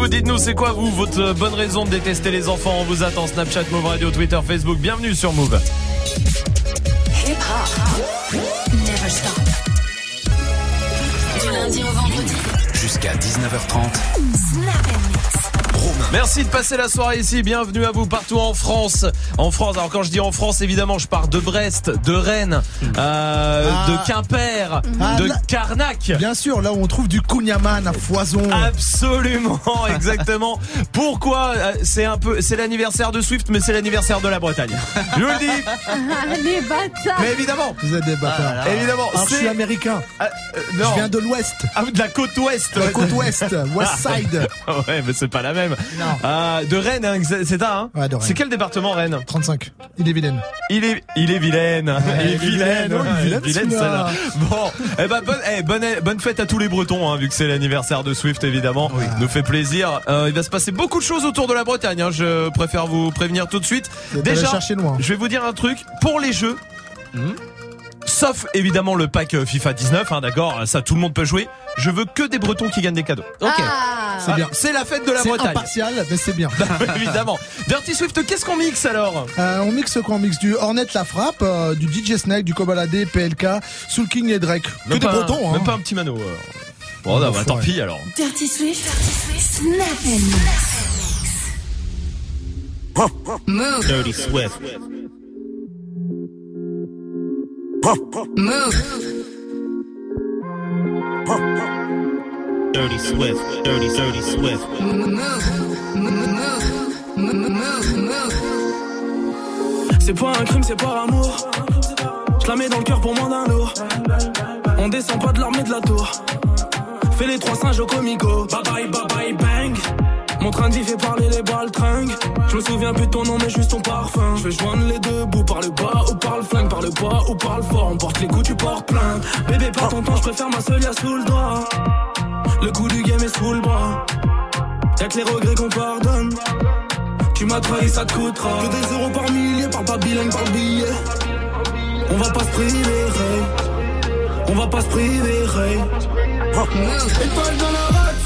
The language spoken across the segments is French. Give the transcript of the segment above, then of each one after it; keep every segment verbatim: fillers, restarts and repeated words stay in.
vous, dites-nous c'est quoi vous, votre bonne raison de détester les enfants. On vous attend, Snapchat, Move Radio, Twitter, Facebook. Bienvenue sur Move. Hip-hop, never stop. Du lundi au vendredi. Jusqu'à dix-neuf heures trente. Snap and Mix. Merci de passer la soirée ici, bienvenue à vous partout en France. En France, alors quand je dis en France, évidemment, je pars de Brest, de Rennes, euh, ah. de Quimper, ah, de là, Carnac. Bien sûr, là où on trouve du Kunyaman à foison. Absolument, exactement. Pourquoi? C'est un peu, c'est l'anniversaire de Swift, mais c'est l'anniversaire de la Bretagne. Je vous le dis. Ah, les bâtards. Mais évidemment, vous êtes des bâtards. Ah, évidemment, alors, je suis américain. Ah, euh, non. Je viens de l'Ouest. Ah, de la côte Ouest. La côte Ouest, West Side. Ouais, mais c'est pas la même. Non. Euh, de Rennes, hein, c'est ça, hein? Ouais, de Rennes. C'est quel département, Rennes? trente-cinq. Il est vilaine. Il est, il est vilaine. Ouais, il est vilaine. Oh, il est vilaine, vilaine celle-là. Bon, eh ben, bonne, eh, bonne, bonne fête à tous les Bretons, hein, vu que c'est l'anniversaire de Swift, évidemment. Oui. Nous fait plaisir. Euh, il va se passer beaucoup de choses autour de la Bretagne, hein, je préfère vous prévenir tout de suite. Déjà, chercher loin. Je vais vous dire un truc. Pour les jeux, mmh. sauf évidemment le pack FIFA dix-neuf, hein, d'accord, ça tout le monde peut jouer. Je veux que des Bretons qui gagnent des cadeaux. Ok. Ah, c'est bien. C'est la fête de la c'est Bretagne. C'est impartial, mais c'est bien. Évidemment. Dirty Swift, qu'est-ce qu'on mixe alors? euh, On mixe quoi? On mixe du Hornet La Frappe, euh, du D J Snake, du Kobalade, P L K, Soul King et Drake. Que même des pas, Bretons, hein. Même pas un petit mano. Alors. Bon, non, bah, tant pis alors. Dirty Swift, Snap and Mix. Move. Dirty Swift. Move. Dirty Swift, dirty, dirty Swift. Move, move, move, move. C'est pas un crime, c'est par amour. Je la mets dans le cœur pour moins d'un lourd. On descend pas de l'armée de la tour. Fais les trois singes au comico. Bye bye, bye bye, bang. Mon train d'y fait parler les balles tringues. Je me souviens plus de ton nom mais juste ton parfum. Je vais joindre les deux bouts, par le bas ou par le flingue, par le bas ou par le fort. On porte les coups, tu portes plainte. Bébé pas ton temps, je préfère ma seule, y'a sous le doigt. Le coup du game est sous le bras. Y'a que les regrets qu'on pardonne. Tu m'as trahi, ça te coûtera. Que des euros par millier, parle pas bilingue, parle billet. On va pas se priver, hey. On va pas se priver, hey. Étoile dans la race.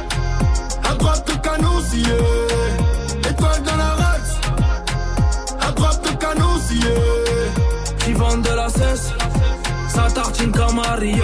À droite le canon scié. Étoile dans la race. À droite le canon scié. Qui vendent de la cesse. Ça tartine comme Mario.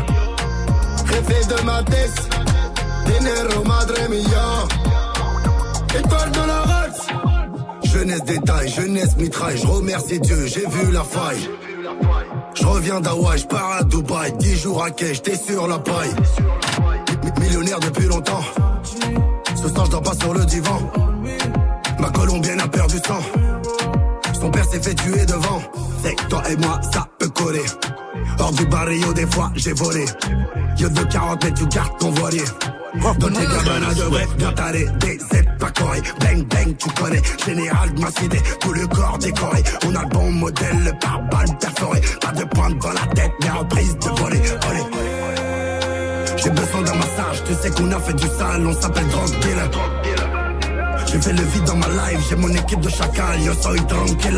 Réfé de ma tête. Dinero madre mia. Étoile dans la race. Jeunesse détail, jeunesse mitraille. Je remercie Dieu, j'ai vu la faille. Je reviens d'Hawaï, je pars à Dubaï. Dix jours à quai, j'étais sur la paille. Millionnaire depuis longtemps. Ce soir je dors pas sur le divan. Ma colombienne a perdu sang. Son père s'est fait tuer devant. C'est que toi et moi ça peut coller. Hors du barrio des fois j'ai volé. Yo de quarante mètres tu gardes ton voilier. Dans tes gabanes de vrai, bien taré, des Z pas coré. Bang bang tu connais, général de ma cité. Tout le corps décoré, on a le bon modèle, le pare-balles perforé. Pas de pointe dans la tête, mais en prise de voler. Olé. J'ai besoin d'un massage, tu sais qu'on a fait du sale, on s'appelle drug dealer. J'ai fait le vide dans ma life, j'ai mon équipe de chacal, yo soy tranquille.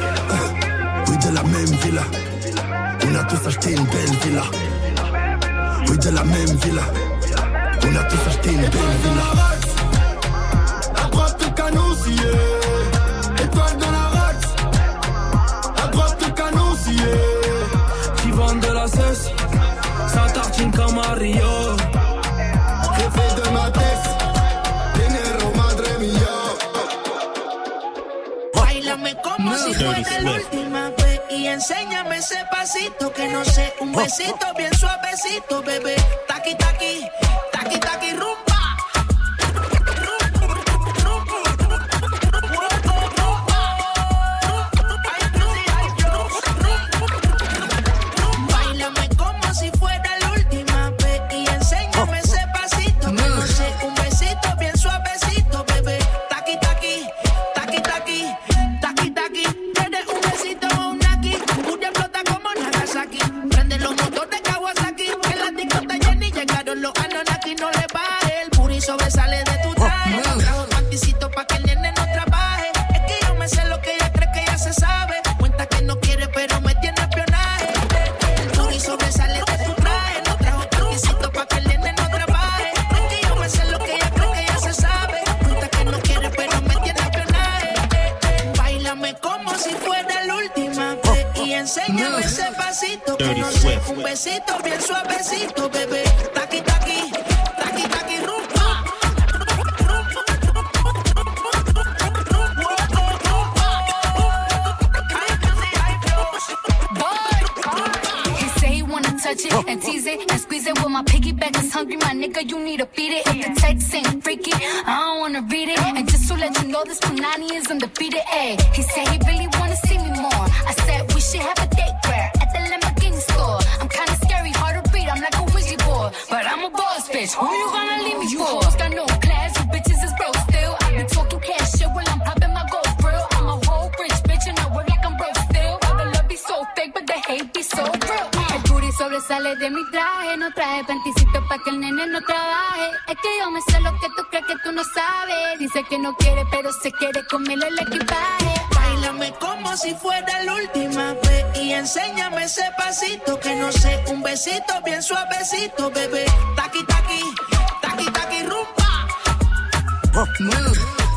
Oui de la même villa, on a tous acheté une belle villa. Oui de la même villa, on a tous acheté une belle villa. À droite le canon scié, étoile dans la race. À droite le canon scié. Qui vendent de la cesse. Ça tartine comme Mario. Réfé de ma tête. Dinero madre mia. Báilame como si fuera la última vez y enséñame ese pasito que no sé, un besito bien suavecito, bebé. Taqui taqui, taqui taqui rumba. Lo un besito bien suavecito, bebé. Taqui, taqui, taqui, taqui, rumba. He say he wanna touch it and tease it and squeeze it. Well, my piggyback is hungry, my nigga, you need to feed it. If the text ain't freaky, I don't wanna read it. And just to let you know, this Punani is undefeated. Ay, he said he really wanna see me more. I said we should have a date where at the Lamborghini store. I'm kinda scary, hard to read, I'm like a Ouija board, but I'm a boss bitch. Who you gonna leave me you for? Hoes got no class, you bitches is broke still. I be talking cash shit while I'm popping my gold grill. I'm a whole rich bitch and I work like I'm broke still. All the love be so fake, but the hate be so real. El booty sobresale de mi traje, no traje panticito pa' que el nene no trabaje. Es que yo me sé lo que tú crees que tú no sabes. Dice que no quiere, pero se quiere comerle el equipaje. Báilame como si fuera la última vez y enséñame ese pasito que no sé, un besito bien suavecito, bebé. Taqui, taqui, taqui, taqui, rumba. Move.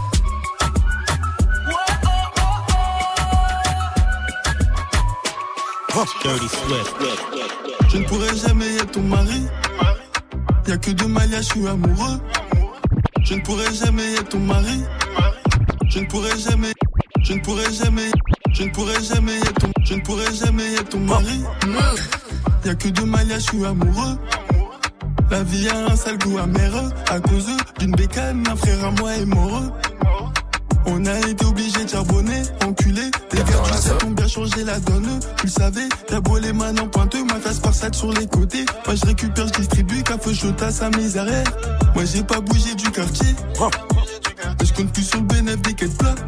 Dirty Swift. Je ne pourrai jamais être ton mari. Y'a que de Malia, je suis amoureux. Je ne pourrai jamais être ton mari. Je ne pourrai jamais, je ne pourrai jamais, je ne pourrai jamais être ton, je ne pourrai jamais être ton mari. Y'a que de Malia, je suis amoureux. La vie a un sale goût amer à cause d'une bécane, un frère à moi est mort. On a été obligé de charbonner, enculé. Les gars du set ont bien changé la donne. Tu le savais, t'as beau les mains en pointeux, ma face par sac sur les côtés. Moi je récupère, je distribue, café chaud à sa misère. Moi j'ai pas bougé du quartier. Mais je compte plus sur le bénéfice des quêtes plats.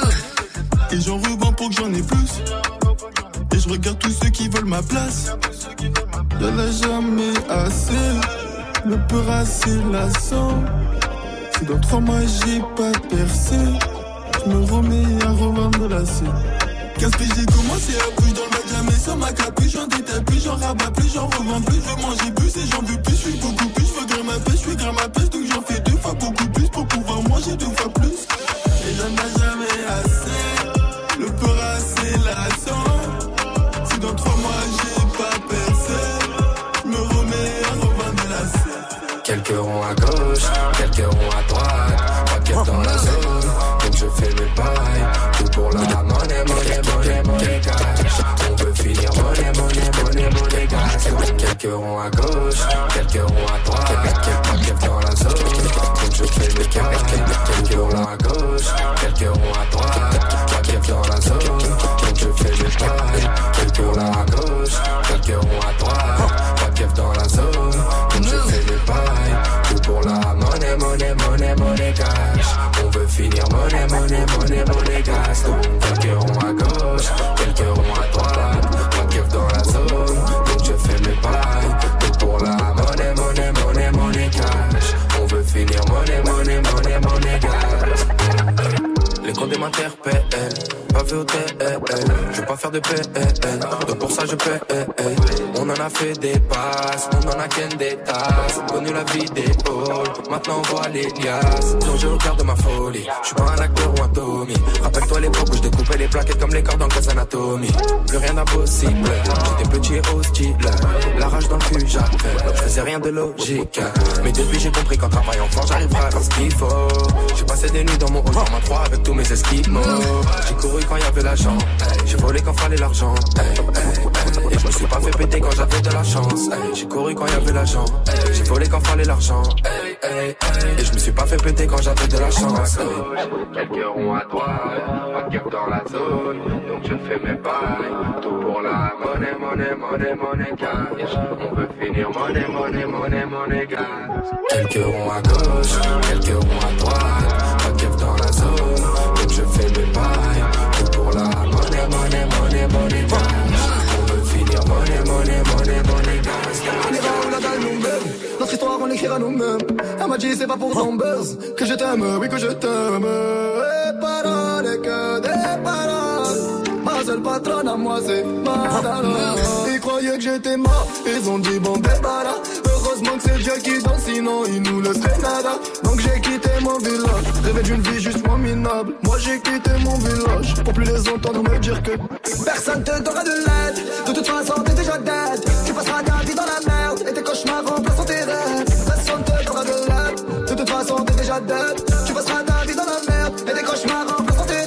Et j'en revends pour que j'en ai plus. Et je regarde tous ceux qui veulent ma place. Y'en a jamais assez. Le peur assez lassant. Si dans trois mois j'ai pas percé, je me remets à revendre la scène. Qu'est-ce que j'ai commencé à bouger dans le bac, jamais sans ma capuche. J'en détaille plus, j'en rabats plus, j'en revends plus. Je veux manger plus et j'en veux plus, je suis beaucoup plus. Je veux grimper ma pêche, je suis grimper ma pêche. Donc j'en fais deux fois beaucoup plus pour pouvoir manger deux fois plus. Et j'en ai jamais assez, le peur assez lassant. Si dans trois mois j'ai pas percé, je me remets à revendre la scène. Quelques ronds à gauche, quelques ronds à droite, pas qu'être dans la zone, donc je fais mes pailles, tout pour la monnaie, monnaie, monnaie, monnaie, cash. On veut finir monnaie, monnaie, monnaie, monnaie, cash. Quelques ronds à gauche, quelques ronds à droite, pas qu'être dans la zone, donc je fais mes pailles, quelques ronds à gauche, quelques ronds à droite, pas qu'être dans la zone, donc je fais mes pailles, quelques ronds à gauche, quelques ronds à droite, pas qu'être dans la zone, donc je fais mes pailles. Tout pour la monnaie, monnaie, monnaie, monnaie, cash. On veut finir monnaie, monnaie, monnaie, monnaie, cash. Donc quelques ronds à gauche, quelques ronds à droite, pas keuf dans la zone, donc je fais mes pailles. Tout pour la monnaie, monnaie, monnaie, monnaie, cash. On veut finir monnaie, monnaie, monnaie, monnaie, cash. Les condés m'interpellent, pas vu au T L. Je veux pas faire de P L, donc pour ça je paie. On en a fait des passes, on en a qu'un des tasses. Connu la vie des halls, maintenant on voit les liasses. Donc je regarde ma folie, je suis pas un acteur ou un Tommy. Rappelle-toi l'époque où je découpais les plaquettes comme les cordes en Grey's Anatomy. Plus rien d'impossible, j'étais petit et hostile. La rage dans le cul j'avais, je faisais rien de logique. Mais depuis j'ai compris qu'en travaillant fort j'arriverai à faire ce qu'il faut. J'ai passé des nuits dans mon hall en trois avec tous mes esquimaux. J'ai couru quand il y avait l'argent, j'ai volé quand fallait l'argent. Et je me suis pas fait péter quand j'avais de la chance. J'ai couru quand il y avait l'argent, j'ai volé quand fallait l'argent. Et je me suis pas fait péter quand j'avais de la chance. Quelques ronds à droite, pas de keuf dans la zone, donc je fais mes pailles. Tout pour la monnaie, monnaie, monnaie, monnaie, cash. On veut finir monnaie, monnaie, monnaie, monnaie, cash. Quelques ronds à gauche, quelques ronds à droite, pas de keuf dans la zone, donc je fais mes pailles. Tout pour la monnaie, monnaie, monnaie, monnaie, cash. On veut finir monnaie, monnaie, monnaie, monnaie, cash. On ira où la dalle nous mène, notre histoire on l'écrira nous-mêmes. Elle m'a dit c'est pas pour ton buzz que je t'aime, oui que je t'aime. Et paroles et que des paroles. Ma seule patronne à moi c'est Madonna. Ils croyaient que j'étais mort, ils ont dit bon débarras. Heureusement Heureusement que c'est Dieu qui donne, sinon il nous laisserait nada. Donc j'ai quitté mon village, rêvé d'une vie juste moins minable. Moi j'ai quitté mon village, pour plus les entendre me dire que personne te donnera de l'aide. De toute façon t'es déjà dead. Tu passeras ta vie dans la merde, et tes cauchemars remplaceront tes rêves. Personne te donnera de l'aide. De toute façon t'es déjà dead. Tu passeras ta vie dans la merde, et tes cauchemars remplaceront tes rêves.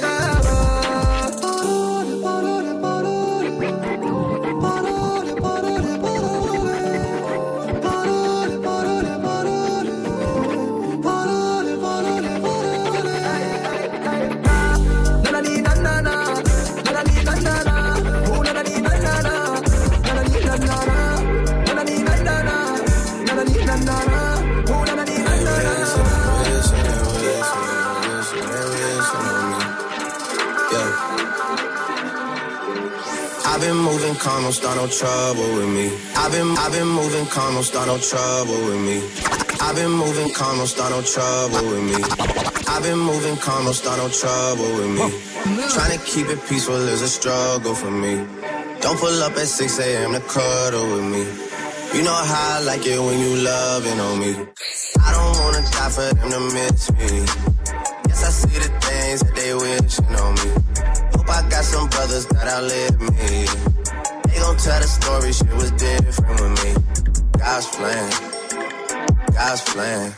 I've been moving calm, don't start no trouble with me. I've been, I've been moving calm, don't start no trouble with me. I've been moving calm, don't start no trouble with me. I've been moving calm, don't start no trouble with me. Trying to keep it peaceful is a struggle for me. Don't pull up at six a.m. to cuddle with me. You know how I like it when you loving on me. I don't wanna die for them to miss me. Yes, I see the things that they wishing on me. Hope I got some brothers that outlive me. They gon' tell the story, shit was different with me. God's plan, God's plan.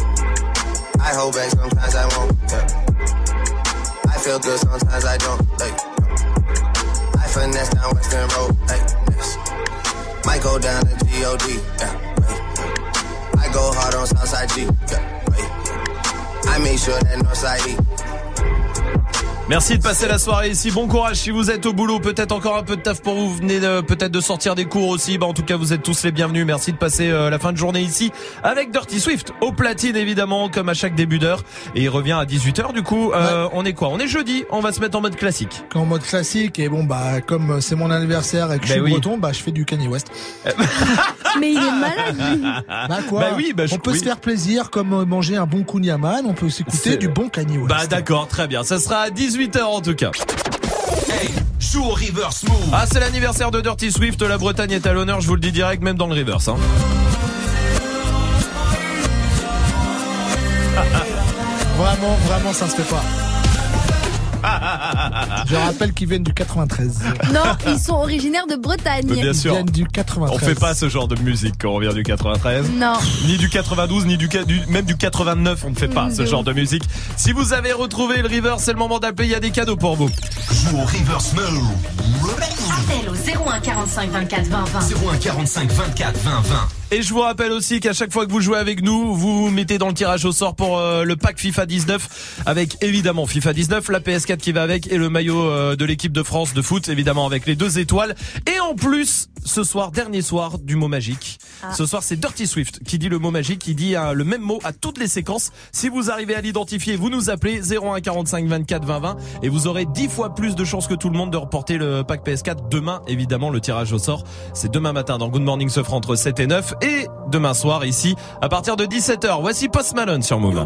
I hold back, sometimes I won't, yeah. I feel good, sometimes I don't, like. I finesse down Western Road, like, yes. Might go down to G O D, yeah, wait. I go hard on Southside G, yeah, wait. I make sure that Northside E. Merci de passer la soirée ici, bon courage si vous êtes au boulot, peut-être encore un peu de taf pour vous, vous venez de, peut-être de sortir des cours aussi, bah en tout cas vous êtes tous les bienvenus, merci de passer euh, la fin de journée ici avec Dirty Swift, au platine évidemment comme à chaque début d'heure, et il revient à dix-huit heures du coup, euh, ouais. On est quoi, on est jeudi, on va se mettre en mode classique. En mode classique, et bon bah comme c'est mon anniversaire et que ben je suis oui. breton, bah je fais du Kanye West. Mais il est malade lui. Bah quoi, bah oui, bah je, on peut oui. se faire plaisir comme manger un bon kouign-amann, on peut s'écouter c'est... du bon Kanye West. Bah d'accord, très bien, ça sera à dix-huit heures en tout cas. Hey, joue au reverse move. Ah, c'est l'anniversaire de Dirty Swift, la Bretagne est à l'honneur, je vous le dis direct, même dans le reverse. Hein. Vraiment, vraiment, ça se fait pas. Je rappelle qu'ils viennent du quatre-vingt-treize. Non, ils sont originaires de Bretagne. Mais bien sûr. Ils viennent du quatre-vingt-treize. On fait pas ce genre de musique quand on vient du quatre-vingt-treize. Non. Ni du quatre-vingt-douze, ni du, du même du quatre-vingt-neuf, on ne fait pas mmh, ce genre de musique. Si vous avez retrouvé le reverse, c'est le moment d'appeler, il y a des cadeaux pour vous. Joue au reverse mode. Appel au zéro un quarante-cinq vingt-quatre vingt vingt. zéro un quarante-cinq vingt-quatre vingt vingt. Et je vous rappelle aussi qu'à chaque fois que vous jouez avec nous, vous vous mettez dans le tirage au sort pour euh, le pack FIFA dix-neuf avec évidemment FIFA dix-neuf, la P S quatre qui va avec et le maillot euh, de l'équipe de France de foot évidemment avec les deux étoiles. Et en plus, ce soir, dernier soir du mot magique. Ah. Ce soir, c'est Dirty Swift qui dit le mot magique, qui dit euh, le même mot à toutes les séquences. Si vous arrivez à l'identifier, vous nous appelez zéro un quarante-cinq vingt-quatre vingt vingt et vous aurez dix fois plus de chances que tout le monde de reporter le pack P S quatre demain. Évidemment, le tirage au sort, c'est demain matin dans Good Morning Sofra entre sept et neuf et demain soir ici à partir de dix-sept heures. Voici Post Malone sur Move.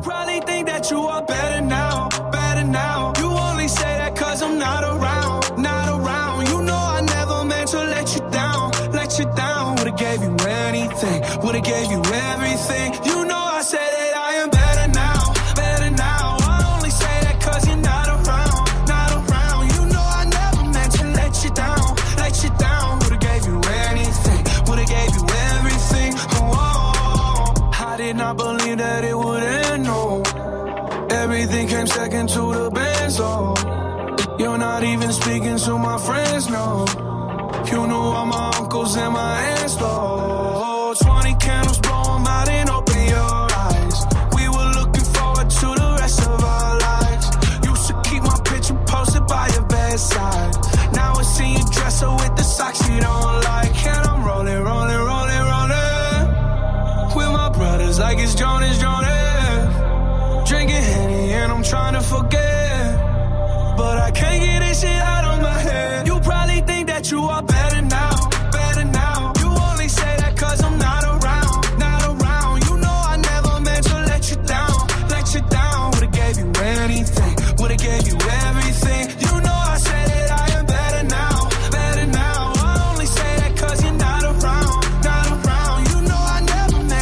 I believe that it would end, no. Everything came second to the band, so you're not even speaking to my friends, no. You knew all my uncles and my aunts, though. Twenty candles, blow them out and open your eyes. We were looking forward to the rest of our lives. Used to keep my picture posted by your bedside. Now I see you dress her with the socks you don't like. And I'm rolling, rolling, rolling, rolling with my brothers like it's Jonas, Jonas. Drinking Henny and I'm trying to forget, but I can't get this shit out of my head. You probably think that you are better now, better now. You only say that cause I'm not around, not around. You know I never meant to let you down, let you down. Would've gave you anything, would've gave you everything. You know I said that I am better now, better now. I only say that cause you're not around, not around. You know I never meant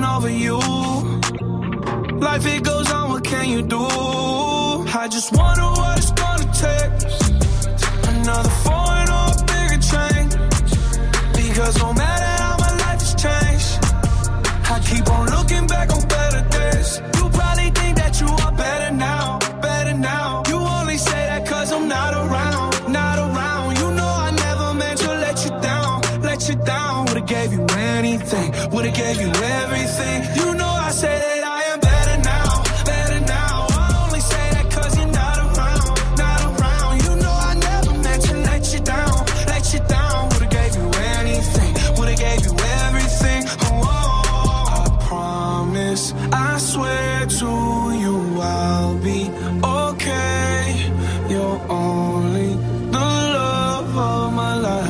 tripping over you. Life it goes on, what can you do? I just wonder what it's gonna take. Another foreign or a bigger change. Because no matter how my life has changed, I keep on looking back on better days. You probably think that you are better now, better now. You only say that cause I'm not around, not around. You know I never meant to let you down, let you down. Would've gave you anything, would've gave you everything. You know I say that I am better now, better now. I only say that cause you're not around, not around. You know I never meant to let you down, let you down. Would've gave you anything, would've gave you everything. Oh, I promise, I swear to you I'll be okay. You're only the love of my life.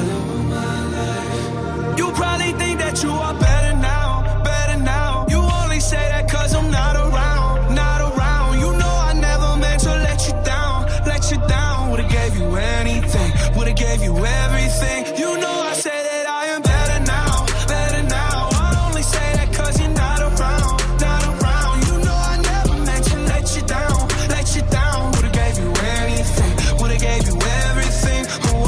You probably think that you are better now, better now. You only say that cause I'm not around, not around. You know I never meant to let you down, let you down. Would've gave you anything, would've gave you everything. You know I say that I am better now, better now. I only say that cause you're not around, not around. You know I never meant to let you down, let you down. Would've gave you anything, would've gave you everything. Oh,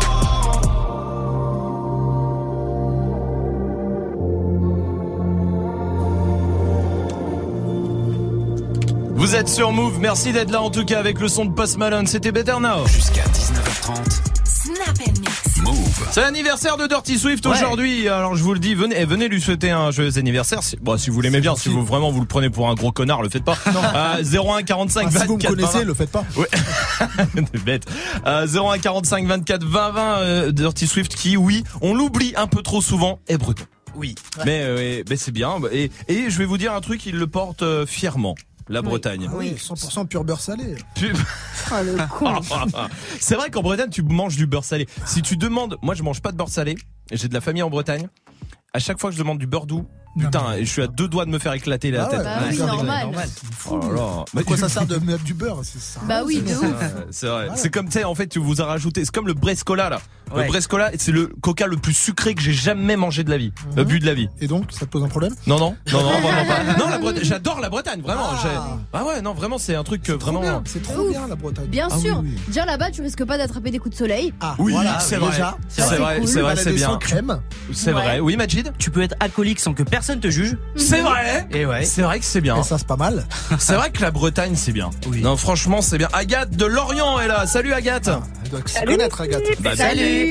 Vous êtes sur Move, merci d'être là en tout cas avec le son de Post Malone, c'était Better Now. Jusqu'à dix-neuf heures trente. Snap and mix. Move. C'est l'anniversaire de Dirty Swift Ouais. aujourd'hui, alors je vous le dis, venez, venez lui souhaiter un joyeux anniversaire. Si, bon, si vous l'aimez bien, si vous vraiment vous le prenez pour un gros connard, le faites pas. Euh, zéro un quarante-cinq Ah, si vous me vingt-quatre connaissez, vingt. le faites pas. Ouais. T'es bête. Euh, zéro un quarante-cinq vingt-quatre vingt vingt, euh, Dirty Swift qui, oui, on l'oublie un peu trop souvent, est breton. Oui. Mais, euh, mais c'est bien. Et, et je vais vous dire un truc, il le porte euh, fièrement. La Bretagne. Oui, cent pour cent pur beurre salé. Tu- Oh le con. C'est vrai qu'en Bretagne, tu manges du beurre salé. Si tu demandes, moi je mange pas de beurre salé, et j'ai de la famille en Bretagne. À chaque fois que je demande du beurre doux, putain, et je suis à deux doigts de me faire éclater la Ah tête. ouais, Bah oui, Ouais, normal. Oh là là. Mais quoi ça sert de mettre du beurre c'est ça. Bah oui, de Ouais, ouf. c'est vrai. C'est comme, tu sais, en fait, tu vous as rajouté, c'est comme le Brescola, là. Ouais. Le Brescola, c'est le coca le plus sucré que j'ai jamais mangé de la vie. Mhm. Euh, bu de la vie. Et donc, ça te pose un problème? Non, non, non, non, vraiment pas. Non, la Bretagne, j'adore la Bretagne, vraiment. Ah. J'ai- Ah ouais, non, vraiment, c'est un truc que Trop vraiment. bien, c'est trop Ouf. bien la Bretagne. Bien Ah sûr. oui, oui. Déjà là-bas, tu risques pas d'attraper des coups de soleil. Ah, Oui, voilà, c'est vrai. déjà. C'est Ça, c'est vrai, cool. c'est vrai, Elle a c'est des bien. sans crème. C'est Ouais. vrai. Oui, Majid? Tu peux être alcoolique sans que personne te juge. C'est vrai. Et ouais. C'est vrai que c'est bien. Et ça, c'est pas mal. C'est vrai que la Bretagne, c'est bien. Oui. Non, franchement, c'est bien. Agathe de Lorient est là. Salut Agathe. Elle doit s'y connaître, Agathe. Bah, Salut.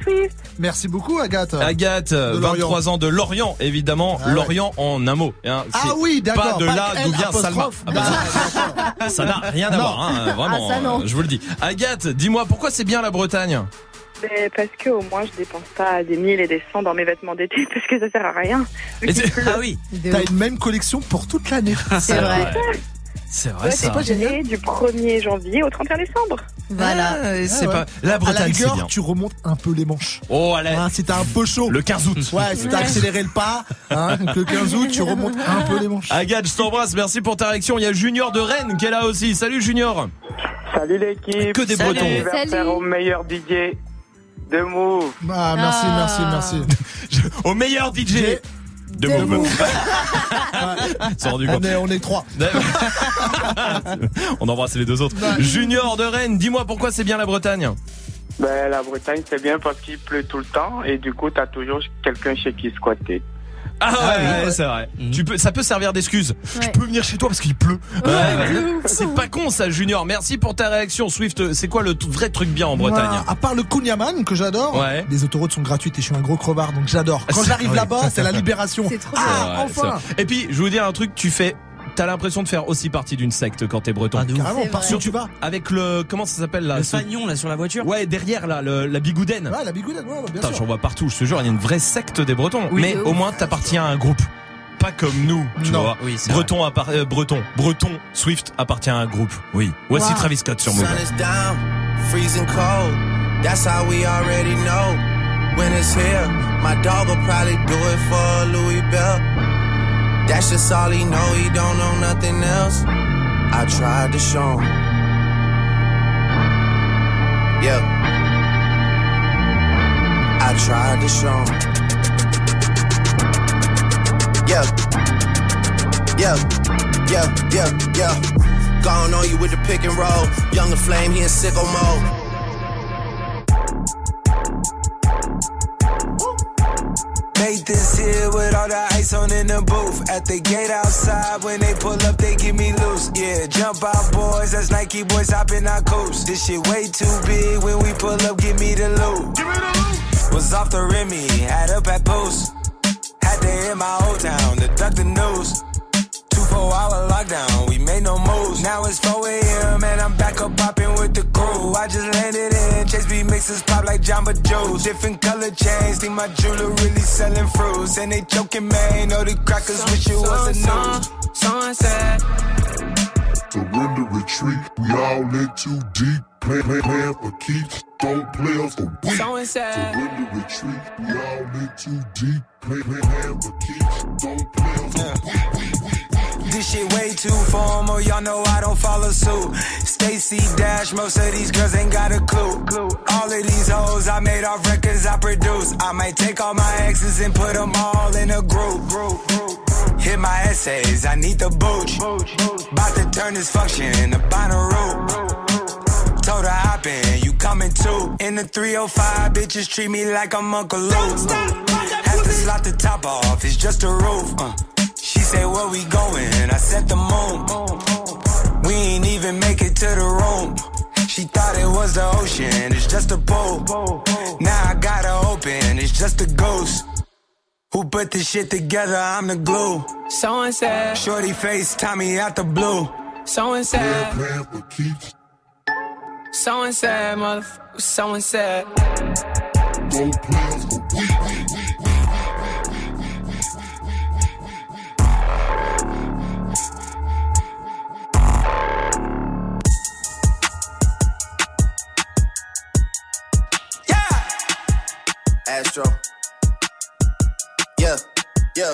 Merci beaucoup, Agathe. Agathe, De vingt-trois Lorient. ans de Lorient, évidemment. Ah ouais. Lorient en un mot. Hein, Ah c'est oui, d'accord. Pas de là Pas d'où L vient Salma. apostrophe. Ah bah, Ah, d'accord. ça n'a rien à Non. voir, hein, vraiment. Ah, ça, non. euh, Je vous le dis. Agathe, dis-moi, pourquoi c'est bien la Bretagne? Mais parce que au moins je dépense pas des mille et des cents dans mes vêtements d'été parce que ça sert à rien. Vu Et qu'il c'est- pleut. Ah oui. De T'as ouf. une même collection pour toute l'année. C'est vrai. C'est vrai Ouais, ça. c'est pas génial. Du premier janvier au trente et un décembre. Voilà. Ah, et c'est Ah ouais. pas la À la Bretagne, c'est rigueur, bien. tu remontes un peu les manches. Oh, allez. Hein, si t'as un peu chaud. Le quinze août. Ouais, si t'as accéléré le pas, hein, donc le quinze août, tu remontes un peu les manches. Agathe, je t'embrasse. Merci pour ta réaction. Il y a Junior de Rennes qui est là aussi. Salut Junior. Salut l'équipe. Que des Salut. Bretons. Anniversaire Salut. au meilleur D J de Move. Ah, merci, Ah. merci, merci. Au meilleur D J. De De Move. Move. C'est rendu On compte. est, on est trois. On embrasse les deux autres. Junior de Rennes, dis-moi pourquoi c'est bien la Bretagne. Ben, la Bretagne, c'est bien parce qu'il pleut tout le temps et du coup, t'as toujours quelqu'un chez qui squatter. Ah ouais, Ah oui, ouais, ouais. c'est vrai. Mhm. Tu peux, ça peut servir d'excuse. Ouais. Je peux venir chez toi parce qu'il pleut. Ouais, Ouais, de ouais. ouf. C'est pas con ça, Junior. Merci pour ta réaction. Swift, c'est quoi le t- vrai truc bien en Bretagne? Moi, à part le Kunyaman que j'adore, Ouais. les autoroutes sont gratuites et je suis un gros crevard donc j'adore. Quand C'est- j'arrive ouais. là-bas, c'est la libération. C'est trop C'est Ah, vrai, enfin. c'est vrai. Et puis, je vais vous dire un truc, tu fais, t'as l'impression de faire aussi partie d'une secte quand t'es breton. Ah, de ouf. Carrément, C'est par vrai. sur tu vas. Avec le, comment ça s'appelle là? Le ce- fanion là sur la voiture. Ouais, derrière là, le- la bigouden. Ouais, la bigoudette, ouais, ouais, bien Putain, sûr. j'en vois partout, je te jure, il y a une vraie secte des Bretons. Oui, mais de au ouf. moins, t'appartiens à un groupe. Pas comme nous, tu Non. vois. Oui, c'est Breton, appart- euh, Breton, Breton, Swift appartient à un groupe. Oui. Voici Wow. Travis Scott sur Move. Sun is down, freezing cold. That's how we already know. When it's here, my dog will probably do it for a Louis Bell. That's just all he know, he don't know nothing else. I tried to show him. Yeah. I tried to show him. Yeah. Yeah, yeah, yeah, yeah. Gone on you with the pick and roll. Younger flame, he in sicko mode. Made this here with all the ice on in the booth. At the gate outside, when they pull up, they give me loose. Yeah, jump out, boys. That's Nike boys hopping our coast. This shit way too big. When we pull up, give me the loot. Give me the loot. Was off the Remy, had up at post. Had to hit my old town to duck the news. Two four hour lockdown, we made no moves. Now it's four a.m. and I'm back up popping with the crew. I just landed in, Chase B mixes pop like Jamba Joe's. Different color chains, think my jeweler really selling fruits. And they joking, man, know the crackers so, wish it so, was a so, news. Sunset. Surrender, retreat, we all in too deep. Play, play, plan for keeps, don't play us for weeks. Surrender, retreat, we all in too deep. Play, play, plan for keeps, don't play us for yeah. weeks. This shit way too formal, y'all know I don't follow suit. Stacy Dash, most of these girls ain't got a clue. All of these hoes I made off records I produce. I might take all my exes and put them all in a group. Hit my essays, I need the booch. About to turn this function into Bonnaroo. Told her hop in, you coming too. In the three oh five, bitches treat me like I'm Uncle Luke. Have to slot the top off, it's just a roof. Uh. She said, where we going? I said the moon. We ain't even make it to the room. She thought it was the ocean, it's just a pool. Now I gotta open, it's just a ghost. Who put this shit together? I'm the glue. So and said. Shorty face, Tommy out the blue. So and said. So and said, motherfucker. So and said. Don't play us for weeks. Astro. Yeah, yeah.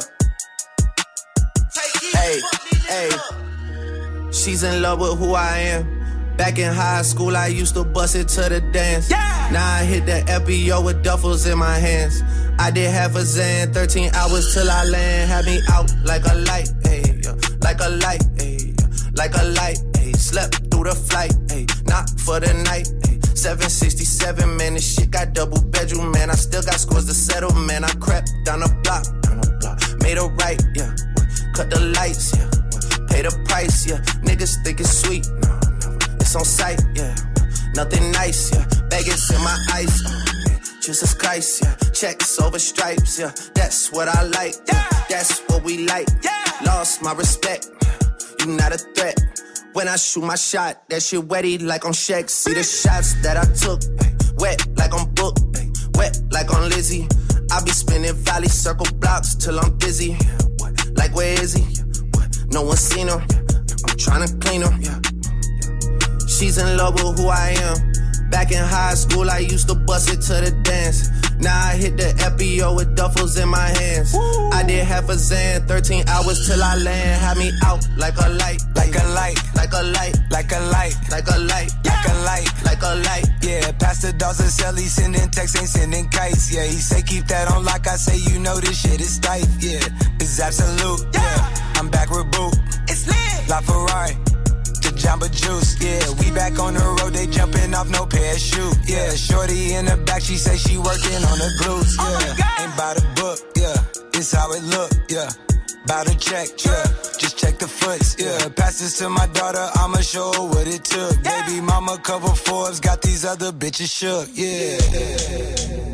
Hey, hey. She's in love with who I am. Back in high school, I used to bust it to the dance. Yeah. Now I hit the F B O with duffels in my hands. I did half a Zan, thirteen hours till I land. Had me out like a light, hey, like a light, hey, like a light, hey. Slept through the flight, hey, not for the night, hey. seven sixty-seven, man, this shit got double bedroom, man. I still got scores to settle, man. I crept down the block, down the block, made a right, yeah. Cut the lights, yeah. Pay the price, yeah. Niggas think it's sweet, no, no. It's on sight, yeah. Nothing nice, yeah. Vegas in my ice, oh, man. Jesus Christ, yeah. Checks over stripes, yeah. That's what I like, yeah. That's what we like, yeah. Lost my respect, you not a threat. When I shoot my shot, that shit wetty like on Shaq. See the shots that I took, ay, wet like on Book, ay, wet like on Lizzie. I be spinning valley circle blocks till I'm busy. Yeah, what? Like where is he? Yeah, what? No one seen him. Yeah, I'm tryna clean him. Yeah, yeah. She's in love with who I am. Back in high school, I used to bust it to the dance. Now I hit the F B O with duffels in my hands. Woo. I did half a Zan, thirteen hours till I land. Had me out like a light, like a light, like a light, like a light, like a light, like a light, like a light. Yeah, Pastor Dawson Sell, he sending texts, ain't sending kites. Yeah, he say keep that on lock. I say you know this shit is tight. Yeah, it's absolute. Yeah, I'm back with Boo. It's lit. La Ferrari. Jamba Juice, yeah, we back on the road, they jumping off no parachute, yeah, shorty in the back, she say she working on the glutes, yeah, oh ain't by the book, yeah, it's how it look, yeah, bout to check, yeah, just check the foots, yeah, pass this to my daughter, I'ma show her what it took, yeah. Baby mama cover Forbes, got these other bitches shook, yeah, yeah.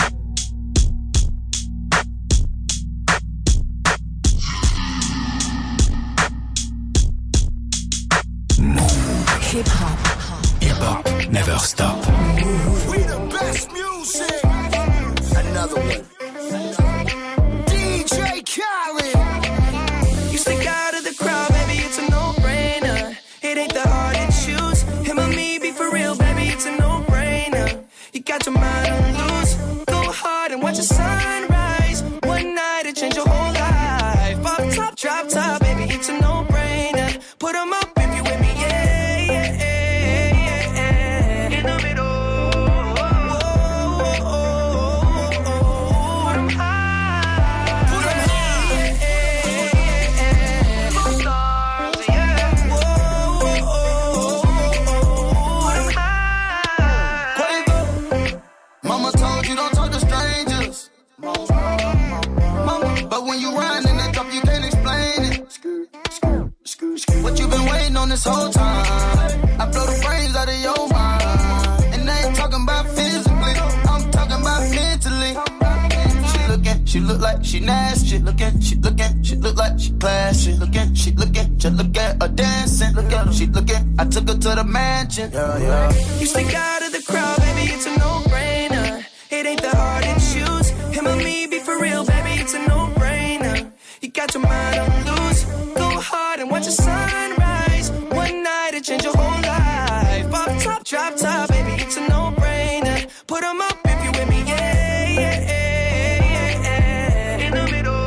Hip hop. Hip hop never stop. We the best music. Another one. D J Khaled. You stick out of the crowd, baby, it's a no-brainer. It ain't that hard to choose. Him or me, be for real, baby, it's a no-brainer. You got your mind on loose. Go hard and watch the sunrise. One night it changed your whole life. Off top, drop top, baby, it's a no-brainer. Put 'em up. on this whole time. I blow the brains out of your mind. And I ain't talking about physically, I'm talking about mentally. She looking, she look like she nasty. Looking, she looking, she look like she classy. Looking, she looking, just look at her dancing. Look at her, she looking, I took her to the mansion. Yeah, yeah. You stick out of the crowd, baby, it's a no-brainer. It ain't that hard to choose. Him or me, be for real, baby, it's a no-brainer. You got your mind on loose. Go hard and watch the sunrise. One night it change your whole life. Pop top, drop top, baby, it's a no-brainer. Put 'em up if you with me, yeah, yeah, yeah, yeah. In the middle.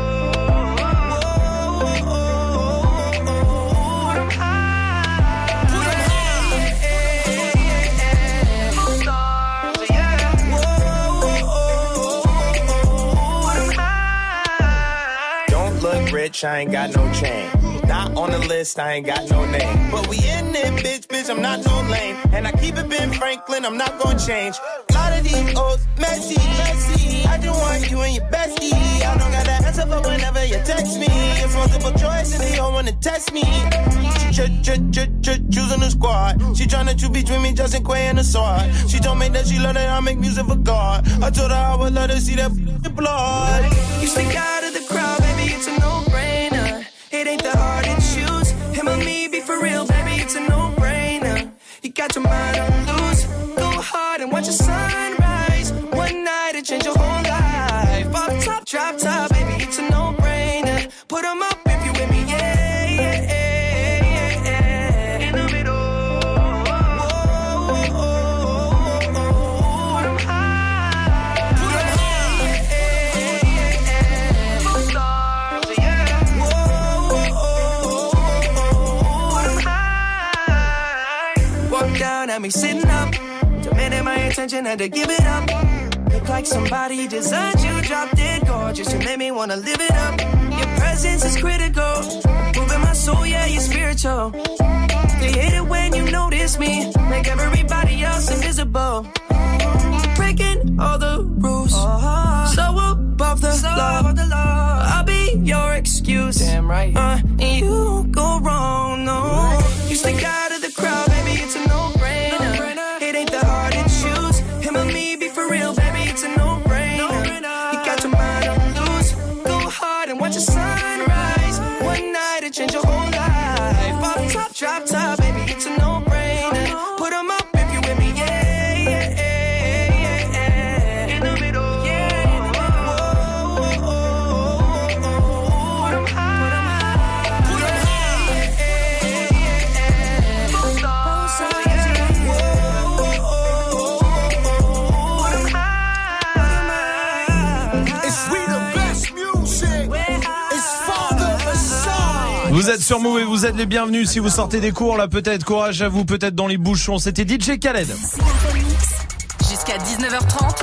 Rich, I ain't got no chain. Not on the list, I ain't got no name. But we in it, bitch, bitch, I'm not no lame. And I keep it Ben Franklin, I'm not gonna change. A lot of these old messy, messy. I just want you and your bestie. I don't got that answer for whenever you text me. It's multiple choice and they all wanna test me. Choosing the squad. She tryna choose between me, Justin Quay and the sword. She told me that she love that I make music for God. I told her I would let her see that blood. You stick out of the crowd, baby, it's a no-brainer. It ain't that hard to choose. Him or me, be for real, baby, it's a no-brainer. You got your mind on loose. Go hard and watch the sunrise. One night it change your whole life. Pop top, drop top, baby, it's a no-brainer. Put 'em up if you with me, yeah, yeah, yeah, yeah. In the middle. At me sitting up, demanding my attention, had to give it up. Look like somebody designed you, drop dead gorgeous. You made me wanna live it up. Your presence is critical, moving my soul, yeah, you're spiritual. They hate it when you notice me, make everybody else invisible. Breaking all the rules, so above the law. I'll be your excuse, damn right. Uh, and you won't go wrong, no. You stick out of the crowd, baby, it's a no-brainer. It ain't that hard to choose. Him or me, be for real, baby, it's a no-brainer. You got your mind on loose. Go hard and watch the sunrise. One night it change your whole life. Pop top, drop top, baby, it's a no-brainer. Put 'em up if you with me, yeah, yeah, yeah, yeah. In the middle, yeah. Whoa, whoa, whoa, whoa. Put 'em high, put 'em high, yeah, yeah, yeah. Both sides, both sides, yeah. Whoa, whoa, whoa. Put 'em high, put 'em high. It's we the best music. It's Father Aside. Vous êtes sur Move et vous êtes les bienvenus si vous sortez des cours là, peut-être, courage à vous, peut-être dans les bouchons. C'était D J Khaled. Jusqu'à dix-neuf heures trente.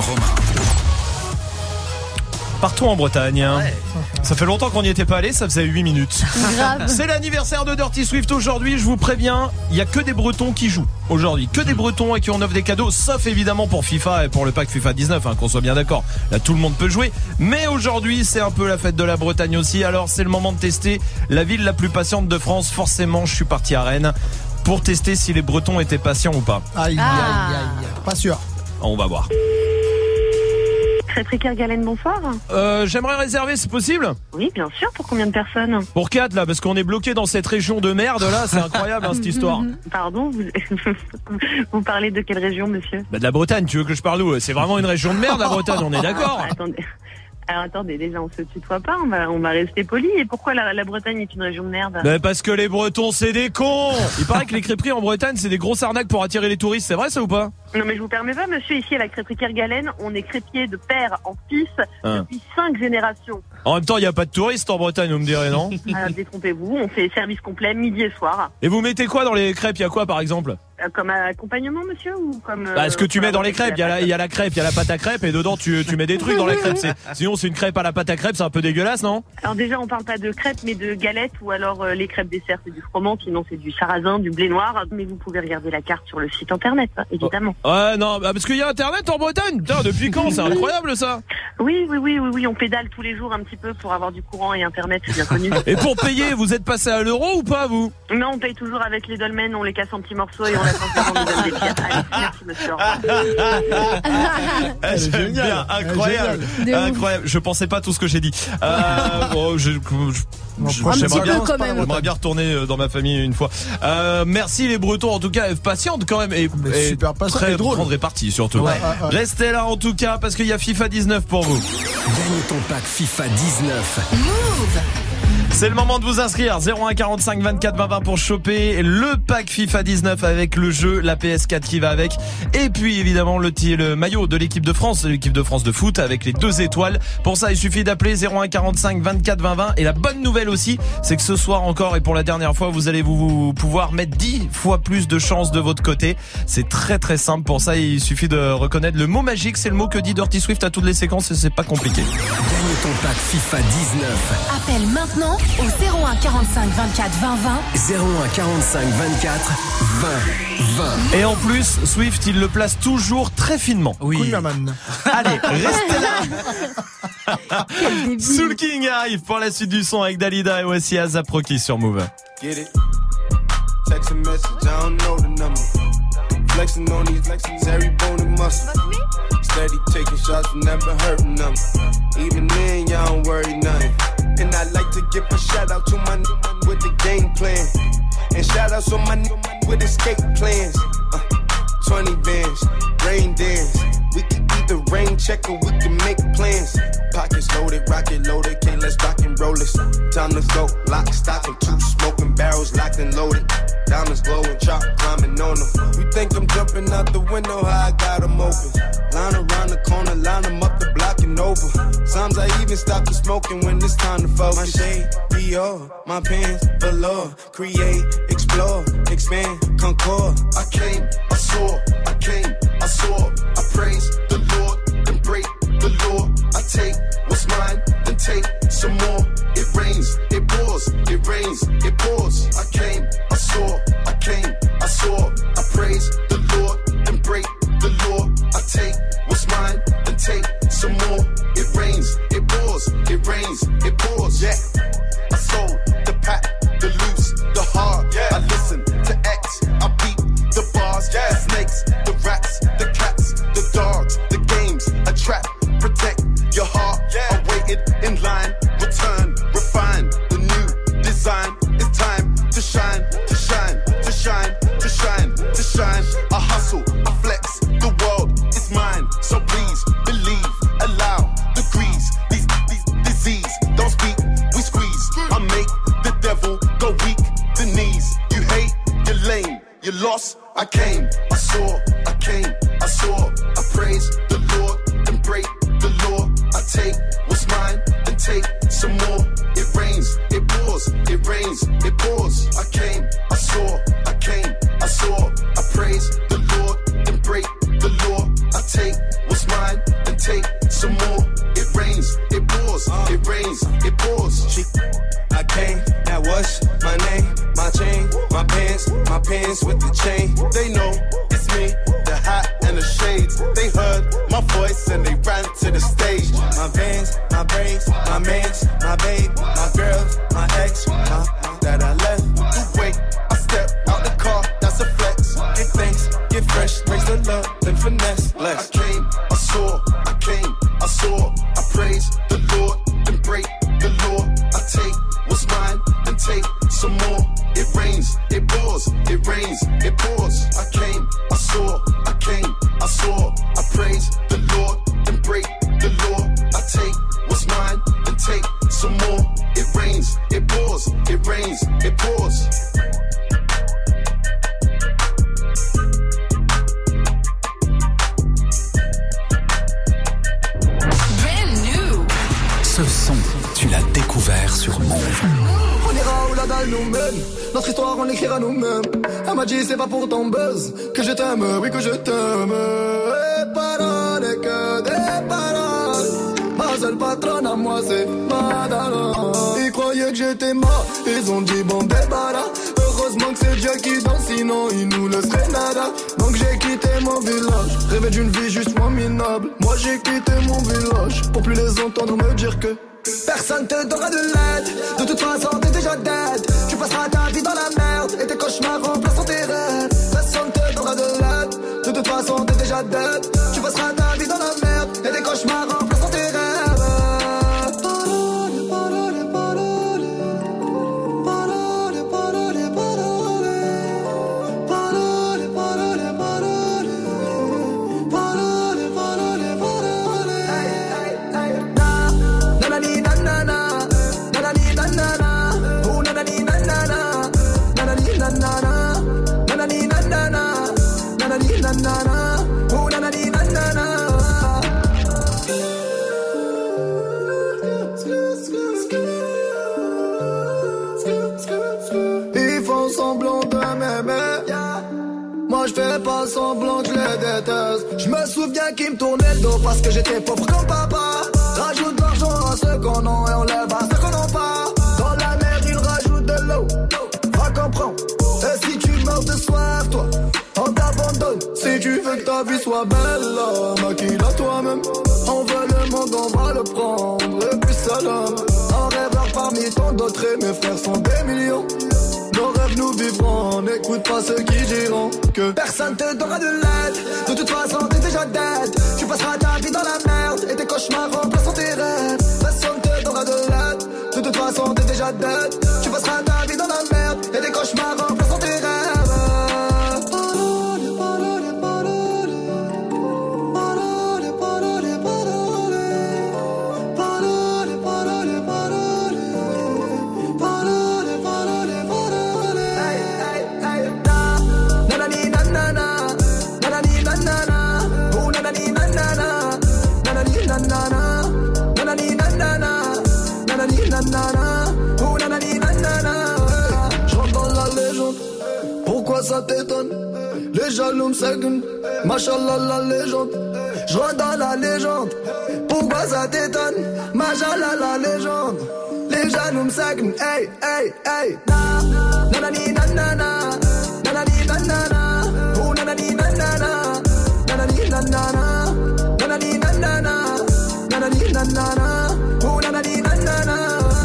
Partout en Bretagne, hein. Ça fait longtemps qu'on n'y était pas allé, ça faisait huit minutes. Grave. C'est l'anniversaire de Dirty Swift aujourd'hui, je vous préviens, il y a que des Bretons qui jouent aujourd'hui, que des Bretons et qui en offrent des cadeaux, sauf évidemment pour FIFA et pour le pack FIFA dix-neuf, hein, qu'on soit bien d'accord. Là, tout le monde peut jouer, mais aujourd'hui, c'est un peu la fête de la Bretagne aussi. Alors, c'est le moment de tester la ville la plus patiente de France. Forcément, je suis parti à Rennes pour tester si les Bretons étaient patients ou pas. Aïe, Ah. aïe, aïe. Pas sûr. On va voir. Crêperie Kergalen, bonsoir. Euh, j'aimerais réserver, c'est possible ? Oui, bien sûr. Pour combien de personnes? Pour quatre là, parce qu'on est bloqué dans cette région de merde là, c'est incroyable hein, cette histoire. Pardon, vous... vous parlez de quelle région, monsieur? Bah de la Bretagne, tu veux que je parle où? C'est vraiment une région de merde la Bretagne, on est d'accord? Attendez. Alors attendez, déjà on se tutoie pas, on va, on va rester poli. Et pourquoi la, la Bretagne est une région de merde? Bah parce que les Bretons c'est des cons. Il paraît que les crêperies en Bretagne c'est des grosses arnaques pour attirer les touristes, c'est vrai ça ou pas? Non mais je vous permets pas, monsieur, ici à la crêperie Kergalen, on est crêpier de père en fils Hein. depuis cinq générations. En même temps il n'y a pas de touristes en Bretagne, vous me direz non? Alors détrompez-vous, on fait service complet midi et soir. Et vous mettez quoi dans les crêpes? Il y a quoi par exemple? comme accompagnement, monsieur, ou comme... Bah, ce que tu euh, mets dans les avec crêpes, il y a la, il y a la crêpe, il y a la pâte à crêpes et dedans tu, tu mets des trucs dans la crêpe. C'est, sinon c'est une crêpe à la pâte à crêpes, c'est un peu dégueulasse, non? Alors déjà, on parle pas de crêpes, mais de galettes, ou alors euh, les crêpes dessert, c'est du froment, sinon c'est du sarrasin, du blé noir. Mais vous pouvez regarder la carte sur le site internet, hein, évidemment. Ouais, non, bah, parce qu'il y a internet en Bretagne. Putain, depuis quand? C'est incroyable ça. Oui, oui, oui, oui, oui, on pédale tous les jours un petit peu pour avoir du courant et internet, c'est bien connu. Et pour payer, vous êtes passé à l'euro ou pas, vous? Non, on paye toujours avec les dolmens, on les casse en petits morceaux et on attend que on nous donne des pièces. Allez, merci monsieur. Au revoir. Ah, j'aime bien, incroyable, incroyable. Je pensais pas tout ce que j'ai dit. Euh, bon, je, je, je, Ah, j'aimerais bien, quand même. j'aimerais bien retourner dans ma famille une fois. Euh, merci les Bretons, en tout cas, patiente quand même et, et super patiente très et drôle. grande répartie surtout. Ouais, ouais, ouais. Restez là en tout cas parce qu'il y a FIFA dix-neuf pour vous. Gagne ton pack FIFA dix-neuf. Move. C'est le moment de vous inscrire. zéro un quarante-cinq vingt-quatre vingt vingt pour choper le pack FIFA dix-neuf avec le jeu, la P S quatre qui va avec. Et puis évidemment le, le maillot de l'équipe de France, l'équipe de France de foot avec les deux étoiles. Pour ça, il suffit d'appeler zéro un quarante-cinq vingt-quatre vingt vingt. Et la bonne nouvelle aussi, c'est que ce soir encore et pour la dernière fois, vous allez vous, vous pouvoir mettre dix fois plus de chances de votre côté. C'est très très simple. Pour ça, il suffit de reconnaître le mot magique. C'est le mot que dit Dirty Swift à toutes les séquences et c'est pas compliqué. Gagne ton pack FIFA dix-neuf. Appelle maintenant au zéro un quarante-cinq vingt-quatre vingt vingt. zéro un quarante-cinq vingt-quatre vingt vingt. Et en plus, Swift, il le place toujours très finement. Oui. Cool, maman. Allez, restez là. Soul King arrive pour la suite du son avec Dalida et voici Azap Rocky sur Move. Get it? Text a message, I don't know the number. Flexing on these flexes, every bone and muscle. Steady taking shots, never hurting them. Even then, y'all don't worry nothing. And I like to give a shout out to my n- with the game plan. And shout outs on my n- with escape plans. Uh, twenty bands, rain dance. We can either rain check or we can make plans. Pockets loaded, rocket loaded, can't let's rock and roll this. Time to go, lock, stock, and two smoking barrels locked and loaded. Diamonds glowing, chop climbing on them. You think I'm jumping out the window, how I got them open. Line around the corner, line them up the block and over. Sometimes I even stop the smoking when it's time to focus. My shade, Dior, my pants, velour. Create, explore, expand, concord. I came, I saw, I came, I saw. I praise the Lord, then break the law. I take what's mine, then take some more. It rains, it pours, it rains, it pours. I came, I saw, I came, I saw. I praise the Lord, then break the law. I take what's mine, then take some more. It rains, it pours, it rains, it pours. Yeah, I sold the pack, the loose, the hard. Yeah, I listen to X, I beat the bars. Yeah, the snakes, the rats, the cats, the dogs, the games, a trap. Protect your heart. Yeah, I waited in line. Return, refine the new design. It's time to shine, to shine, to shine, to shine, to shine. I hustle, I flex. The world is mine, so please believe. Allow degrees. These these disease don't speak. We squeeze. I make the devil go weak. The knees. You hate, you're lame, you lost. I came, I saw, I came, I saw. I praise the Lord and break the law. I take what's mine and take some more. It rains, it pours, it rains, it pours. I came, I saw, I came, I saw. I praise the Lord and break the law. I take what's mine and take some more. It rains, it pours, it rains, it pours. She, I came, that was my name, my chain, my pants, my pants with the chain. They know it's me, the hat and the shades. They heard my voice and they ran to the stage. My vans, my braids, my mans, my babe, my girls, my ex, my, my that I left. You wait, I step out the car, that's a flex. Get thanks, get fresh, raise the love, then finesse. Less. I came, I saw, I came, I saw. I praise the Lord, then break the law. I take what's mine, then take some more. It rains, it pours, it rains, it pours. I came, I saw, I came, I saw. I praise the Lord, then break the law. I take what's mine, then take some more. It rains, it pours, it rains, it pours. Brand new. Ce son, tu l'as découvert sur Move. On ira où la dalle nous mène. Notre histoire on l'écrira nous-mêmes. Elle m'a dit c'est pas pour ton buzz que je t'aime, oui que je t'aime. Et paroles et que des paroles. Ma seule patronne à moi c'est Madonna. Ils croyaient que j'étais mort, ils ont dit bon débarras. Heureusement que c'est Dieu qui danse, sinon il nous laisserait nada. Donc j'ai quitté mon village, rêvé d'une vie juste moins minable. Moi j'ai quitté mon village, pour plus les entendre me dire que personne te donnera de l'aide. De toute façon t'es déjà dead. Tu passeras ta vie dans la merde et tes cauchemars remplaceront tes rêves. Personne te donnera de l'aide. De toute façon t'es déjà dead. Tu passeras ta vie dans la merde et tes cauchemars remplaceront tes rêves. Ils font semblant de m'aimer. Moi je fais pas semblant que je les déteste. Je me souviens qu'ils me tournaient le dos parce que j'étais pauvre comme papa. Rajoute de l'argent à ceux qu'on a et on lève à ceux qu'on n'a pas. Dans la mer ils rajoutent de l'eau. Va comprendre. Et si tu meurs de soif, toi, on t'abandonne. Si tu veux que ta vie soit belle, maquille-la toi-même. On veut le monde, on va le prendre. Et puis salam. Un rêveur parmi tant d'autres et mes frères sont des millions. Nos rêves nous vivrons, n'écoute pas ceux qui diront que personne te donnera de l'aide. De toute façon t'es déjà dead. Tu passeras ta vie dans la merde et tes cauchemars remplaceront tes rêves. Personne te donnera de l'aide. De toute façon t'es déjà dead. Tu passeras ta vie dans la merde et tes cauchemars remplaceront tes rêves. J'rentre dans la légende. Pourquoi ça t'étonne? Les jaloux me seguent. Machallah la légende. J'rentre dans la légende. Pourquoi ça t'étonne? Machallah la légende. Les jaloux me seguent. Hey hey hey. Nanani nanana. Nanani nanana. Oh nanani nanana. Nanani nanana. Nanani nanana. Nanani nanana. Oh nanani nanana.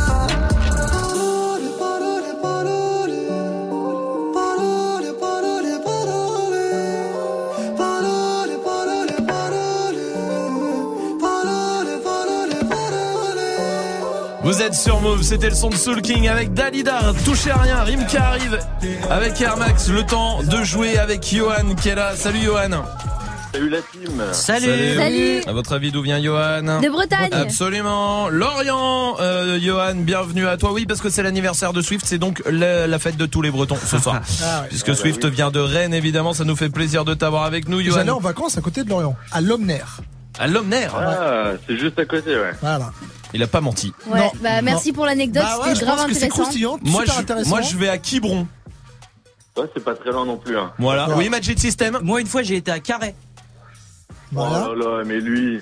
Vous êtes sur Move, c'était le son de Soul King avec Dalida, touchez à rien, Rim qui arrive avec Air Max, le temps de jouer avec Johan qui est là. Salut Johan. Salut la team. Salut. Salut. Salut. À votre avis, d'où vient Johan? De Bretagne. Absolument. Lorient, euh, Johan, bienvenue à toi. Oui, parce que c'est l'anniversaire de Swift, c'est donc la, la fête de tous les Bretons ce soir. Ah ouais. Puisque Ah bah Swift oui. vient de Rennes, évidemment, ça nous fait plaisir de t'avoir avec nous, J'allais Johan. en vacances à côté de Lorient, à Lomner. À Lomner. Ah, c'est juste à côté, ouais. Voilà. Il a pas menti. Ouais, Non, bah merci non. pour l'anecdote, Bah ouais, c'était je grave pense que c'est intéressant. croustillant, Moi super je, intéressant. moi, je vais à Quiberon. Ouais, c'est pas très loin non plus, hein. Voilà. D'accord. Oui, Magic System. Moi, une fois, j'ai été à Carré. Voilà. Oh là là, mais lui.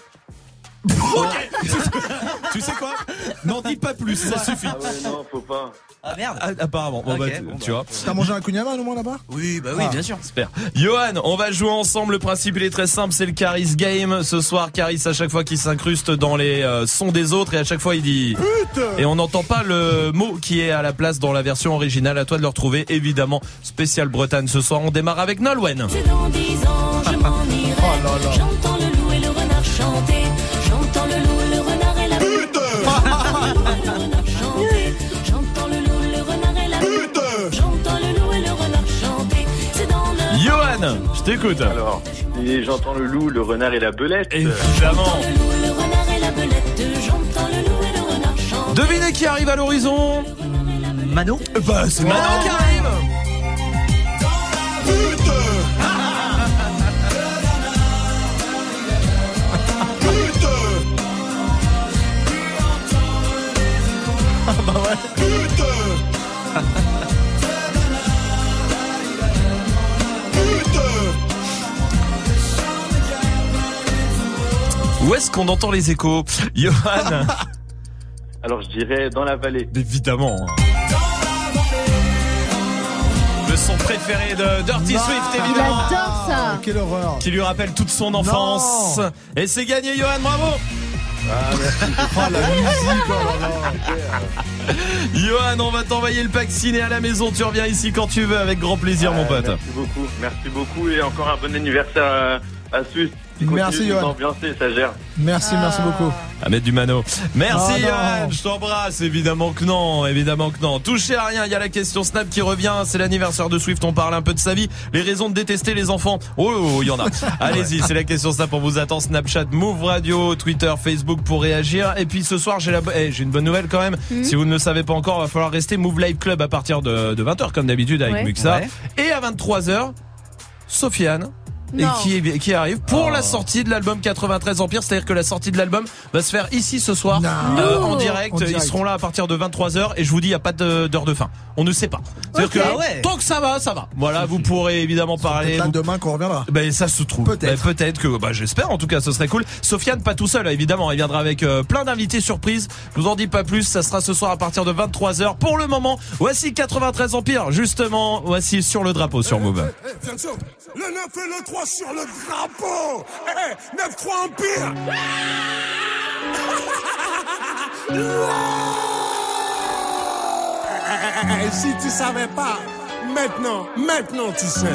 Tu sais quoi? N'en dis pas plus, ça suffit. Ah ouais, non, faut pas. Ah merde. Ah, apparemment. Bon, Ok, bah, tu, bon, tu bah. vois. T'as mangé un kunyama au moins là-bas? Oui, bah oui, Ah. bien sûr. Super. Johan, on va jouer ensemble. Le principe, il est très simple. C'est le Caris Game. Ce soir, Caris, à chaque fois qu'il s'incruste dans les euh, sons des autres, et à chaque fois, il dit pute. Et on n'entend pas le mot qui est à la place dans la version originale. À toi de le retrouver. Évidemment, spécial Bretagne. Ce soir, on démarre avec Nolwenn. C'est dans dix ans, je m'en irai. Oh là là. J'entends le loup et le renard chanter. J'entends le loup, le renard et la pute. J'entends le loup, le renard et la pute. J'entends le loup et le renard chanter. C'est dans le. Johan, je t'écoute. Alors, et j'entends le loup, le renard et la belette. Évidemment. Le loup, le renard et la belette. J'entends le loup et le renard chanter. Devinez qui arrive à l'horizon. Mano. Bah, c'est Manon qui arrive. Où est-ce qu'on entend les échos? Johan? Alors je dirais dans la vallée. Évidemment. Le son préféré de Dirty Non, Swift, Il évidemment. adore ça. Quelle horreur. Qui lui rappelle toute son enfance. Non. Et c'est gagné, Johan, bravo. Ah, oh, la musique, oh là là. Johan, on va t'envoyer le pack ciné à la maison. Tu reviens ici quand tu veux, avec grand plaisir, Ouais, mon pote. Merci beaucoup, merci beaucoup et encore un bon anniversaire à, à Swift. Merci, Johan. Ambiancé, ça gère. Merci, Ah. merci beaucoup. Ahmed Dumano. Merci, Oh, Johan. non. Je t'embrasse. Évidemment que non. Évidemment que non. Touchez à rien. Il y a la question Snap qui revient. C'est l'anniversaire de Swift. On parle un peu de sa vie. Les raisons de détester les enfants. Oh, il y en a. Allez-y. C'est la question Snap. On vous attend. Snapchat, Move Radio, Twitter, Facebook pour réagir. Et puis ce soir, j'ai la, eh, j'ai une bonne nouvelle quand même. Mmh. Si vous ne le savez pas encore, il va falloir rester Move Live Club à partir de, de vingt heures comme d'habitude avec Ouais. Muxa. Ouais. Et à vingt-trois heures, Sofiane. Et Non. qui, est- qui arrive pour Oh. la sortie de l'album quatre-vingt-treize Empire, c'est-à-dire que la sortie de l'album va se faire ici ce soir Non. euh, Non. en direct. En direct. Ils seront là à partir de vingt-trois heures et je vous dis il y a pas de- d'heure de fin. On ne sait pas. C'est-à-dire Ok. que Ah ouais. tant que ça va, ça va. Voilà, vous pourrez évidemment parler. Peut-être là vous- demain qu'on reviendra. Ben ça se trouve. Peut-être. Ben, peut-être que bah j'espère en tout cas ce serait cool. Sofiane pas tout seul évidemment, il viendra avec euh, plein d'invités surprises. Je vous en dis pas plus, ça sera ce soir à partir de vingt-trois heures. Pour le moment, voici quatre-vingt-treize Empire. Justement, voici sur le drapeau sur Move. Eh, attention, le neuf et le trois sur le drapeau. Eh, neuf trois Empire. Eh, si tu savais pas, maintenant, maintenant tu sais.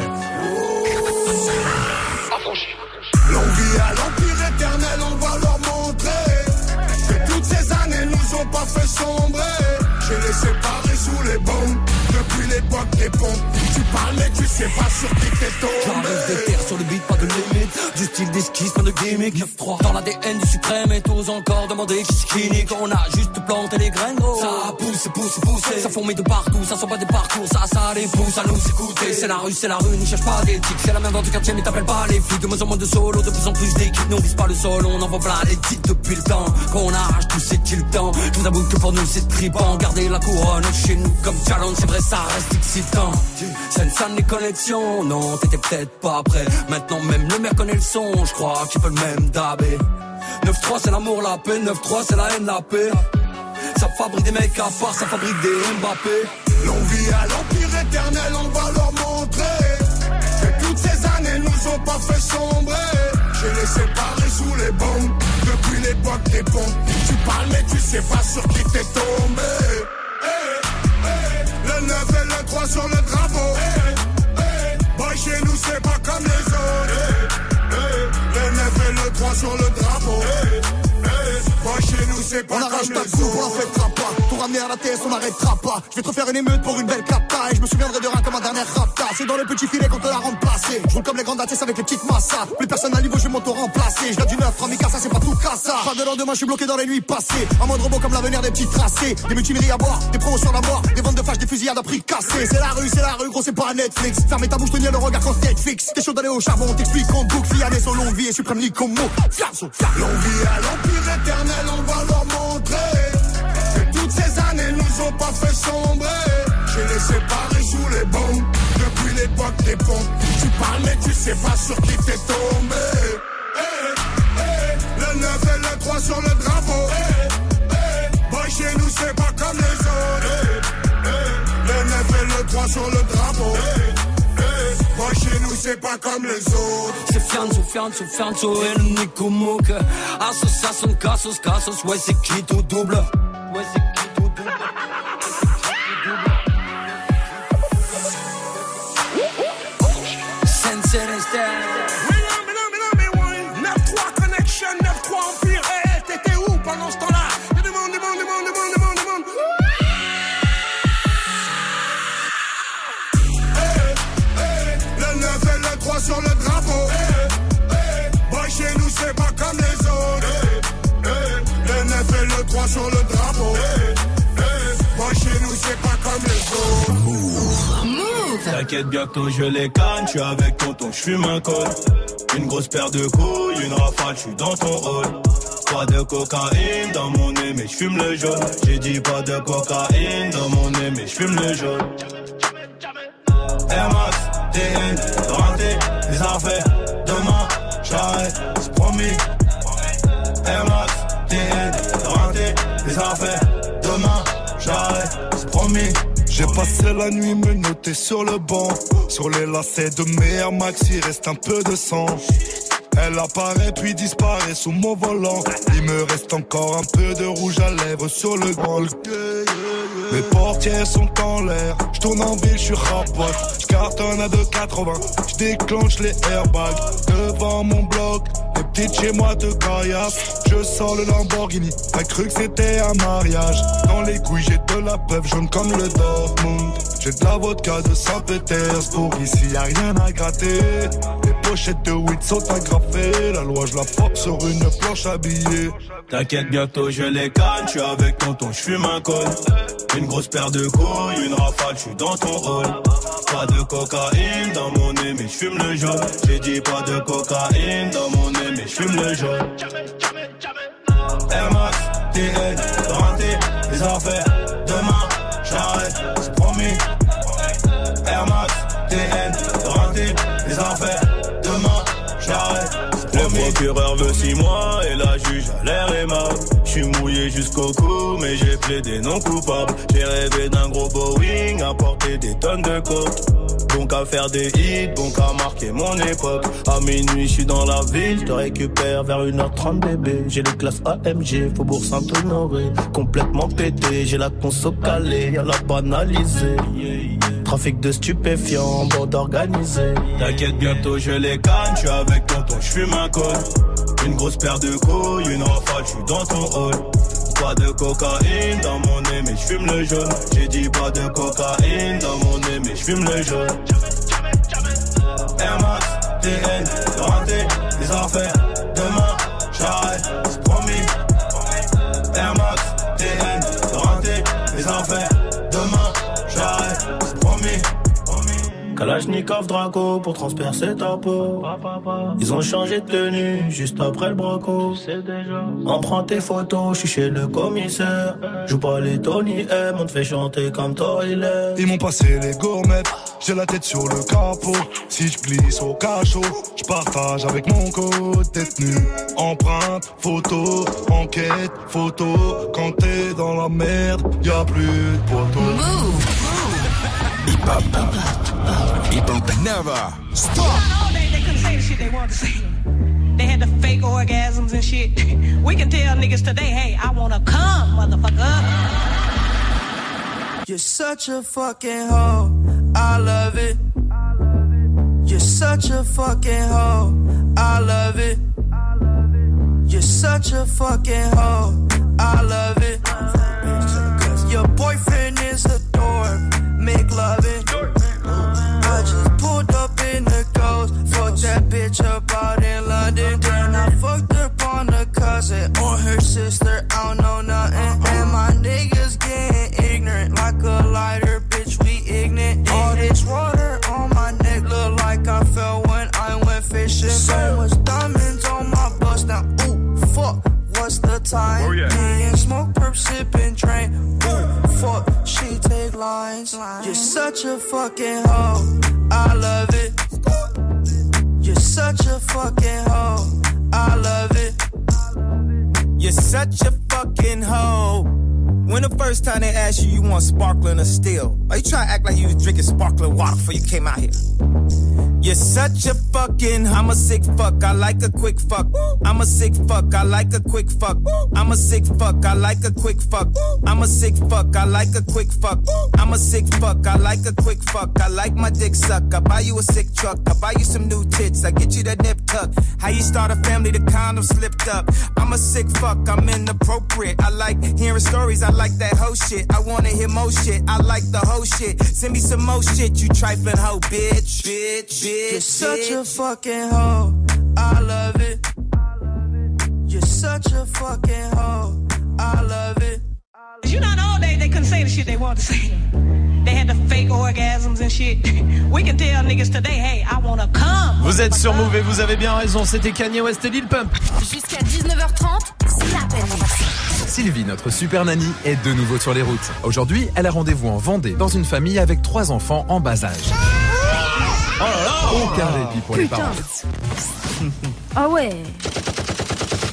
L'envie à l'empire éternel, on va leur montrer que toutes ces années nous ont pas fait sombrer. J'ai les séparés sous les bombes depuis l'époque des pompes. Tu parles mais tu sais pas sur qui t'es tombé. J'arrive des terres sur le beat, pas de limite. Du style d'esquisse, pas de gimmick. neuf trois dans l'A D N du suprême et tous encore demander qui c'est qui nique. On a juste planté les graines, gros. Ça pousse, pousse, pousse. Ça fourmille de partout, ça sent pas des parcours. Ça, ça les pousse à nous écouter. C'est la rue, c'est la rue, n'y cherche pas d'éthique. C'est la même dans du quartier, mais t'appelles pas les flics. De moins en moins de solo, de plus en plus d'équipes. Nous on vise pas le sol, on envoie plein les titres depuis le temps. Qu'on arrache tout, c'est-il le temps. Je vous avoue que pour nous c'est trippant. Garder la couronne chez nous comme challenge, c'est vrai, ça reste excitant. Sensan les connexions, non, t'étais peut-être pas prêt. Maintenant même le maire connaît le son, je crois qu'il peut le même dabé. neuf trois c'est l'amour, la paix, neuf trois c'est la haine, la paix. Ça fabrique des mecs à part, ça fabrique des Mbappé. L'envie à l'empire éternel, on va leur montrer que toutes ces années nous ont pas fait sombrer. J'ai les séparés sous les bombes depuis l'époque des pompes. Tu parles mais tu sais pas sur qui t'es tombé. Hey, hey, le neuf et le trois sur le drapeau. Hey, hey, boy chez nous c'est pas comme les autres. Hey, hey, le neuf et le trois sur le drapeau. Hey, hey, boy chez nous c'est pas On comme arrache les ta autres. coupe, on la fêtera pas. Pour ramener à la T S, on n'arrêtera pas. Je vais te refaire une émeute pour une belle capta. Et je me souviendrai de rien comme un dernier rapta. C'est dans le petit filet qu'on te l'a remplacé. Je roule comme les grandes A T S avec les petites massas. Plus personne à niveau, je vais m'auto-remplacer. Je viens du neuf, Ramika, ça c'est pas tout cassa. Pas de lendemain, je suis bloqué dans les nuits passées. Un mode robot comme l'avenir des petits tracés. Des mutineries à boire, des promos sur la mort. Des ventes de flash, des fusillades à prix cassés. C'est la rue, c'est la rue, gros, c'est pas Netflix. Fermez ta bouche, tenir le regard quand Netflix. T'es chaud d'aller au charbon, t'explique en boucle. Fiané, son longue vie et suprême lit comme mot. Fiasso, fiasso. L'envie à l'empire éternel, on va leur montrer que toutes ces années nous ont pas fait sombrer. J'ai les séparés sous les bombes depuis l'époque des pompes. Tu parles mais tu sais pas sur qui t'es tombé. Hey, hey, le neuf et le trois sur le drapeau. Hey, hey, boy chez nous c'est pas comme les autres. Hey, hey, le neuf et le trois sur le drapeau. Hey, hey, boy chez nous c'est pas comme les autres. C'est Fianzo, Fianzo, Fianzo et le Nico Mouk. Association, Cassos, Cassos, ouais c'est qui tout double. Ouais c'est qui tout double. Sensei neuf trois Connection, neuf trois Empire. Hey, t'étais où pendant ce temps-là? Demande, demande, demande, demande, demande, demande. Hey, hey, le neuf et le trois sur le drapeau. Hey, hey, boy, chez nous, c'est pas comme les autres. Hey, hey, le neuf et le trois sur le drapeau. Hey, hey, boy, chez nous, c'est pas comme les autres. T'inquiète, bientôt je les canne, j'suis avec tonton, j'fume un col. Une grosse paire de couilles, une rafale, j'suis dans ton rôle. Pas de cocaïne dans mon nez, mais j'fume le jaune. J'ai dit pas de cocaïne dans mon nez, mais j'fume le jaune. Air Max, T N, rentré, les affaires. Demain, j'arrête, c'est promis. passais la nuit menotté sur le banc. Sur les lacets de mes Air Max, il reste un peu de sang. Elle apparaît puis disparaît sous mon volant. Il me reste encore un peu de rouge à lèvres sur le grand. Mes portières sont en l'air. Je tourne en ville, je suis rapote. Je cartonne à deux quatre-vingts. Je déclenche les airbags devant mon bloc. Les petites chez moi te caillassent. Je sors le Lamborghini. T'as cru que c'était un mariage. Dans les couilles j'ai de la peuple jaune comme le Dortmund. J'ai de la vodka de Saint-Pétersbourg. Ici y'a rien à gratter. Les pochettes de weed sont agrafées. La loi je la force sur une planche habillée. T'inquiète, bientôt je les canne. J'suis avec tonton, j'fume un col. Une grosse paire de couilles, une rafale, j'suis dans ton rôle. Pas de cocaïne dans mon nez, mais j'fume le jaune. J'ai dit pas de cocaïne dans mon nez, mais j'fume le jaune. Air Max, T N, renté, les affaires. Demain, j'arrête, c'est promis. Air Max, T N, renté, les affaires. Demain, j'arrête. Le procureur veut six mois et la juge a l'air aimable. J'suis mouillé jusqu'au cou mais j'ai plaidé non coupable. J'ai rêvé d'un gros Boeing à porter des tonnes de coke. Donc à faire des hits, donc à marquer mon époque. À minuit j'suis dans la ville, j'te récupère vers une heure trente bébé. J'ai le classe A M G, Faubourg Saint-Honoré. Complètement pété, j'ai la conso calée, y'a la banalisée. Trafic de stupéfiants, bande organisée. T'inquiète, bientôt je les canne, j'suis avec tonton, j'fume un col. Une grosse paire de couilles, une rafale, j'suis dans ton hall. Pas de cocaïne dans mon nez, mais j'fume le jaune. J'ai dit pas de cocaïne dans mon nez, mais j'fume le jaune. Air Max, T N, renté, les affaires. Demain, j'arrête, c'est promis. Air Max, T N, renté, les affaires. Demain, j'arrête, c'est promis. Kalachnikov Draco pour transpercer ta peau. Ils ont changé de tenue juste après le braco. On prend tes photos, je suis chez le commissaire. Joue pas les Tony M, on te fait chanter comme Toilet. Ils m'ont passé les gourmettes, j'ai la tête sur le capot. Si je glisse au cachot, je partage avec mon code détenu. Empreinte, photo, enquête, photo. Quand t'es dans la merde, y'a plus de poteau. Hip hop, hip hop, never stop. All day they couldn't say the shit they wanted to say. They had the fake orgasms and shit. We can tell niggas today, hey, I wanna come, motherfucker. You're such a fucking hoe, I love it. You're such a fucking hoe, I love it. You're such a fucking hoe, I love it. Your boyfriend is a dork, make love it. I just pulled up in the ghost, fucked that bitch up out in London. Then I fucked up on the cousin or her sister, I don't know nothing. And my niggas getting ignorant like a lighter, bitch, we ignorant. All this water on my neck look like I fell when I went fishing. So much diamonds on my bust now, ooh, fuck. What's the time? Oh, yeah. Me and smoke, perp, sip, and drain. Ooh, fuck, she take lines. You're such a fucking hoe, I love it. You're such a fucking hoe, I love it. You're such a fucking hoe. When the first time they asked you, you want sparkling or still? Are you trying to act like you was drinking sparkling water before you came out here? You're such a fucking, I'm a sick fuck, I like a quick fuck. I'm a sick fuck, I like a quick fuck. I'm a sick fuck, I like a quick fuck. I'm a sick fuck, I like a quick fuck. I'm a sick fuck, I like a quick fuck. I like my dick suck, I buy you a sick truck. I buy you some new tits, I get you that nip tuck. How you start a family, the condom slipped up. I'm a sick fuck, I'm inappropriate. I like hearing stories, I like that hoe shit. I wanna hear more shit, I like the whole shit. Send me some more shit, you trifling hoe, bitch, bitch, bitch. You're such a fucking hoe, I love it. You're such a fucking hoe, I love it. You know, all day they couldn't say the shit they wanted to say. They had the fake orgasms and shit. We can tell niggas today, hey, I wanna come. Vous êtes sur Move et vous avez bien raison, c'était Kanye West et Lil Pump. Jusqu'à dix-neuf heures trente, c'est la peine. Sylvie, notre super nanny, est de nouveau sur les routes. Aujourd'hui, elle a rendez-vous en Vendée, dans une famille avec trois enfants en bas âge. Oh là là, aucun répit pour les parents. Ah ouais.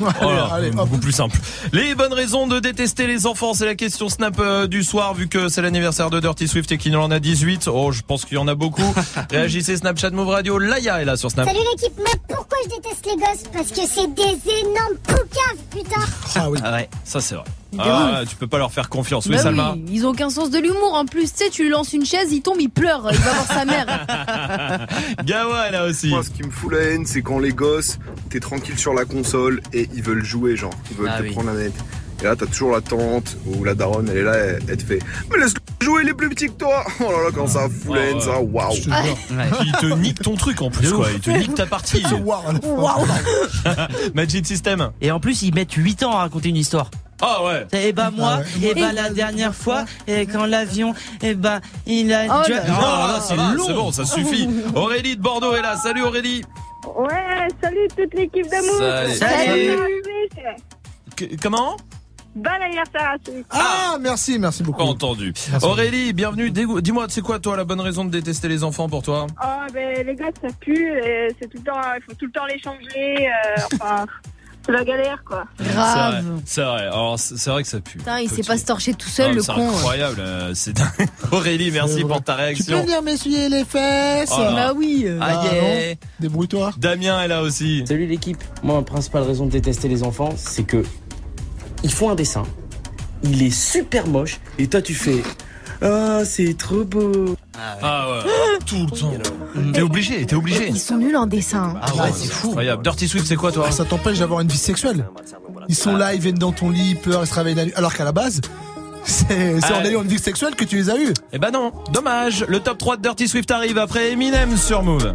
Voilà, allez, hop. beaucoup plus simple. Les bonnes raisons de détester les enfants, c'est la question Snap euh, du soir, vu que c'est l'anniversaire de Dirty Swift et qu'il en a dix-huit. Oh, je pense qu'il y en a beaucoup. Réagissez Snapchat Move Radio. Laïa est là sur Snap. Salut l'équipe, mais pourquoi je déteste les gosses? Parce que c'est des énormes poucaves, putain. Ah oui. Ah ouais, ça c'est vrai. De Ah, tu peux pas leur faire confiance. Oui, Bah Salma. oui, ils ont aucun sens de l'humour. En plus, tu sais, tu lui lances une chaise, il tombe, il pleure, il va voir sa mère. Gawa là aussi. Moi, ce qui me fout la haine, c'est quand les gosses, t'es tranquille sur la console et ils veulent jouer, genre, ils veulent Ah te oui. prendre la manette. Et là, t'as toujours la tante ou la daronne, elle est là, elle, elle te fait mais laisse jouer les plus petits que toi. Oh là là, quand ça fout la haine, ça, waouh. Il te nique ton truc en plus, quoi. Il te nique ta partie. Waouh. Magic System. Et en plus, ils mettent huit ans à raconter une histoire. Ah ouais. Et bah moi, Ah ouais. et bah la dernière fois, et quand l'avion, et bah il a. Oh tu- là Oh là, là, c'est va, long. c'est bon, ça suffit. Aurélie de Bordeaux est là. Salut Aurélie. Ouais, salut toute l'équipe d'amour. Salut. Salut. Que- comment Bon anniversaire à tous. Ah, merci, merci beaucoup. Pas entendu. Merci. Aurélie, bienvenue. Dégou- Dis-moi, c'est quoi toi la bonne raison de détester les enfants pour toi? Oh, ben les gars, ça pue. et C'est tout le temps, il faut tout le temps les changer. euh, enfin, c'est la galère, quoi. C'est vrai, c'est vrai. Alors c'est c'est vrai que ça pue. Putain, il sait pas se torcher tout seul, Ah, le c'est con. incroyable. euh, C'est dingue. Aurélie, merci pour ta Tu réaction. peux venir m'essuyer les fesses? Oh là. Bah oui. Ah, Ah, yeah. non. Débrouille-toi. Damien est là aussi. Salut l'équipe. Moi, ma principale raison de détester les enfants, c'est que ils font un dessin, il est super moche, et toi tu fais ah c'est trop beau. Ah ouais. Tout le temps. T'es obligé, t'es obligé. Ils sont nuls en dessin. Ah ouais, c'est fou. Incroyable. Dirty Swift, c'est quoi toi? Ça t'empêche d'avoir une vie sexuelle. Ils sont là, ils viennent dans ton lit, ils pleurent, ils se réveillent la nuit. Alors qu'à la base, c'est c'est Ah. en ayant une vie sexuelle que tu les as eus. Eh ben non, dommage. Le top trois de Dirty Swift arrive après Eminem sur Move.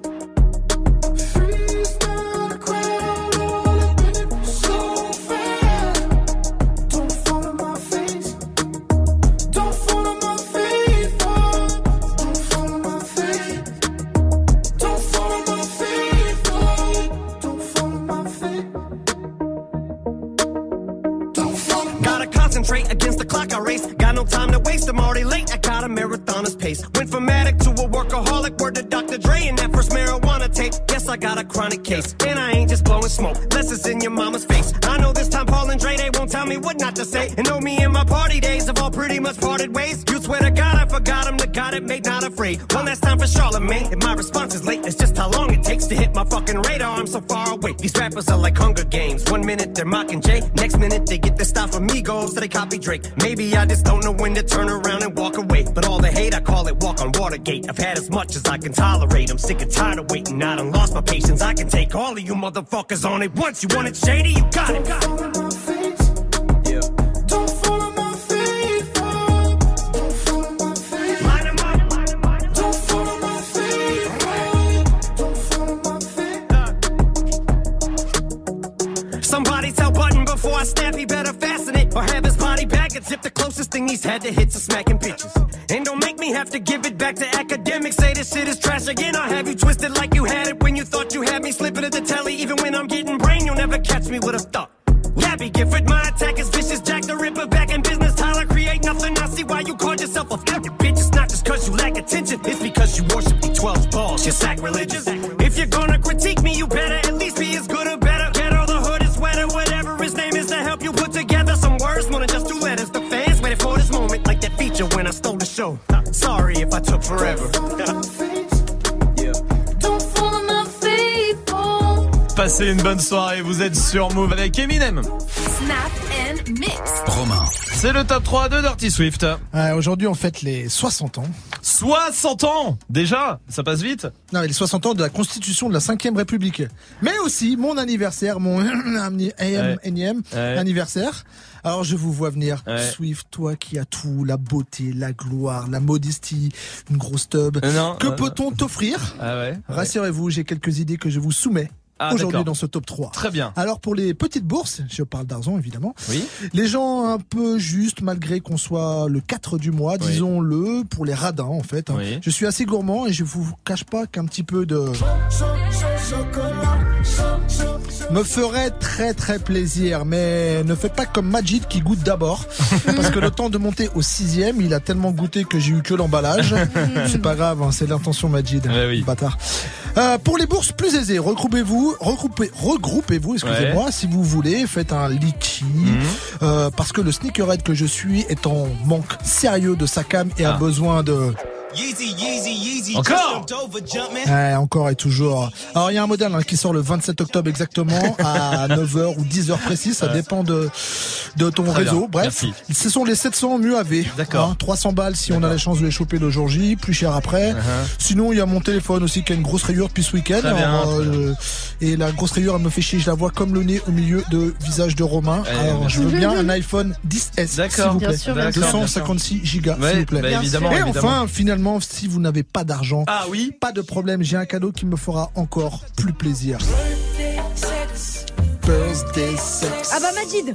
Gotta concentrate against the clock I race. Got no time to waste, I'm already late. I got a marathoner's pace. Went from addict to a workaholic, word to Doctor Dre and that first marijuana tape. Guess I got a chronic case. And I ain't just blowing smoke, unless it's in your mama's face. I know this time Paul and Dre, they won't tell me what not to say. And know me and my party days have all pretty much parted ways. You swear to God I forgot him, the God it made not afraid. One last time for Charlemagne, and my response is late. It's just how long it takes to hit my fucking radar. I'm so far away. These rappers are like Hunger Games. One minute they're mocking Jay, next minute they get their style from Migos, so they copy Drake. Maybe I just don't know when to turn around and walk away. But all the hate, I call it walk on Watergate. I've had as much as I can tolerate. I'm sick and tired of waiting. I done lost my patience. I can take all of you motherfuckers on it once. You want it shady? You got it. Got it. Somebody tell Button before I snap, he better fasten it. Or have his body back and zip the closest thing he's had to hits is smacking bitches. And don't make me have to give it back to academics. Say this shit is trash again. I'll have you twisted like you had it when you thought you had me slipping at the telly. Even when I'm getting brain, you'll never catch me with a thought. Gabby Gifford, my attack is vicious. Jack the Ripper back in business. Tyler, create nothing. I see why you called yourself a fucking bitch. It's not just cause you lack attention. It's because you worship the twelve balls. You're sacrilegious. If you're gonna critique me, you better at least be as good or better. Get all the hood is sweater, whatever his name is, to help you put together some words. More than just two letters. The fans waited for this moment, like that feature when I stole the show. Sorry if I took forever. Passez une bonne soirée, vous êtes sur Move avec Eminem. Snap and mix. Romain. C'est le top trois de Dirty Swift. Euh, Aujourd'hui, on fête les soixante ans. soixante ans déjà, ça passe vite. Non, mais les soixante ans de la Constitution de la cinquième République. Mais aussi mon anniversaire, mon Ouais. énième Ouais. anniversaire. Alors je vous vois venir, Ouais. Swift, toi qui as tout, la beauté, la gloire, la modestie, une grosse tub. Euh, non, que euh, peut-on t'offrir? Ah ouais. Rassurez-vous, j'ai quelques idées que je vous soumets. Ah, aujourd'hui d'accord. dans ce top trois. Très bien. Alors pour les petites bourses, je parle d'argent évidemment. Oui. Les gens un peu justes malgré qu'on soit le quatre du mois, Oui. disons-le, pour les radins en fait. hein. Oui. Je suis assez gourmand et je vous cache pas qu'un petit peu de me ferait très très plaisir, mais ne faites pas comme Majid qui goûte d'abord, parce que le temps de monter au sixième, il a tellement goûté que j'ai eu que l'emballage. C'est pas grave, hein, c'est l'intention Majid, Ouais, oui. bâtard. Euh, pour les bourses plus aisées, regroupez-vous, regroupez, regroupez-vous, excusez-moi, ouais. si vous voulez, faites un litchi, mmh. euh, parce que le sneakerhead que je suis est en manque sérieux de sa cam et ah. a besoin de... Yeezy, Yeezy, Yeezy, encore ouais, encore et toujours. Alors il y a un modèle hein, qui sort le vingt-sept octobre exactement à neuf heures ou dix heures précis, ça ouais. dépend de de ton Très réseau. Bien. Bref, Merci. Ce sont les sept cents M U A V. D'accord. Hein, trois cents balles si D'accord. on a la chance de les choper le jour J, plus cher après. Uh-huh. Sinon il y a mon téléphone aussi qui a une grosse rayure depuis ce week-end. Alors, euh, et la grosse rayure elle me fait chier, je la vois comme le nez au milieu de visage de Romain. Ouais, Alors je veux bien un iPhone dix S s'il vous plaît. Bien sûr, bien deux cent cinquante-six gigas ouais, s'il vous plaît. Bah, évidemment, et évidemment. Enfin finalement si vous n'avez pas d'argent, ah oui, pas de problème, j'ai un cadeau qui me fera encore plus plaisir. Birthday sex. Ah bah Majid.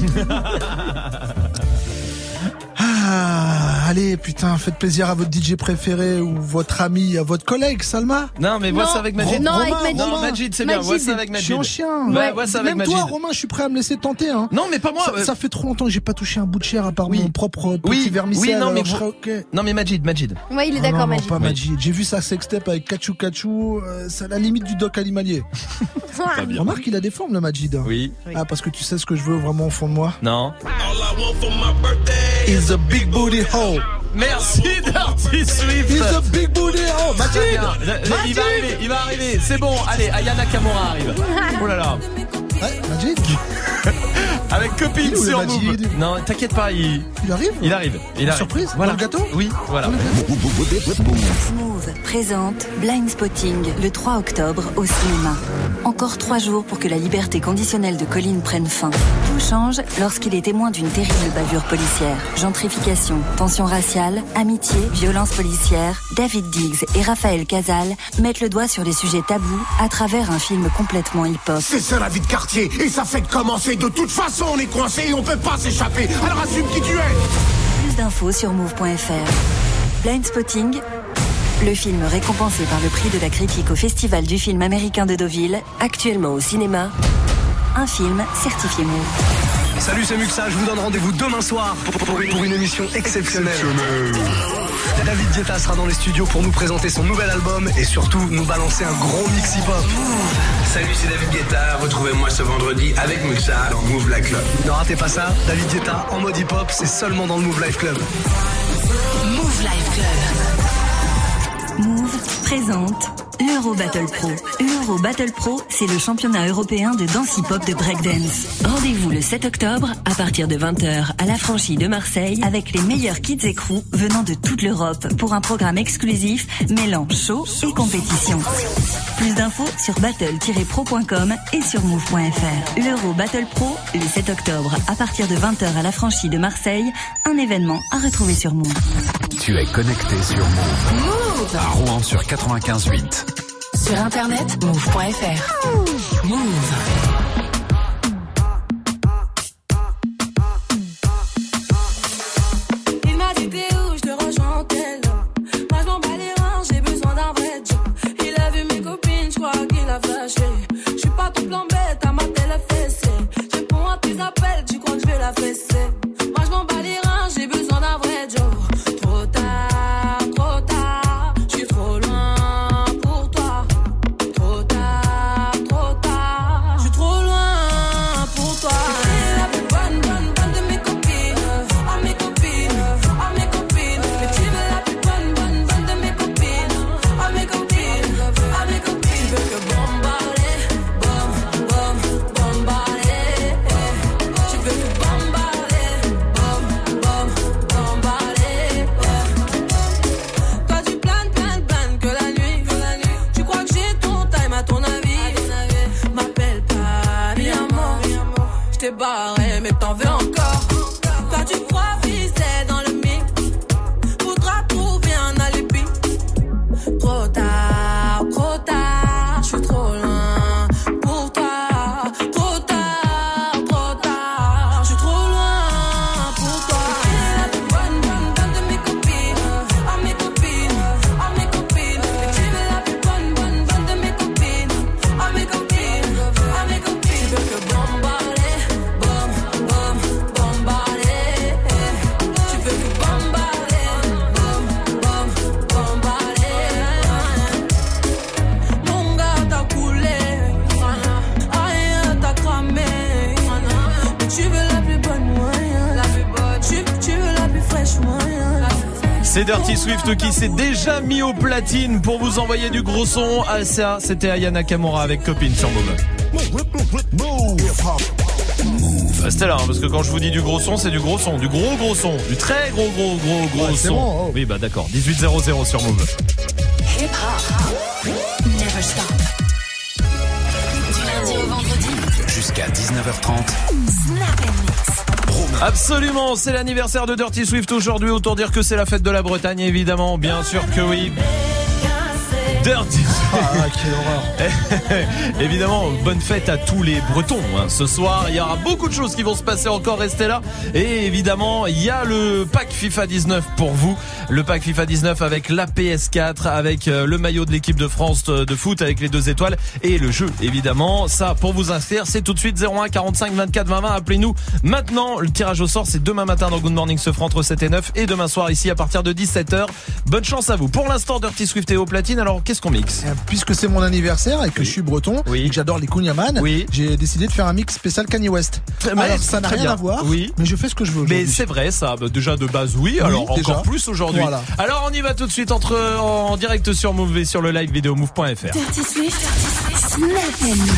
Ah, allez, putain, faites plaisir à votre D J préféré ou votre ami, à votre collègue, Salma. Non, mais vois ça avec Majid. Non, Romain, avec Majid. Non, Majid, c'est bien, vois ça avec Majid. Je suis en chien. Ouais, vois ça avec Même Majid. toi, Romain, je suis prêt à me laisser tenter, hein. Non, mais pas moi. Ça, euh... ça fait trop longtemps que j'ai pas touché un bout de chair à part oui. mon propre petit oui. vermicelle. Oui, non, mais je vous... serais okay. Non, mais Majid, Majid. Ouais, il est oh, d'accord, non, Majid. Non, pas Majid. J'ai vu sa sextape avec Kachou Kachou, euh, c'est à la limite du doc animalier. Remarque, il a des formes, le Majid. Oui. Ah, parce que tu sais ce que je veux vraiment au fond de moi? Non. Is a big booty hole. Merci Dirty Swift. He's a big booty hole. Majid. Il va arriver, il va arriver. C'est bon. Allez, Ayana Kamura arrive. Oh là là. Ouais, Majid. Avec copine sur Move. Non, t'inquiète pas, il... il arrive. Il arrive. Il arrive. Surprise. Voilà. Dans le gâteau. Oui, voilà. Move présente Blind Spotting le trois octobre au cinéma. Encore trois jours pour que la liberté conditionnelle de Colin prenne fin. Tout change lorsqu'il est témoin d'une terrible bavure policière. Gentrification, tension raciale, amitié, violence policière. David Diggs et Raphaël Casal mettent le doigt sur les sujets tabous à travers un film complètement hip-hop. C'est ça la vie de quartier et ça fait que commencer. De toute façon, on est coincé et on peut pas s'échapper. Alors assume qui tu es. Plus d'infos sur move point f r. Blind Spotting, le film récompensé par le prix de la critique au Festival du film américain de Deauville, actuellement au cinéma, un film certifié Move. Salut, c'est Muxa, je vous donne rendez-vous demain soir pour, pour, pour une émission exceptionnelle. David Guetta sera dans les studios pour nous présenter son nouvel album et surtout nous balancer un gros mix hip-hop. Salut, c'est David Guetta, retrouvez-moi ce vendredi avec Muxa dans Move Life Club. Ne ratez pas ça, David Guetta en mode hip-hop, c'est seulement dans le Move Life Club. Move Life Club. Move présente l'Euro Battle Pro. L'Euro Battle Pro, c'est le championnat européen de danse hip-hop de breakdance. Rendez-vous le sept octobre à partir de vingt heures à la Franchie de Marseille avec les meilleurs kids et crews venant de toute l'Europe pour un programme exclusif mêlant show et compétition. Plus d'infos sur battle tiret pro point com et sur move point f r. L'Euro Battle Pro, le sept octobre à partir de vingt heures à la Franchie de Marseille, un événement à retrouver sur Move. Tu es connecté sur Move. Move à Rouen sur quatre-vingt-quinze virgule huit. Sur internet, move point f r. Move. Il m'a dit t'es où, je te rejoins en tel. Moi je m'en bats les reins, j'ai besoin d'un vrai job. Il a vu mes copines, je crois qu'il a flashé. Je suis pas tout plan bête, à ma télé fessée. Je réponds à tes appels, tu crois que je vais la fesser. Moi je m'en bats les reins, j'ai besoin d'un vrai job. Trop tard, trop tard, je suis trop loin. Barré, mais t'en veux encore. Quand tu crois viser dans le mix, faudra trouver un alibi. Trop tard, trop tard, je suis trop loin pour toi. Trop tard, trop tard, je suis trop loin pour toi. Tu es la plus bonne, bonne, bonne de mes copines. Oh mes copines, oh mes copines. Et tu es la plus bonne, bonne, bonne de mes copines. Oh mes copines, oh mes copines. Tu veux que bombarder. C'est Dirty Swift qui s'est déjà mis au platine pour vous envoyer du gros son. Ah, ça, c'était Aya Nakamura avec Copine sur Move. Restez là, hein, parce que quand je vous dis du gros son, c'est du gros son, du gros gros son, du très gros gros gros gros ouais, son. Bon, oh. Oui, bah d'accord. dix-huit zéro zéro sur Move. Hip hop, never stop. Du lundi au vendredi, jusqu'à dix-neuf heures trente. Snap and Mix. Absolument, c'est l'anniversaire de Dirty Swift aujourd'hui. Autant dire que c'est la fête de la Bretagne, évidemment. Bien sûr que oui. Dirty Ah, quelle horreur. Évidemment, bonne fête à tous les Bretons hein. Ce soir, il y aura beaucoup de choses qui vont se passer encore, restez là. Et évidemment, il y a le pack FIFA dix-neuf pour vous. Le pack FIFA dix-neuf avec la P S quatre, avec le maillot de l'équipe de France de foot avec les deux étoiles et le jeu, évidemment. Ça, pour vous inscrire, c'est tout de suite zéro un quarante-cinq vingt-quatre vingt vingt. Appelez-nous maintenant. Le tirage au sort, c'est demain matin dans Good Morning Sofran entre sept et neuf et demain soir ici à partir de dix-sept heures. Bonne chance à vous. Pour l'instant, Dirty Swift est au platine. Alors, qu'est-ce qu'on mixe? Puisque c'est mon anniversaire et que oui. je suis breton oui. et que j'adore les Kunyaman, oui. j'ai décidé de faire un mix spécial Kanye West. Mais alors ça n'a rien bien. à voir, oui. mais je fais ce que je veux aujourd'hui. Mais c'est vrai ça, déjà de base oui, oui alors déjà. Encore plus aujourd'hui. Voilà. Alors on y va tout de suite entre en direct sur Move et sur le live vidéo move point f r. Dirty Swift, Snap and Mix.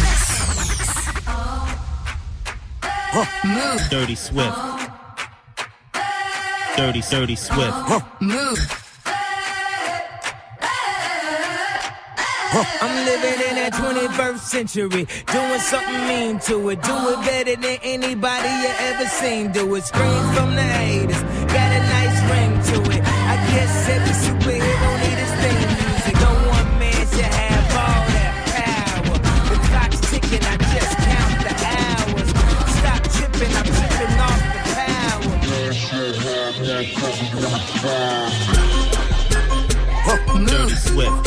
Move. Dirty Swift. Dirty, dirty Swift. Move. I'm living in that twenty-first century, doing something mean to it. Do it better than anybody you ever seen. Do it, scream from the haters, got a nice ring to it. I guess every superhero need his theme music. No one man should have all that power. The clock's ticking, I just count the hours. Stop tripping, I'm tripping off the power. Dirty Swift.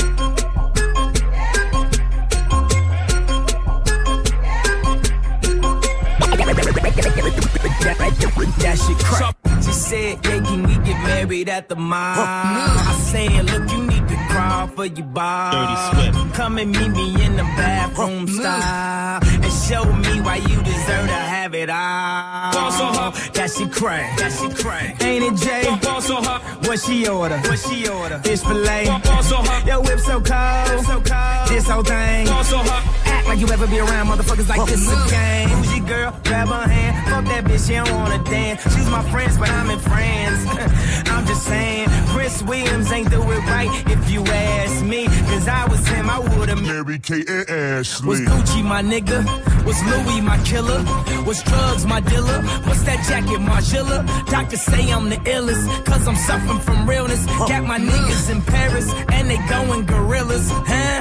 That shit crack. She said, yeah, can we get married at the mall? I said, look, you need to crawl for your bar. Dirty Swift. Come and meet me in the bathroom style and show me why you deserve to have it all. That shit crack. That shit crack. Ain't it, Jay? What she order? What she order? Fish fillet. Yo, whip so cold. So cold. This whole thing. Act like you ever be around motherfuckers like this again. Who's your girl? Grab her hand. Fuck that bitch, she don't wanna dance. She's my friends, but I'm in France. I'm just saying, Prince Williams ain't do it right if you ask me. Cause I was him, I would've married Kate and Ashley. Was Gucci my nigga? Was Louis my killer? Was drugs my dealer? What's that jacket, Margilla? Doctors say I'm the illest, cause I'm suffering from realness. Got my niggas in Paris, and they going gorillas, huh?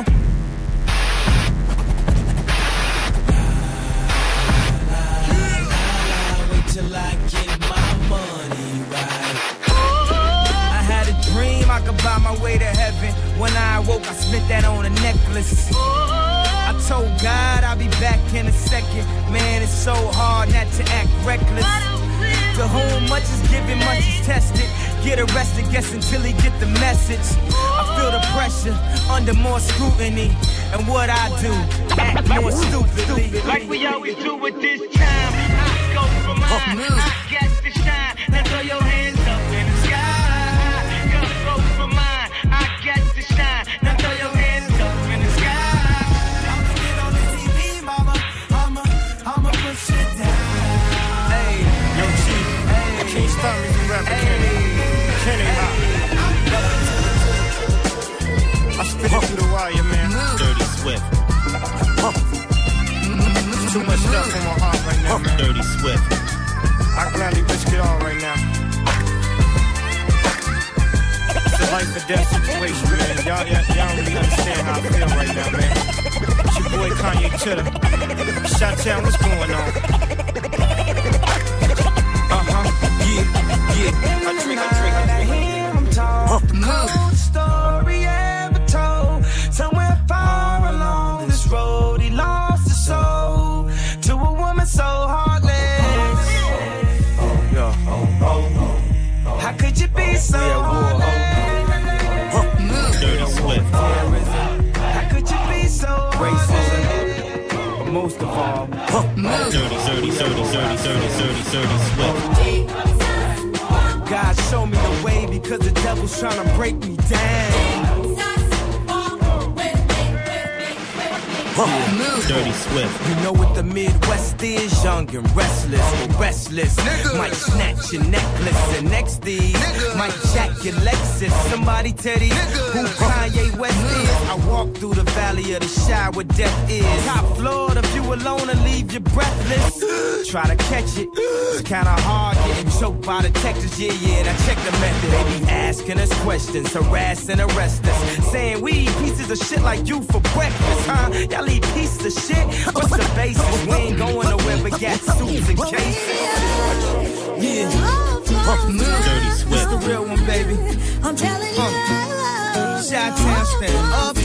Till I get my money right. I had a dream I could buy my way to heaven. When I awoke, I spent that on a necklace. I told God I'll be back in a second. Man, it's so hard not to act reckless. To whom much is given, much is tested. Get arrested, guess until he get the message. I feel the pressure under more scrutiny. And what I do, act more stupidly. Like we always do with this time. I go for mine, I got to shine. Now throw your hands up in the sky. Go for mine, I got to shine. Now throw your hands up in the sky. I'ma get on the T V, mama. I'ma, I'ma push it down. Hey, yo, Chief. Hey, I can't stop me from rapping, Kenny. Kenny, I spit it through the wire, man. Dirty Swift. Too much stuff in my heart right now, man. Dirty Swift. I gladly risk it all right now. It's a life or death situation, man. Y'all, y'all, y'all don't really understand how I feel right now, man. It's your boy Kanye Chitter. Shot-town, what's going on? Uh-huh, yeah, yeah. I drink, I drink, I drink. I'm talk the coolest story ever told. Somewhere far along this road, he lost his soul to a woman so heartless. Oh, yeah. Oh, oh, oh. How could you be so heartless? Dirty Swift. How could you be so racist? But most of all, dirty, dirty, dirty, dirty, dirty, dirty, dirty Swift. God, show me the way because the devil's trying to break me down. Move. Dirty Swift. You know what the Midwest is, young and restless, or restless. Nigga. Might snatch your necklace and next thing might jack your Lexus. Somebody tell these who Kanye West is. I walk through the valley of the shadow where death is. Top floor, the view alone and leave you breathless. Try to catch it, it's kinda hard getting choked by the Texas. Yeah, yeah, now check the method. They be asking us questions, harass and arrest us, saying we eat pieces of shit like you for breakfast, huh? Y'all eat pieces of shit? What's the basis? We ain't going nowhere but got suits and cases. Yeah. Move. Dirty Swift. It's the real one, baby. I'm telling you, uh. Chi-town stand up.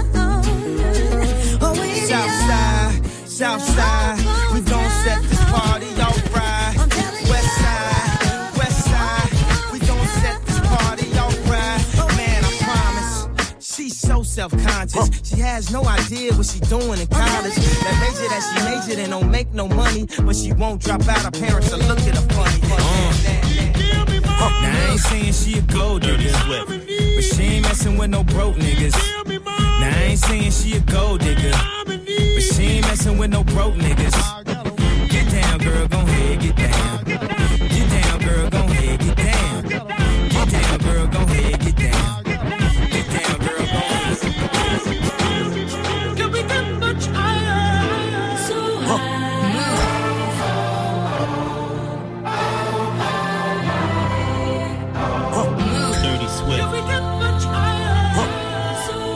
Southside, Southside, we gon' set this party off right. West side, West side, we gon' set this party off right. Man, I promise, she's so self-conscious. She has no idea what she doing in college. That major that she majored in don't make no money, but she won't drop out. Her parents will look at her funny. Uh. Now I ain't saying she a gold digger, but she ain't messing with no broke niggas. Now I ain't saying she a gold digger, but she ain't messing with no broke niggas. Get down, girl, gon' ahead, get down. Get down, girl, gon' ahead, get down. Get down, girl, gon' ahead, get down. Get down, girl, gon' ahead. Can we get much higher? So high. Dirty Swift. Can we get much higher? So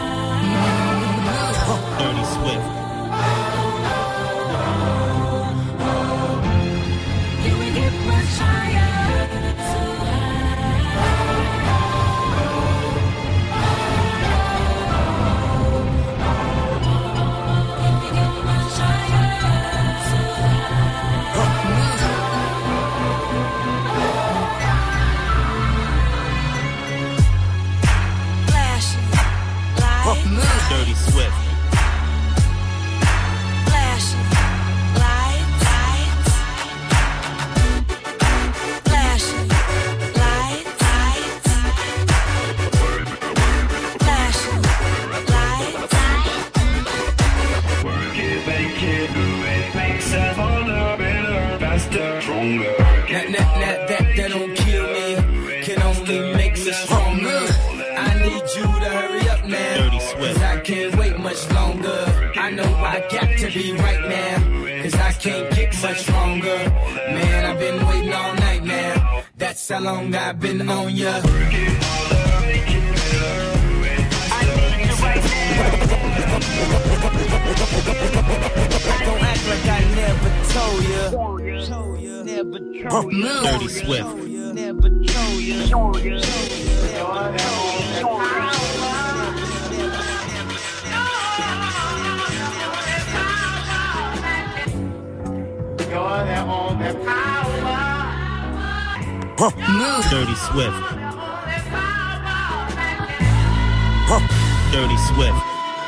high. Dirty Swift. Can we get much higher? So high. Can we get much higher? So flashing lights. Dirty Swift. Flashing lights, lights. Flashing lights, lights. Flashing lights, That, that, that, that, that don't kill me, can only make me stronger. I need you to hurry up now, Dirty Swift. cause I can't wait much longer. I know I got to be right now, cause I can't get much longer. Man, I've been waiting all night now, that's how long I've been on ya. Don't act like I never told ya. Never told ya. Dirty Swift. Never told ya. Move. Dirty Swift. Dirty Swift.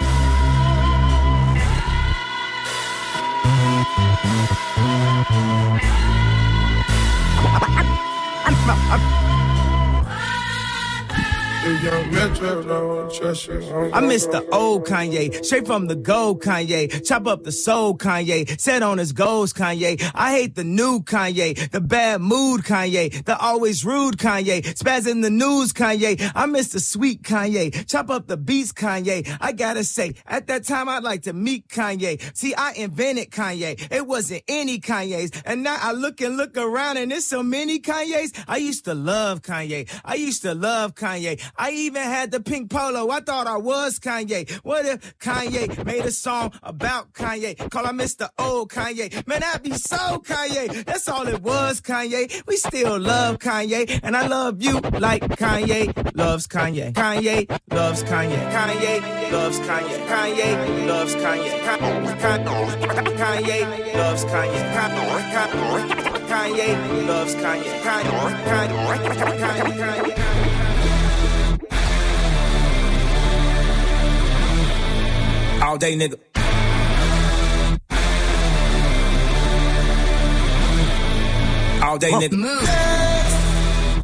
I miss the old Kanye, straight from the gold Kanye. Chop up the soul Kanye, set on his goals Kanye. I hate the new Kanye, the bad mood Kanye, the always rude Kanye, spaz in the news Kanye. I miss the sweet Kanye, chop up the beats Kanye. I gotta say, at that time I'd like to meet Kanye. See, I invented Kanye, it wasn't any Kanye's. And now I look and look around and there's so many Kanye's. I used to love Kanye, I used to love Kanye. I even had the pink polo, I thought I was Kanye. What if Kanye made a song about Kanye? Call I Mister Old Kanye. Man, that'd be so Kanye. That's all it was, Kanye. We still love Kanye, and I love you like Kanye loves Kanye. Kanye loves Kanye. Kanye loves Kanye. Kanye loves Kanye. Kanye loves Kanye. Kanye loves Kanye. Kanye, Kanye. All day, nigga. All day, nigga. Move.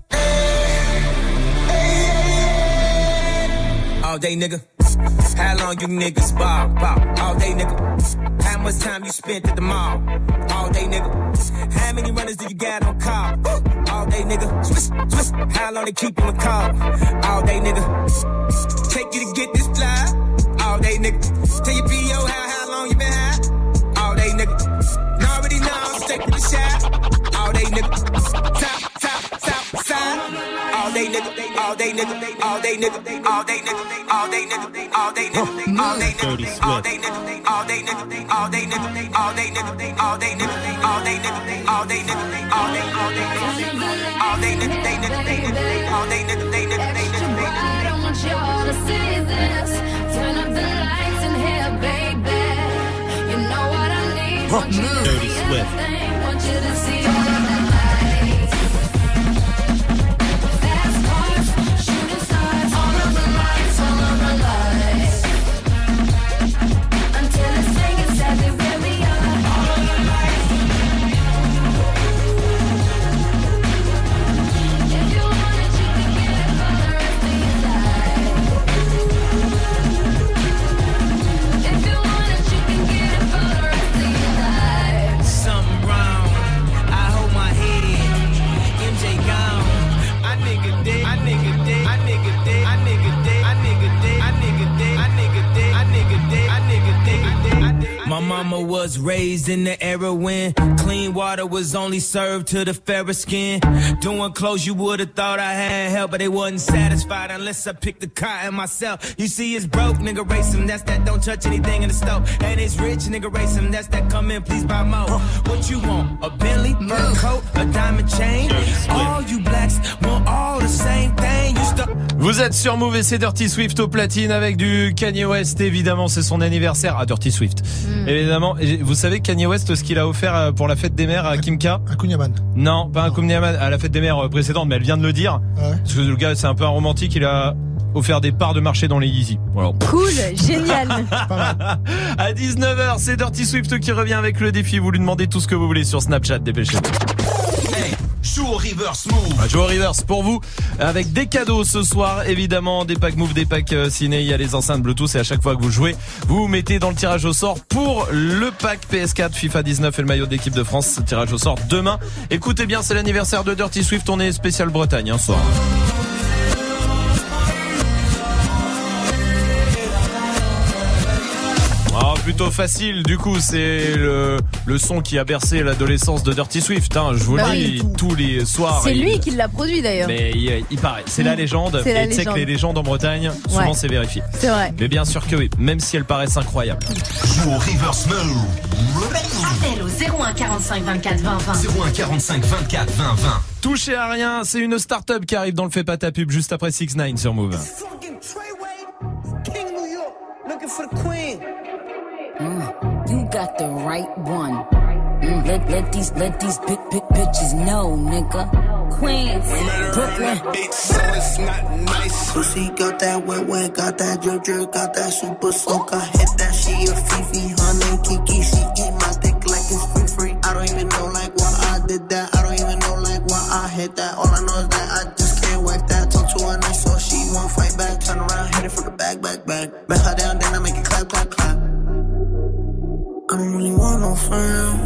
All day, nigga. How long you niggas ball, ball? All day, nigga. How much time you spent at the mall? All day, nigga. How many runners do you got on call? All day, nigga. Swiss, Swiss. How long they keep you in call? All day, nigga. Take you to get this fly? All day, nigga. Tell your P O how, how long you been high? All day, nigga. And already know I'm straight to the shot. All day, nigga. Top, top, top, side. All day, nigga. All day, nigga. All day, nigga. All day, nigga. All day, nigga. All day, nigga. All day, nigga. All day, nigga. All day, nigga. All day, nigga. All day, nigga. All day, nigga. All day, nigga. All day, nigga. All day, all day, all day, nigga. They nigga. They nigga. All day, nigga. They nigga. They nigga. I don't want y'all to see this. Turn up the lights in here, baby. You know what I need. Want you to Dirty see Swift. everything. Want you to see all of the lights. Fast cars, shooting stars. All of the lights, all of the lights. Until it's taken everywhere we are. All of the lights. If you want it, you can get it for the rest of your life. If you want it, you can get it for the rest of your life. Something wrong. I hold my head. M J gone. I nigga dead. I nigga dead. I nigga dead. I nigga dead. I nigga dead. I nigga dead. I nigga dead. I nigga dead. I nigga dead. My mama was raised in the era when clean water was only served to the fairer skin. Doing clothes you would've thought I had help, but they wasn't satisfied unless I picked the cotton myself. You see, it's broke, nigga, race him. That's that don't touch anything in the stove. And it's rich, nigga, race him. That's that come in, please buy more. What you want? A Bentley, fur coat, a diamond chain? All you blacks want all the same thing. You stuck. Vous êtes sur Move et c'est Dirty Swift au platine avec du Kanye West. Évidemment, c'est son anniversaire à Dirty Swift. Mm. Évidemment, et vous savez Kanye West ce qu'il a offert pour la fête des mères à Kim K? Un Kunyaman. Non, pas un Kunyaman, à la fête des mères précédente, mais elle vient de le dire. Ouais. Parce que le gars, c'est un peu un romantique, il a offert des parts de marché dans les Yeezy. Voilà. Cool, génial. À dix-neuf heures, c'est Dirty Swift qui revient avec le défi. Vous lui demandez tout ce que vous voulez sur Snapchat, dépêchez-vous. Hey, joue au reverse move. Ah, joue au reverse pour vous avec des cadeaux ce soir, évidemment des packs Move, des packs euh, ciné, il y a les enceintes Bluetooth et à chaque fois que vous jouez, vous vous mettez dans le tirage au sort pour le pack P S quatre, FIFA dix-neuf et le maillot de l'équipe de France. Tirage au sort demain. Écoutez bien, c'est l'anniversaire de Dirty Swift, on est spécial Bretagne hein, ce soir. Ah, plutôt facile, du coup, c'est le, le son qui a bercé l'adolescence de Dirty Swift, hein, je vous le bah dis, oui. tous les soirs. C'est il... lui qui l'a produit d'ailleurs. Mais il, il paraît, c'est la légende, c'est la et tu sais que les légendes en Bretagne, souvent ouais. c'est vérifié. C'est vrai. Mais bien sûr que oui, même si elles paraissent incroyables. Joue au reverse move. Appel au zéro un quarante-cinq vingt-quatre vingt vingt. zéro un quarante-cinq vingt-quatre vingt vingt. Touchez à rien, c'est une start-up qui arrive dans le Fait pas ta pub juste après six ix sur Move. Looking for the queen. Mm, you got the right one. Mm, let let these let these big big bitches know, nigga. Queens, Brooklyn. So it's not nice. Pussy got that wet wet, got that drip drip, got that super soak. I hit that she a Fifi, her name Kiki. She eat my dick like it's free free. I don't even know like why I did that. I don't even know like why I hit that. All I know is that I just can't whack that. Talk to her nice so she won't fight back. Turn around, hit it from the back, back, back. Back her down, then I make it clap, clap, clap. I don't really want no friends.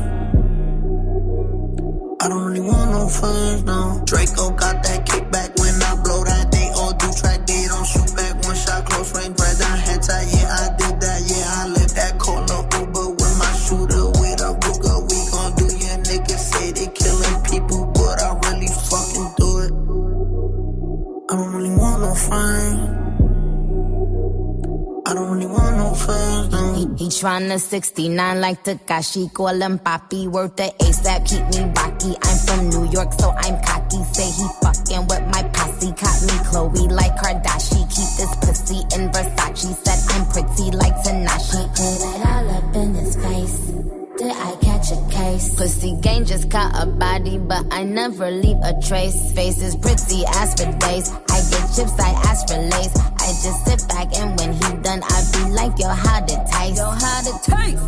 I don't really want no friends, no. Draco got that kickback when I blow that. They all do track, they don't shoot back. One shot, close range, bread down, head tight. Yeah, I did that, yeah, I lived that. Call a Uber with my shooter, with a Ruger. We gon' do your niggas say they killing people, but I really fucking do it. I don't really want no friends. I don't really want no friends, no. He, he tryna sixty-nine like Takashi, call him Papi, worth the ASAP, keep me rocky. I'm from New York, so I'm cocky. Say he fucking with my posse, caught me Chloe like Kardashian. Keep this pussy in Versace, said I'm pretty like Tanashi. Put it all up in his face. Did I catch a case? Pussy gang just caught a body, but I never leave a trace. Face is pretty, ass for days. I get chips, I ask for lace. I just sit back and when he done, I be like, yo, how it taste? Yo, how it taste?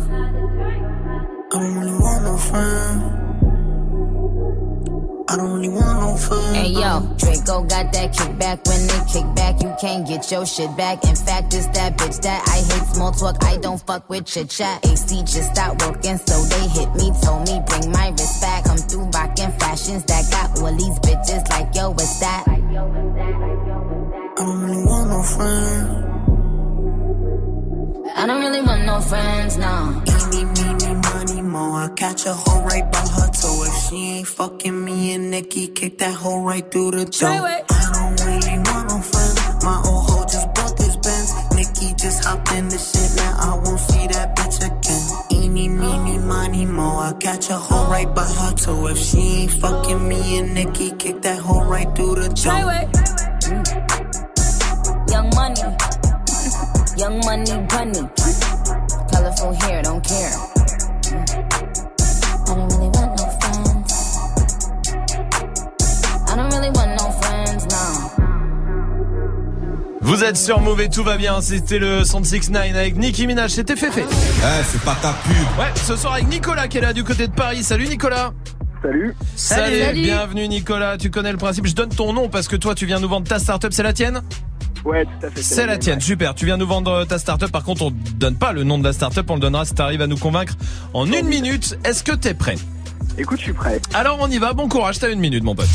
I don't really want no friends. I don't really want no friends. Hey yo, Draco got that kickback. When they kick back, you can't get your shit back. In fact, it's that bitch that I hate small talk. I don't fuck with chit chat. A C just stopped working, so they hit me. Told me bring my wrist back. Come through rockin' fashions that got all these bitches like yo, what's that? I don't really want no friends. I don't really want no friends, no. Eeny, meeny, money, mo. I catch a hoe right by her toe. If she ain't fucking me and Nikki, kick that hoe right through the door. I don't really want no friends. My old hoe just bought this Benz. Nikki just hopped in the shit, now I won't see that bitch again. Eeny, meeny, money, mo. I catch a hoe right by her toe. If she ain't fucking me and Nikki, kick that hoe right through the door. Mm. Young money. Young money bunny, colorful hair, don't care. I don't really want no friends. I don't really want no friends, no. Vous êtes sur Move et tout va bien, c'était le cent soixante-dix-neuf avec Nicki Minaj, c'était Féfé. Eh, c'est pas ta pub. Ouais, ce soir avec Nicolas qui est là du côté de Paris. Salut Nicolas. Salut. Salut. Salut. Bienvenue Nicolas, tu connais le principe, je donne ton nom parce que toi tu viens nous vendre ta start-up, c'est la tienne ? Ouais, tout à fait. C'est la tienne, super. Tu viens nous vendre ta start-up. Par contre, on donne pas le nom de la start-up, on le donnera si tu arrives à nous convaincre en une minute. Est-ce que t'es prêt ? Écoute, je suis prêt. Alors on y va, bon courage, t'as une minute mon pote.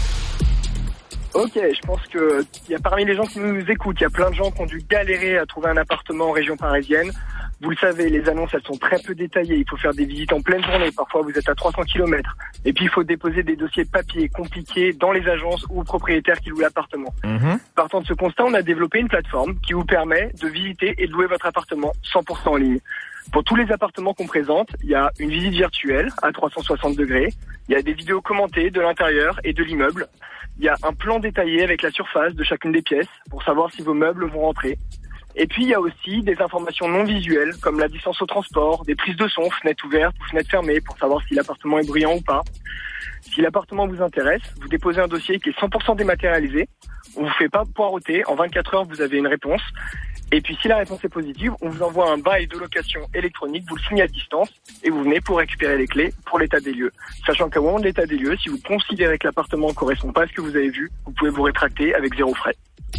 Ok, je pense que il y a parmi les gens qui nous écoutent, il y a plein de gens qui ont dû galérer à trouver un appartement en région parisienne. Vous le savez, les annonces, elles sont très peu détaillées. Il faut faire des visites en pleine journée. Parfois, vous êtes à trois cents kilomètres. Et puis, il faut déposer des dossiers papier compliqués dans les agences ou aux propriétaires qui louent l'appartement. Mmh. Partant de ce constat, on a développé une plateforme qui vous permet de visiter et de louer votre appartement cent pour cent en ligne. Pour tous les appartements qu'on présente, il y a une visite virtuelle à trois cent soixante degrés. Il y a des vidéos commentées de l'intérieur et de l'immeuble. Il y a un plan détaillé avec la surface de chacune des pièces pour savoir si vos meubles vont rentrer. Et puis, il y a aussi des informations non visuelles, comme la distance au transport, des prises de son, fenêtres ouvertes ou fenêtres fermées, pour savoir si l'appartement est bruyant ou pas. Si l'appartement vous intéresse, vous déposez un dossier qui est cent pour cent dématérialisé. On vous fait pas poireauter. En vingt-quatre heures, vous avez une réponse. Et puis, si la réponse est positive, on vous envoie un bail de location électronique, vous le signez à distance, et vous venez pour récupérer les clés pour l'état des lieux. Sachant qu'au moment de l'état des lieux, si vous considérez que l'appartement ne correspond pas à ce que vous avez vu, vous pouvez vous rétracter avec zéro frais.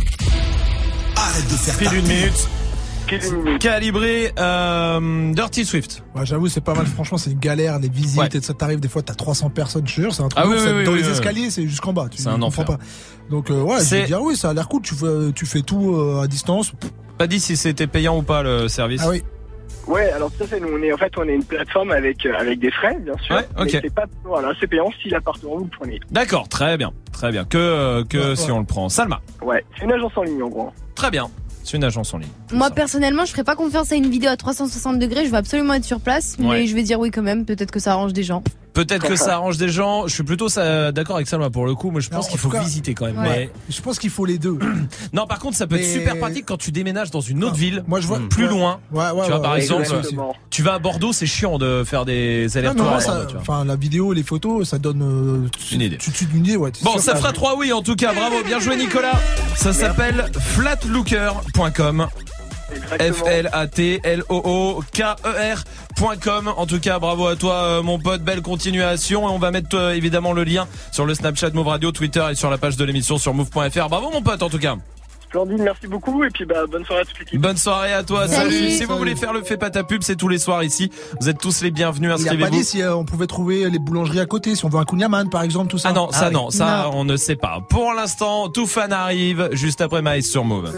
Arrête de faire Pile une minute. Calibré euh, Dirty Swift. Ouais, j'avoue, c'est pas mal. Franchement, c'est une galère, les visites ouais. et ça t'arrive des fois, t'as trois cents personnes, je te jure, c'est un truc. Ah oui, oui, oui, dans oui, les oui, escaliers, oui. c'est jusqu'en bas. Tu c'est un enfer. Pas. Donc euh, ouais, c'est... je veux dire oui, ça a l'air cool. Tu fais, tu fais tout euh, à distance. Pas dit si c'était payant ou pas le service. Ah oui. Ouais, alors tout à fait. Nous, on est en fait, on est une plateforme avec euh, avec des frais, bien sûr. Ouais, ok. Mais c'est pas, voilà, c'est payant si l'appartement vous le prenez. D'accord, très bien, très bien. Que euh, que ouais, si ouais. on le prend. Salma. Ouais, c'est une agence en ligne en gros. Très bien. C'est une agence en ligne. Moi, personnellement, je ferais pas confiance à une vidéo à trois cent soixante degrés. Je veux absolument être sur place, mais ouais. je vais dire oui quand même. Peut-être que ça arrange des gens. Peut-être que ça arrange des gens. Je suis plutôt ça, d'accord avec Salma pour le coup. Mais je pense non, qu'il faut cas, visiter quand même. Ouais. Mais je pense qu'il faut les deux. Non, par contre, ça peut mais... être super pratique quand tu déménages dans une autre non. ville. Moi, je vois plus ouais. loin. Ouais, ouais, tu vois, ouais, par ouais, exemple, tu vas à Bordeaux, c'est chiant de faire des allers-retours. Enfin, la vidéo, les photos, ça donne euh, une idée. Tu, tu, une idée, ouais. Bon, ça fera trois oui en tout cas. Bravo, bien joué Nicolas. Ça s'appelle flatlooker point com. F L A T L O O K E R point com. En tout cas, bravo à toi, mon pote. Belle continuation. Et on va mettre euh, évidemment le lien sur le Snapchat Move Radio, Twitter et sur la page de l'émission sur move point f r. Bravo, mon pote, en tout cas. Splendide, merci beaucoup. Et puis, bah, bonne soirée à toute l'équipe. Bonne soirée à toi. Salut. Salut. Si Salut. vous voulez faire le Fais pas ta pub, c'est tous les soirs ici. Vous êtes tous les bienvenus. Inscrivez-vous. Il a pas dit si euh, on pouvait trouver les boulangeries à côté, si on veut un Kunyaman, par exemple, tout ça. Ah non, ça ah, non, oui. ça non. on ne sait pas. Pour l'instant, tout fan arrive juste après Maïs sur Move.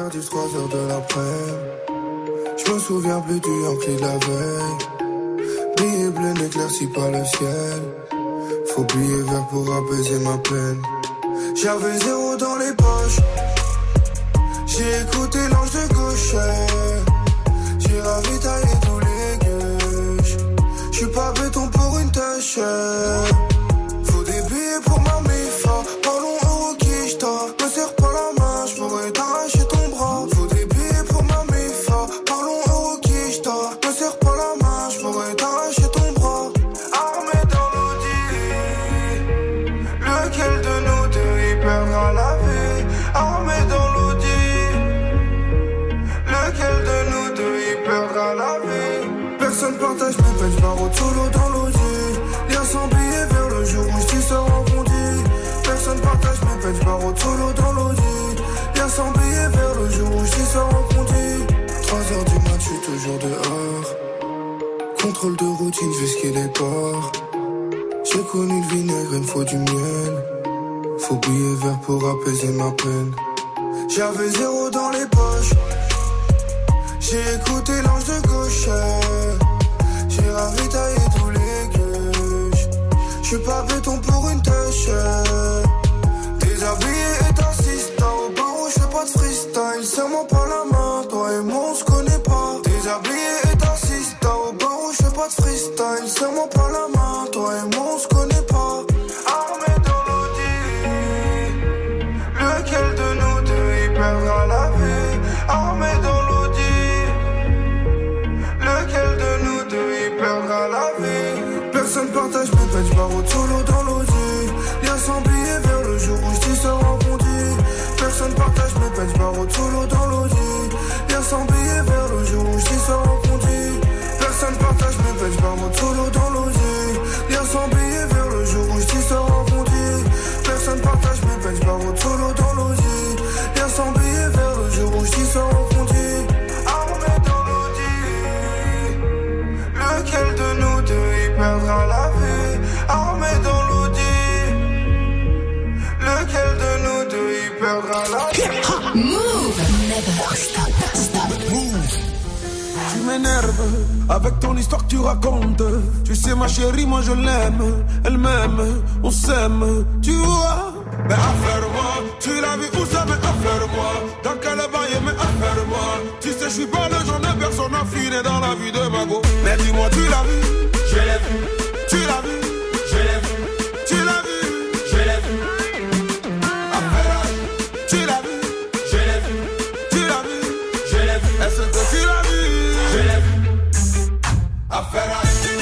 Je me souviens plus du Yankee de la veille. Billet bleu n'éclaircit pas le ciel. Faut billet vert pour apaiser ma peine. J'avais zéro dans les poches. J'ai écouté l'ange de gauche. J'ai ravitaillé tous les gueuches. J'suis pas béton pour une tâche. Faut des billets pour ma mifa. Parlons euro qui j't'a. Me serre pas la main, j'pourrais t'arracher ton bras. Faut des billets pour ma mifa. Parlons euro qui j't'a. Me serre pas la main, j'pourrais t'arracher ton bras. Armé dans l'audi. Lequel de nous deux y perdra la vie? Armé dans l'audi. Lequel de nous deux y perdra la vie? Personne partage mes peines, j'barre solo dans l'audi. Lien sans billet vers le jour où j't'y sors en bondi. Personne partage Benz barreau solo dans l'audi. Y'a cent billets vers le jour où j'y sors en conduit. trois heures du mat, j'suis toujours dehors. Contrôle de routine, je vais skier les ports. J'ai connu le vinaigre, il me faut du miel. Faut billets verts pour apaiser ma peine. J'avais zéro dans les poches. J'ai écouté l'ange de gauche. J'ai ravitaillé tous les gueuches. J'suis pas béton pour une tâche. Déshabillé et assistant au barreau, j'fais pas de freestyle. Serre-moi pas la main, toi et moi on se connaît pas. Déshabillé et assistant au barreau, j'fais pas de freestyle. Serre-moi pas la main, toi et moi on se connaît pas. Armé dans l'audi, lequel de nous deux y perdra la vie? Armé dans l'audi, lequel de nous deux y perdra la vie? Personne partage mes bench barreau solo dans l'audi. Y'a cent billets vers le jour où j'dis ça rebondit. Personne partage mes bench barreau solo dans l'audi. Y'a cent billets vers le jour où j'dis ça rebondit. Personne partage mes bench barreau solo dans l'audi. Y'a cent billets vers le jour où j'dis ça rebondit. Personne partage mes bench barreau solo dans l'audi. Y'a cent billets vers le jour où j'dis ça rebondit. Armé dans l'audi, lequel de nous deux y perdra la vie? Armé dans l'audi, lequel de nous deux y perdra la vie? Move, never stop, stop, move. Tu m'énerves avec ton histoire que tu racontes. Tu sais ma chérie, moi je l'aime. Elle m'aime, on s'aime, tu vois. Mais affaire-moi, tu l'as vu où ça, mais affaire-moi. Dans quel bail, mais affaire-moi. Tu sais, je suis pas le genre de personne affinée dans la vie de ma go. Mais dis-moi, tu l'as vu? Je l'ai vu. Tu l'as vu? Je l'ai vu. Tu l'as vu? Je l'ai vu. Affaire, tu l'as vu? Je l'ai vu. Tu l'as vu? Je l'ai vu. Est-ce que tu l'as vu? Je l'ai vu. Affaire.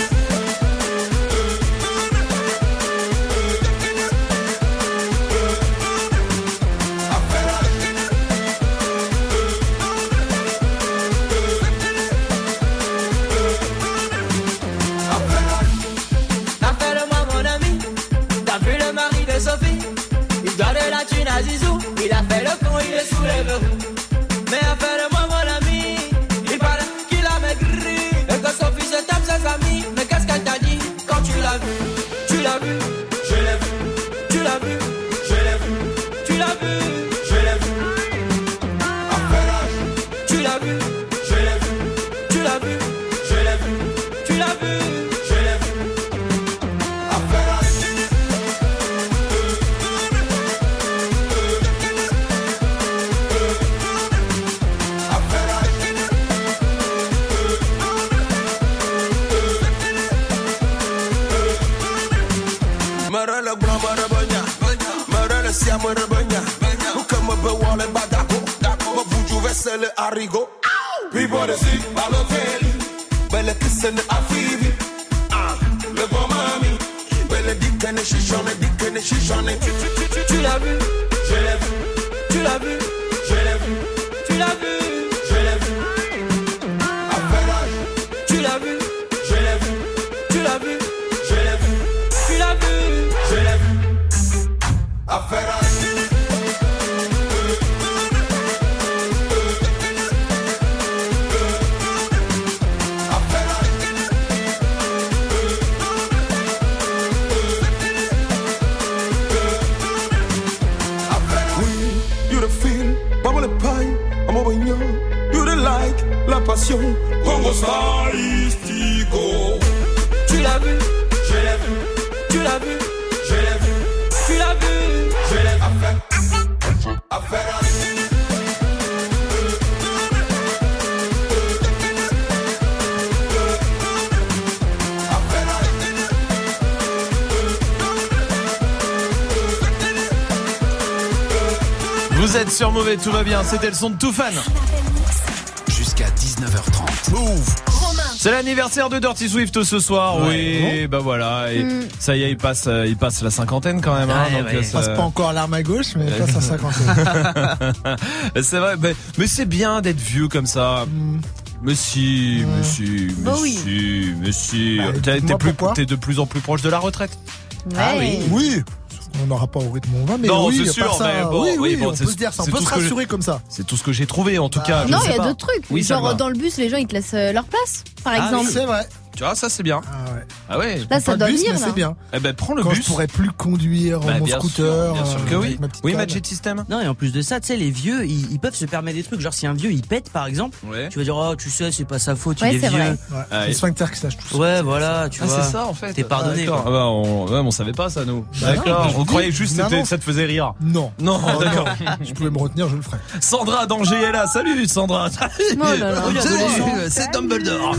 Zizou, il a fait le con, il est sous les verrous. Mais appelle-moi mon ami, il paraît qu'il a maigri. Et que son fils tape ses amis. Mais qu'est-ce qu'elle t'a dit quand tu l'as vu? Tu l'as vu? Je l'ai vu. Tu l'as vu? Je l'ai vu. Tu l'as vu? Je l'ai vu. Affaire, tu l'as vu? Je l'ai vu. Tu l'as vu? Je l'ai vu. Tu l'as vu? Je l'ai vu. Affaire. Siamo rebagna, come be vuole badaco, ma buju vesele arrigo. People they see Balotelli, belle kissene a Fivi. Ah, le bon mami, belle dicane chichonne, dicane chichonne. Tu l'as vu? Je l'ai vu. Tu l'as vu? Je l'ai vu. Tu l'as vu? Je l'ai vu. Affaire, tu l'as vu? Je l'ai vu. Tu l'as vu? Je l'ai vu. Tu l'as vu? Je l'ai vu. Affaire. La passion, Congo stylistico. Tu l'as vu? Je l'ai vu. Tu l'as vu? Je l'ai vu. Tu l'as vu? Je l'ai vu. Affaire. Affaire. Vous êtes sur Mauvais, tout va bien, c'était le son de Toufan. Jusqu'à dix-neuf heures trente. Move. C'est l'anniversaire de Dirty Swift ce soir, ouais. oui, bon. Bah voilà, et mm. ça y est, il passe, il passe la cinquantaine quand même. Hein, ouais, donc ouais. ça... Il passe pas encore l'arme à gauche, mais il passe la cinquantaine. C'est vrai, mais, mais c'est bien d'être vieux comme ça. Mm. Mais si, mmh. mais si, mais bah oui. si, mais si. Bah, t'es, t'es, plus, t'es de plus en plus proche de la retraite. Ouais. Ah oui. Oui. On n'aura pas au rythme où on va, mais non, oui, c'est sûr, ça, mais bon, oui, oui, oui, bon, on peut se dire ça, on peut se rassurer comme ça. C'est tout ce que j'ai trouvé en tout cas. Non, il y a d'autres trucs. Oui, genre dans le bus, les gens ils te laissent euh, leur place, par ah, exemple. Oui, c'est vrai. Tu vois, ça c'est bien. Ah ouais. Ah ouais. Là, ça doit bus, venir. Mais là. c'est bien. Eh ben, prends le Quand bus. je pourrais plus conduire bah, mon bien scooter. Sûr, bien sûr que euh, oui. Oui, Magic System. Non, et en plus de ça, tu sais, les vieux, ils, ils peuvent se permettre des trucs. Genre, si un vieux il pète, par exemple, ouais. tu vas dire, oh, tu sais, c'est pas sa faute, ouais, il est, est vieux. Vrai. Ouais. Ah, c'est le sphincter qui sache tout ça. Ouais, voilà, tu ah, vois. c'est ça en fait. T'es pardonné. Ah, ah bah, on, ouais, on savait pas ça, nous. Bah, d'accord. On croyait juste que ça te faisait rire. Non. Non, oh, d'accord. Non. Je pouvais me retenir, je le ferais. Sandra d'Angers est là. Salut, Sandra. Oh là là. Salut, c'est Dumbledore.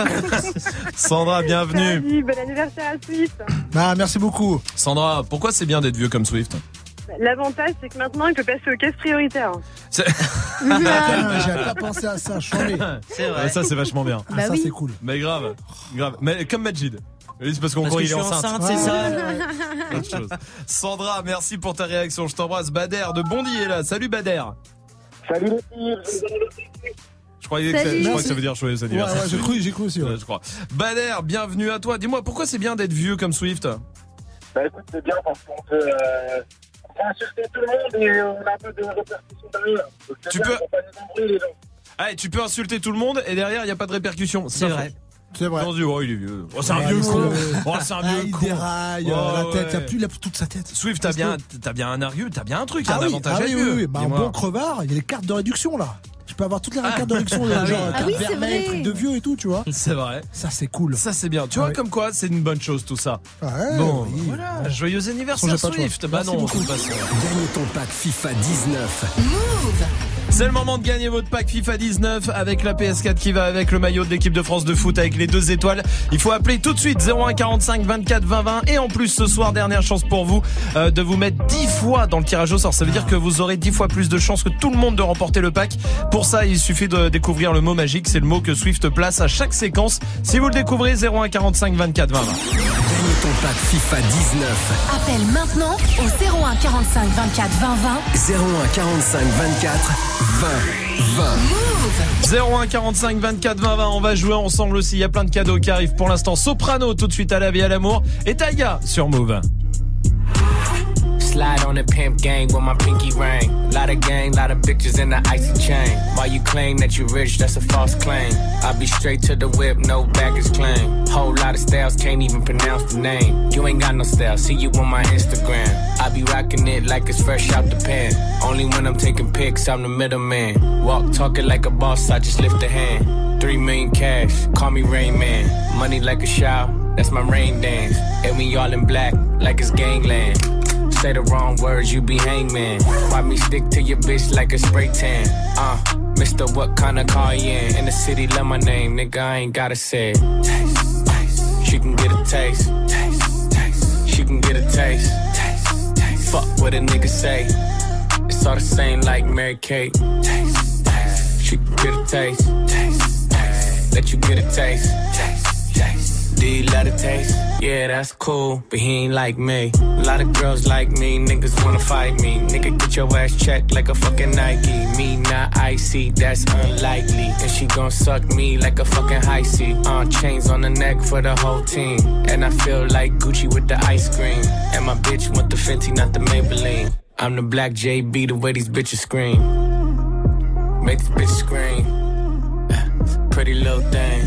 Sandra, bienvenue. Salut, bon anniversaire à Swift. Ah, merci beaucoup. Sandra, pourquoi c'est bien d'être vieux comme Swift? L'avantage, c'est que maintenant, il peut passer aux caisses prioritaires. C'est... ah, j'avais pas pensé à ça, chambé. C'est vrai. Ouais, ça, c'est vachement bien. Ah, bah ça, oui. c'est cool. Mais grave, grave. Mais comme Majid. Oui, c'est parce qu'on parce croit que qu'il est je suis enceinte. enceinte, c'est ça. Autre chose. Sandra, merci pour ta réaction. Je t'embrasse. Bader de Bondy est là. Salut Bader. Salut les filles. Je croyais que, ça, je crois que ça veut dire joyeux anniversaire. Ouais, ouais, j'ai cru, j'ai cru aussi. Ouais. Ouais, je crois. Bader, bienvenue à toi. Dis-moi, pourquoi c'est bien d'être vieux comme Swift? Bah écoute, c'est bien parce qu'on peut, euh, on peut insulter tout le monde et on a un peu de répercussions derrière. Donc, tu bien, peux. faut pas nous embrouiller, les gens. Ah, tu peux insulter tout le monde et derrière il y a pas de répercussions. C'est vrai. C'est vrai. On se dit, oh, il est vieux. Oh, c'est un Ouais, vieux c'est con. vrai. Oh, c'est un Ah, vieux il con. déraille, Oh, la tête, il ouais. a plus, il a toute sa tête. Swift, t'as bien, t'as bien un argument, t'as bien un truc, ah un oui, avantage ah à oui, vieux. oui, oui. Bah, un Dis-moi. bon crevard, il y a les cartes de réduction là. Tu peux avoir toutes les Ah. cartes de réduction, genre Ah carte oui, c'est vermeille, vrai. truc de vieux et tout, tu vois. C'est vrai. Ça, c'est cool. Ça, c'est bien. Tu Ah vois, oui. comme quoi, c'est une bonne chose, tout ça. Ouais, Bon, oui. voilà. Bon. Joyeux anniversaire, Songez pas, Swift. toi. Bah Merci non, beaucoup. de toute façon. Gagne ton pack FIFA dix-neuf. C'est le moment de gagner votre pack FIFA dix-neuf avec la P S quatre qui va avec le maillot de l'équipe de France de foot avec les deux étoiles. Il faut appeler tout de suite zéro un quarante-cinq vingt-quatre vingt vingt et en plus ce soir dernière chance pour vous euh, de vous mettre dix fois dans le tirage au sort. Ça veut dire que vous aurez dix fois plus de chances que tout le monde de remporter le pack. Pour ça, il suffit de découvrir le mot magique, c'est le mot que Swift place à chaque séquence. Si vous le découvrez, zéro un quarante-cinq vingt-quatre vingt vingt. Gagne ton pack FIFA dix-neuf. Appelle maintenant au zéro un quarante-cinq vingt-quatre vingt vingt. zéro un quarante-cinq vingt-quatre vingt vingt. zéro un quarante-cinq vingt-quatre vingt vingt. On va jouer ensemble aussi. Il y a plein de cadeaux qui arrivent pour l'instant. Soprano tout de suite à la vie à l'amour et Taiga sur Move. Slide on the pimp gang with my pinky ring. Lot of gang, lot of bitches in the icy chain. While you claim that you rich, that's a false claim. I be straight to the whip, no baggage claim. Whole lot of styles, can't even pronounce the name. You ain't got no style, see you on my Instagram. I be rocking it like it's fresh out the pan. Only when I'm taking pics, I'm the middleman. Walk talking like a boss, I just lift a hand. Three million cash, call me Rain Man. Money like a shower, that's my rain dance. And we all in black, like it's gangland. Say the wrong words, you be hangman. Why me stick to your bitch like a spray tan? Uh, Mister What kind of car you in? In the city, love my name, nigga, I ain't gotta say it. Taste, taste. She can get a taste. Taste, taste. She can get a taste. Taste, taste. Fuck what a nigga say. It's all the same like Mary Kate. Taste, taste. She can get a taste. Taste, taste. Let you get a taste. Taste, taste. Do you love the taste? Yeah, that's cool, but he ain't like me. A lot of girls like me, niggas wanna fight me. Nigga, get your ass checked like a fucking Nike. Me not icy, that's unlikely. And she gon' suck me like a fucking high C. Uh, chains on the neck for the whole team. And I feel like Gucci with the ice cream. And my bitch want the Fenty, not the Maybelline. I'm the black J B, the way these bitches scream. Make this bitch scream. Pretty little thing.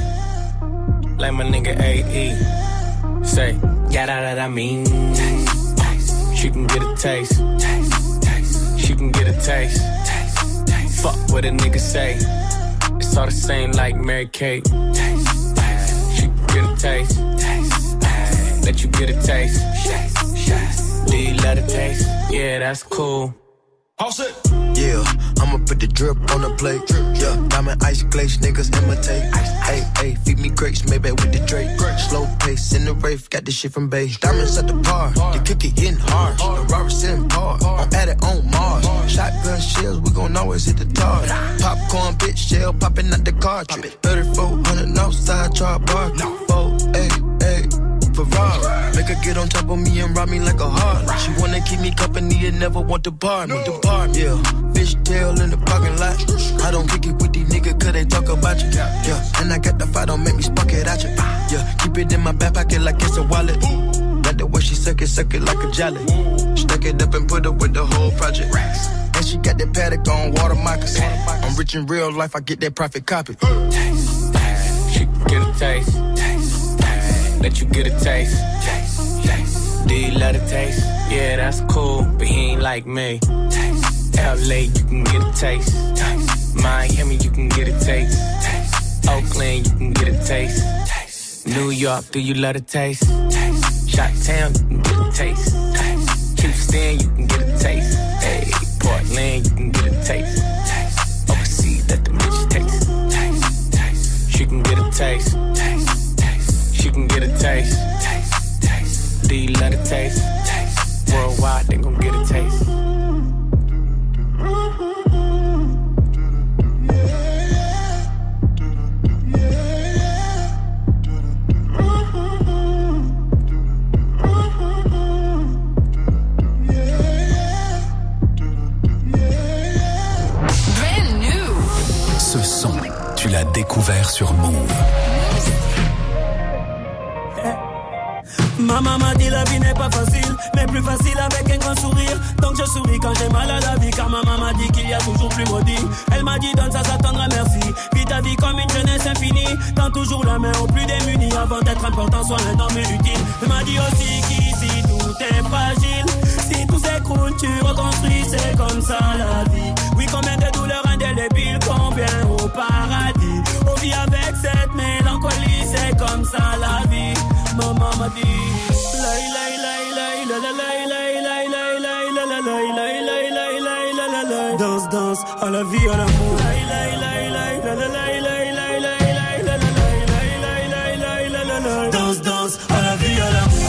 Like my nigga A E. Say, yeah, that I mean. Taste, taste. She can get a taste. Taste, taste. She can get a taste. Taste, taste. Fuck what a nigga say. It's all the same like Mary Kate. Taste, taste. She can get a taste. Taste, taste. Let you get a taste. Taste, taste. Do you love the taste? Yeah, that's cool. All set. Yeah, I'ma put the drip on the plate. Yeah, diamond ice glaze, niggas imitate. Hey, hey, feed me grapes, maybe with the Drake. Slow pace in the rave, got this shit from Bay. Diamonds at the bar, the cookie hitting hard. The Robert sitting hard, I'm at it on Mars. Shotgun shells, we gon' always hit the tar. Popcorn, bitch, shell popping out the cartridge. thirty-four hundred outside, try bar. Four, hey, hey. Ferrari. Make her get on top of me and rob me like a heart. She wanna keep me company and never want to bar me. The bar, yeah. Fish tail in the parking lot. I don't kick it with these niggas cause they talk about you. Yeah, and I got the fight, don't make me spark it at you. Yeah, keep it in my back pocket like it's a wallet. Got the way she suck it, suck it like a jelly. Stuck it up and put her with the whole project. And she got that paddock on water moccasins. I'm rich in real life, I get that profit copy. Taste, taste. She can get a taste. Taste, taste. Let you get a taste. Taste, taste. Do you love the taste? Yeah, that's cool, but he ain't like me. Taste. L A, you can get a taste. Taste. Miami, you can get a taste. Taste. Oakland, you can get a taste. Taste. New York, do you love the taste? Taste. Chi-town, you can get a taste. Taste. Houston, you can get a taste. Hey, Portland, you can get a taste. Taste. Overseas, let the bitch taste. Taste. Taste. She can get a taste. Taste. Taste. She can get a taste. Taste. Taste. Do you love the taste? Taste. Worldwide, they gon' get a taste. Ce son, tu l'as découvert sur Move. Ma maman dit la vie n'est pas facile, mais plus facile avec un grand sourire. Donc je souris quand j'ai mal à la vie, car ma maman dit qu'il y a toujours plus maudit. Elle m'a dit donne ça, ça t'attendra, merci. Vis ta vie comme une jeunesse infinie. Tends toujours la main aux plus démunis. Avant d'être important, sois un homme utile. Elle m'a dit aussi qu'ici tout est fragile. Si tout s'écroule, tu reconstruis, c'est comme ça la vie. Oui, combien de douleurs indélébiles, combien au paradis. On vit avec cette mélancolie, c'est comme ça la vie. Maman m'a dit danse, danse, à la vie, à l'amour. Danse, danse, à la vie, à l'amour.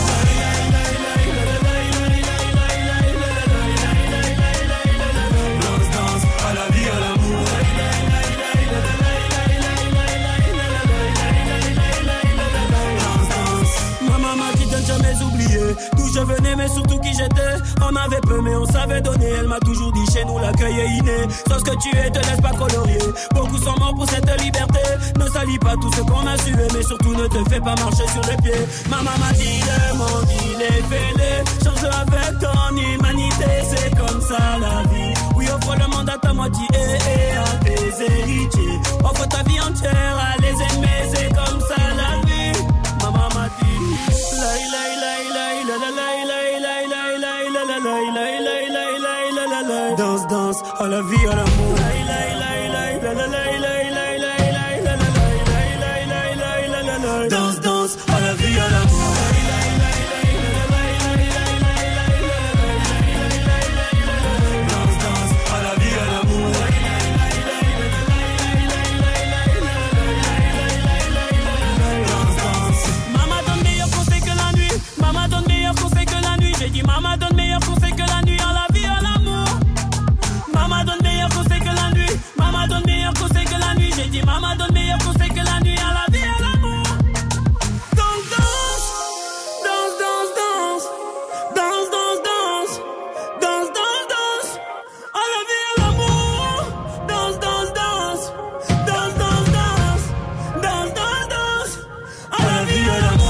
Jamais oublié d'où je venais, mais surtout qui j'étais. On avait peu, mais on savait donner. Elle m'a toujours dit chez nous l'accueil est inné. Sois ce que tu es, te laisse pas colorier. Beaucoup sont morts pour cette liberté. Ne salis pas tout ce qu'on a sué, mais surtout ne te fais pas marcher sur les pieds. Maman m'a dit le monde il est fêlé. Change avec ton humanité, c'est comme ça la vie. Oui, offre le monde à ta moitié et à tes héritiers. Offre ta vie entière à les aimer, c'est comme ça la vie. Maman m'a dit danse, danse, à la vie, à l'amour. Danse, danse, à la vie, à l'amour. J'ai dit maman donne meilleur conseil que la nuit, à la vie, à l'amour. Maman donne meilleur conseil que la nuit. Maman donne meilleur conseil que la nuit. J'ai dit maman donne meilleur conseil que la nuit, à la vie, à l'amour. Danse, danse, danse, danse, danse, danse, danse, danse, danse, danse, danse, à la vie, à l'amour. Danse, danse, danse, danse, danse, danse, danse, danse, danse, à la vie, à l'amour.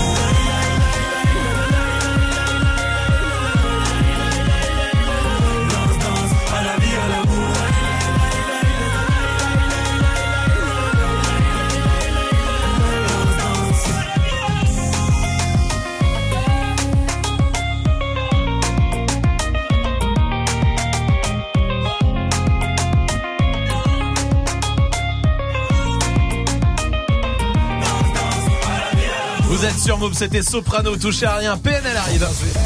Vous êtes sur Move, c'était Soprano, touchez à rien, P N L arrive.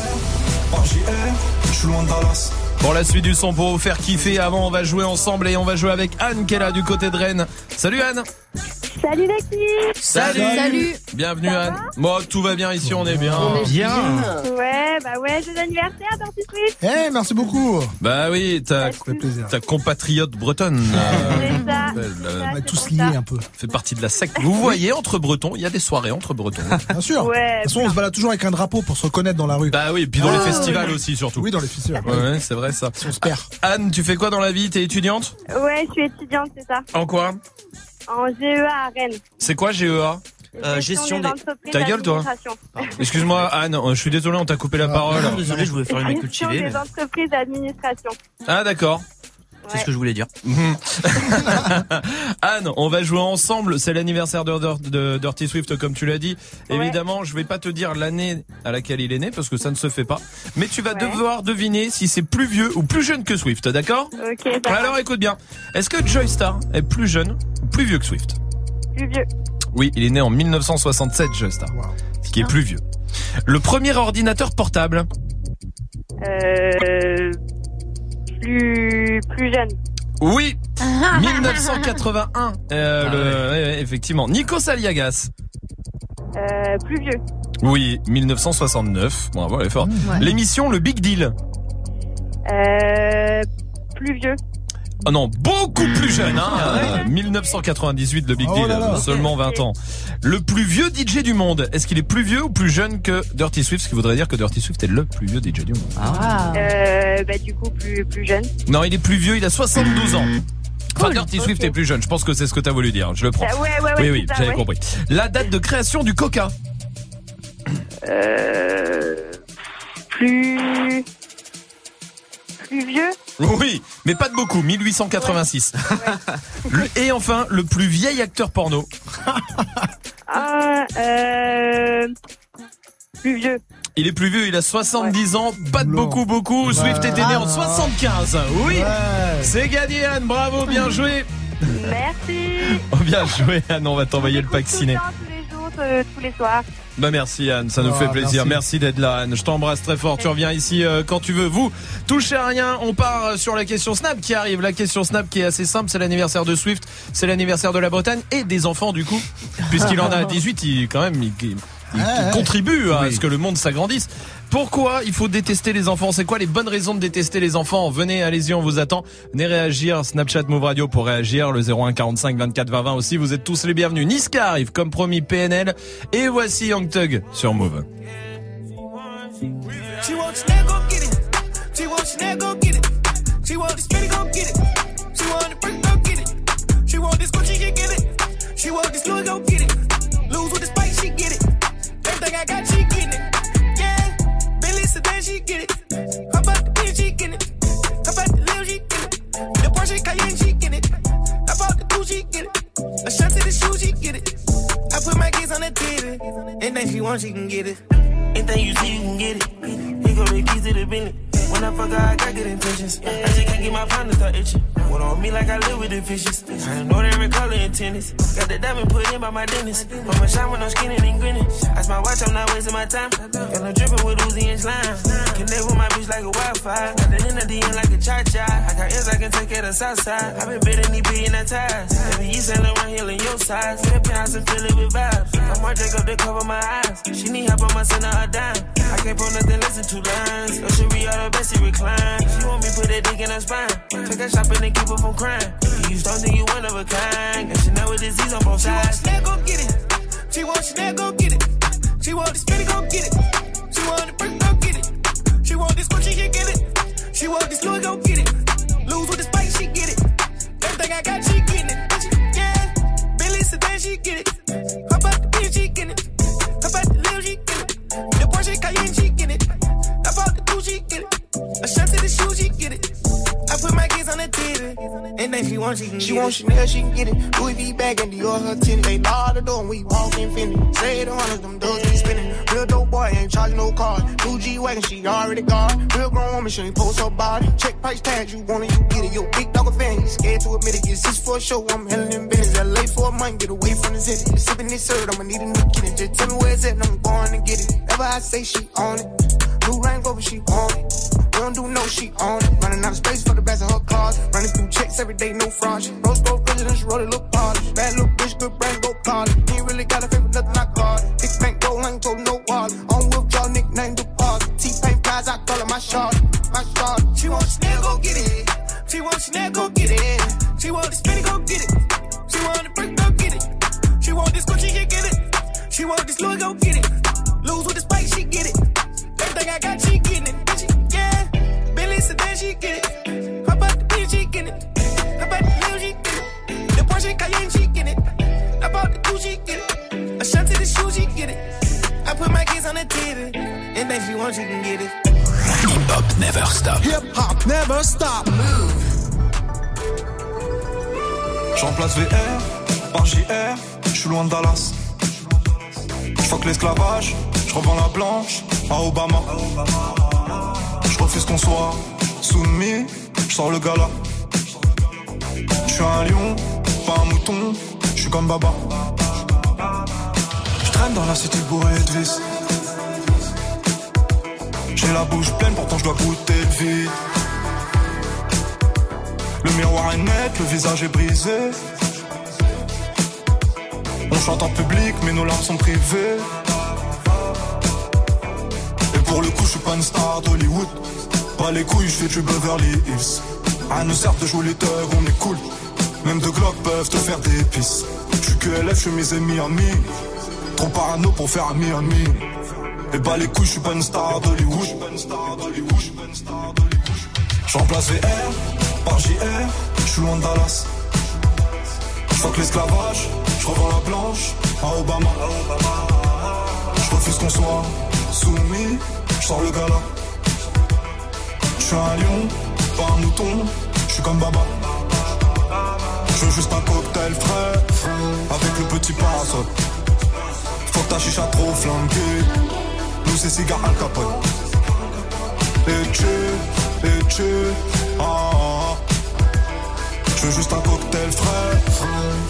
Je suis loin de Dallas. Pour la suite du son, pour vous faire kiffer, avant on va jouer ensemble et on va jouer avec Anne qui est là du côté de Rennes. Salut Anne. Salut l'équipe. Salut. Salut. Bienvenue Ça Anne. va Moi tout va bien ici, on est bien. On est bien. Ouais, bah ouais, c'est l'anniversaire Dirty Swift. Eh, hey, merci beaucoup. Bah oui, ta, ta compatriote bretonne. C'est ça. On est tous liés un peu. Fait partie de la secte. Vous voyez, entre Bretons, il y a des soirées entre Bretons. Bien sûr. Ouais, de toute façon, on se balade toujours avec un drapeau pour se reconnaître dans la rue. Bah oui, et puis dans ah, les festivals oui. aussi surtout. Oui, dans les festivals. Ouais, ouais c'est vrai ça. Si on se perd. Anne, tu fais quoi dans la vie? T'es étudiante? Ouais, je suis étudiante, c'est ça. En quoi? En G E A à Rennes. C'est quoi G E A? Euh, gestion des... Ta gueule, toi. Excuse-moi, Anne, je suis désolé, on t'a coupé la parole. Non, désolé, je voulais faire une écoute Gestion chillée. des Mais... entreprises d'administration. Ah, d'accord. C'est ce que je voulais dire. Anne, on va jouer ensemble. C'est l'anniversaire de, de, de Dirty Swift, comme tu l'as dit. Ouais. Évidemment, je vais pas te dire l'année à laquelle il est né parce que ça ne se fait pas. Mais tu vas ouais. devoir deviner si c'est plus vieux ou plus jeune que Swift, d'accord? Ok. Alors écoute bien. Est-ce que Joy Star est plus jeune ou plus vieux que Swift? Plus vieux. Oui, il est né en mille neuf cent soixante-sept, Joy Star. Wow. Ce qui est plus vieux. Le premier ordinateur portable? Euh... Plus, plus jeune. Oui, mille neuf cent quatre-vingt-un. Euh, ah, le, ouais. Ouais, effectivement. Nikos Aliagas. Euh, plus vieux. Oui, mille neuf cent soixante-neuf. Bravo, elle est forte. Mmh, ouais. L'émission Le Big Deal. Euh, plus vieux. Oh non, beaucoup plus jeune, hein. Ah ouais. mille neuf cent quatre-vingt-dix-huit, le Big oh Deal, là là. Seulement vingt ans. Le plus vieux D J du monde, est-ce qu'il est plus vieux ou plus jeune que Dirty Swift? Ce qui voudrait dire que Dirty Swift est le plus vieux D J du monde. Ah. Euh, bah du coup, plus, plus jeune. Non, il est plus vieux, il a soixante-douze ans. Enfin, cool. Dirty Swift okay. est plus jeune, je pense que c'est ce que t'as voulu dire, je le prends. Euh, ouais, ouais, ouais, oui, oui, ça, j'avais ouais. compris. La date de création du Coca? Euh... Plus... Plus vieux? Oui, mais pas de beaucoup, mille huit cent quatre-vingt-six. Ouais. Et enfin, le plus vieil acteur porno. Ah, euh... Plus vieux. Il est plus vieux, il a soixante-dix ouais. ans, pas de non. beaucoup, beaucoup. Ouais. Swift était né en soixante-quinze. Oui, ouais. C'est gagné, Anne, bravo, bien joué. Merci. Oh, bien joué, Anne, on va t'envoyer le pack ciné. Tous les jours, euh, tous les soirs. Bah merci Anne, ça nous oh, fait plaisir. Merci, merci d'être là Anne. Je t'embrasse très fort. Tu reviens ici euh, quand tu veux. Vous, touchez à rien. On part sur la question Snap qui arrive. La question Snap qui est assez simple. C'est l'anniversaire de Swift. C'est l'anniversaire de la Bretagne et des enfants du coup. Puisqu'il en a dix-huit, il quand même il, il, il ah, contribue à oui. ce que le monde s'agrandisse. Pourquoi il faut détester les enfants? C'est quoi les bonnes raisons de détester les enfants? Venez, allez-y, on vous attend. Venez réagir. Snapchat Move Radio pour réagir. Le zéro un quarante-cinq vingt-quatre vingt vingt aussi. Vous êtes tous les bienvenus. Niska arrive comme promis, P N L. Et voici Young Thug sur Move. She get it. How about the bitch, she get it. How about the lil, she get it. The Porsche Cayenne, she get it. How about the two, she get it. A shot to the shoe, she get it. I put my kids on the T V. Anything she wants, she can get it. Anything you see, you can get it. He gon' the keys to the Bentley. When I fuck her, I got good intentions. I just can't get my phone to start itching. What on me like I live with the fishes. I know every color in tennis. Got the diamond put in by my dentist. Put my shine when I'm skinning and grinning. Ice my watch, I'm not wasting my time. Got no dripping with Uzi and slime. Connect with my bitch like a Wi-Fi. Got the end at the end like a cha-cha. I got ears I can take care of the south side. I been bidding these billion at ties. Baby, you selling around here in your size. Flip house and fill it with vibes. I'm more Jacob to cover my eyes. She need help, I'ma send her a dime. I can't put nothing less than two lines. Yo, she be all the best, she recline. She want me put that dick in her spine. Take her shopping and keep her from crying. You don't think you one of a kind. And she know with disease on both sides. She want Chanel, go get it. She want Chanel, go get it. She want the spinny, go get it. She want the brick, go get it. She want this Gucci, she get it. She want this Louis, go get it. Lose with the spice, she get it. Everything I got, she getting it. Yeah, Billy Sedan, she get it. How about the bitch, she get it. How about the Lil, she get it. The Porsche Cayenne, she get it. How about the two, she get it. A shot to the shoe, she get it. I put my kids on the T V. Anything she wants, she can she get want it. Chanel, she can get it. Louis V bag and Dior her tennis. They lock the door and we walk infinity. Say the hundreds, them doors be spinning. Real dope boy, ain't charging no card. Blue G-Wagon, she already got. Real grown woman, she ain't post her body. Check price tags, you want it, you get it. Yo, big dog a fan, you scared to admit it. Get six for a show, I'm handling them business. L A for a month, get away from the city. Been sipping this syrup, I'ma need a new kitty. Just tell me where it's at, and I'm going to get it. Ever I say she on it. Blue Range Rover, she on it. We don't do no, she on it. Running out of space for the best of her cars. Running through checks every day, no fraud. She rose gold president, she wrote it, look polished. Bad little bitch, good brain, go college. Ain't really got a favorite, nothing I got. Big bank, gold, I ain't told no wallet. On wheelchair, nickname deposit. T-Pain prize, I call it my shot. My shot. She want Chanel, go get it. She want Chanel, go get it. She want the spinny, go get it. She want the brick, go get it. She want this Gucci, she get it. She want this Louis, go get it. Lose with the spice, she get it. Everything I got, she getting it. Yeah, Billy Sedan, she get it. How about the bitch, she get it. How about the Lil, she get it. The Porsche Cayenne, she get it. How about the two, she get it. A shot to want, you can get it. Hip hop never stop. Hip hop never stop. Move. J'remplace V R par J R, j'suis loin de Dallas. J'fuck l'esclavage, j'revends la blanche à Obama. J'refuse qu'on soit soumis, j'sors le gala. J'suis un lion, pas un mouton, j'suis comme Baba. J'traîne dans la cité bourrée de vis. J'ai la bouche pleine, pourtant j'dois goûter le vide. Le miroir est net, le visage est brisé. On chante en public, mais nos larmes sont privées. Et pour le coup, je suis pas une star d'Hollywood. Pas les couilles, je fais du Beverly Hills. À nous sert de jouer les thugs, on est cool. Même deux glocks peuvent te faire des pisses. Je suis que L F, je suis mes amis amis. Trop parano pour faire un Miami. Et bah les couilles, je suis pas une star d'Hollywood. J'remplace V R par J R, je suis loin de Dallas. Fuck l'esclavage, je revends la blanche à Obama. Je refuse qu'on soit soumis, je sors le gala. Je suis un lion, pas un mouton, je suis comme Baba. Je veux juste un cocktail frais, avec le petit parasol. Faut que ta chicha trop flanquée, nous c'est cigare Al Capone. Et tu, et tu, ah, ah. Je veux juste un cocktail frais.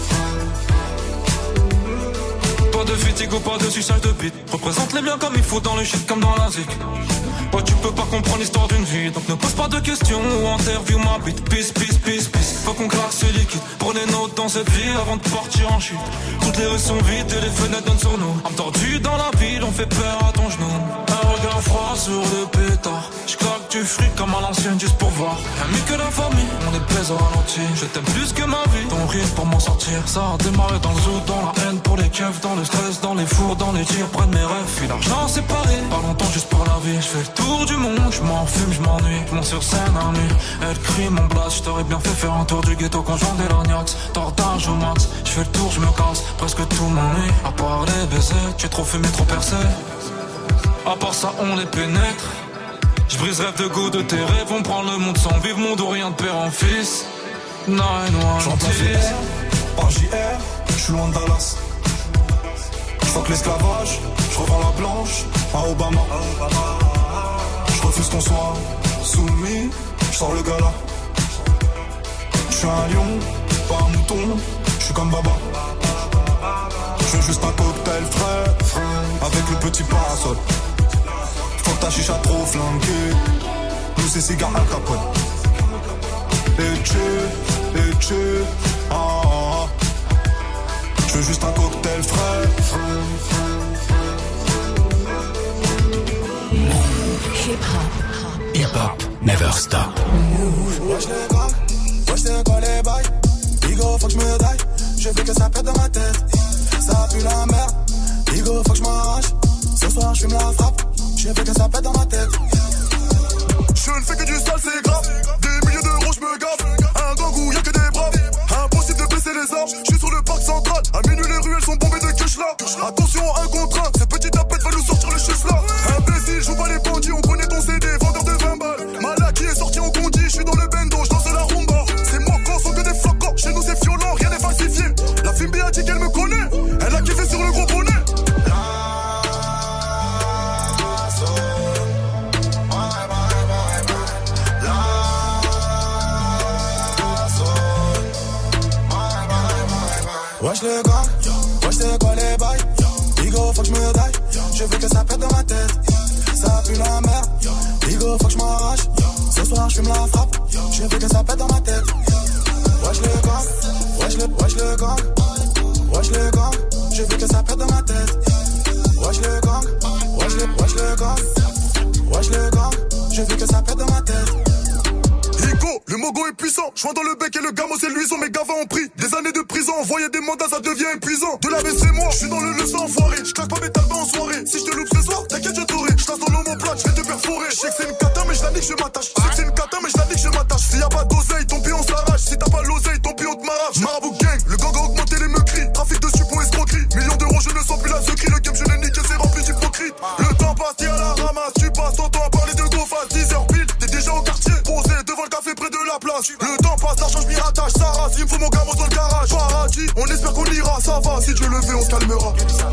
Pas de fatigue, pas de suçage de bite. Représente les biens comme il faut dans le shit comme dans la zik. Ouais, tu peux pas comprendre l'histoire d'une vie, donc ne pose pas de questions ou interview ma bite. Peace, peace, peace, peace. Faut qu'on claque ce liquide. Prenez note dans cette vie avant de partir en chute. Toutes les rues sont vides et les fenêtres donnent sur nous. Âme tordue dans la ville, on fait peur à ton genou. Un regard froid sur le pétard. J'claque du fric comme à l'ancienne juste pour voir. Ami que la famille, on est plaise au ralenti. Je t'aime plus que ma vie, ton rire pour m'en sortir. Ça a démarré dans le zoo, dans la haine pour les keufs, dans le stress, dans les fours, dans les tirs, près de mes rêves. Puis l'argent séparé, pas longtemps juste pour la vie. J'fais le tour du monde, j'm'en fume, j'm'ennuie. J'monte sur scène à nuit, elle crie mon blast. J't'aurais bien fait faire un tour du ghetto conjoint des lorgnax. Tordage au max, j'fais le tour, j'me casse. Presque tout m'ennuie, à part les baisers. J'ai trop fumé, trop percé. À part ça, on les pénètre. J'brise rêve de go de tes rêves. On prend le monde sans vivre, monde ou rien de père en fils. nine one J'entends V R par J R, j'suis loin de Dallas. J'fuck l'esclavage, j'revends la blanche à Obama. J'refuse qu'on soit soumis, j'sors le gala. J'suis un lion, pas un mouton, j'suis comme Baba. J'veux juste un cocktail frais, avec le petit parasol. Faut que ta chicha trop flanquée, nous c'est cigare Al Capone. Et tu, et tu, ah, ah. J'veux juste un cocktail frais. Hip hop, hip hop, never stop. Wesh les gars, wesh c'est quoi les bails? Bigo faut que j'me daille, je veux que ça pète dans ma tête. Ça pue la merde, Bigo faut que j'm'arrache. Ce soir j'fume la frappe, je veux que ça pète dans ma tête. Je ne fais que du sale, c'est grave. Des milliers d'euros, j'me gaffe. Un gang où y'a que des braves. Impossible de baisser les armes. J'suis sur le parc central. À minuit, les ruelles sont bombées de cash là. Attention, un contre un. Ce petit tapette va nous sortir le chiffre là. Imbécile, joue pas les bandits. On connaît ton C D, vendeur de vingt balles. Malaki est sorti en condi. J'suis dans le bendo, j'danse la rumba. C'est moi quand sont que des flocons. Chez nous, c'est violent, rien n'est falsifié. La Fimbi a dit qu'elle me connaît. Elle a kiffé sur le gros bonnet. Wesh les gars, wesh c'est quoi les bails? Bigo faut que j'me daille, je veux que ça pète dans ma tête. Ça pue la merde, Bigo faut que j'm'arrache. Ce soir j'fume la frappe, je veux que ça pète dans ma tête. Wesh les gars, wesh le, wesh le gang, wesh le gang, je veux que ça pète dans ma tête. Wesh le gang, wesh le, wesh le gang, wesh le gang, je veux que ça pète dans ma tête. Higo, le mogo est puissant. Joint dans le bec et le gamo c'est luisant. Mes gavas ont pris des années de prison. Envoyer des mandats ça devient épuisant. De la baisse c'est moi, je suis dans le leçon enfoiré. Je claque pas mes talbans en soirée. Si je te loupe ce soir, t'inquiète je t'aurai. Je tasse dans l'homoplate, je vais te perforer. Je sais que c'est une cata mais je la nique, je m'attache. Je sais que c'est une cata mais je la nique, je m'attache. S'il y a pas d'oseille, ton pied on s'arrache. Si t'as pas l'oseille, ton pied on te m'arrache. Marabout gang, le gang a augmenté les meurtris. Trafic de suppos escroquerie. Millions d'euros, je ne sens plus la secrie. Le game je l'ai niqué, c'est rempli d'hypocrite. Le temps passe, t'es à la ramasse. Tu passes j'espère qu'on ira, ça va, si Dieu le veut, on se calmera.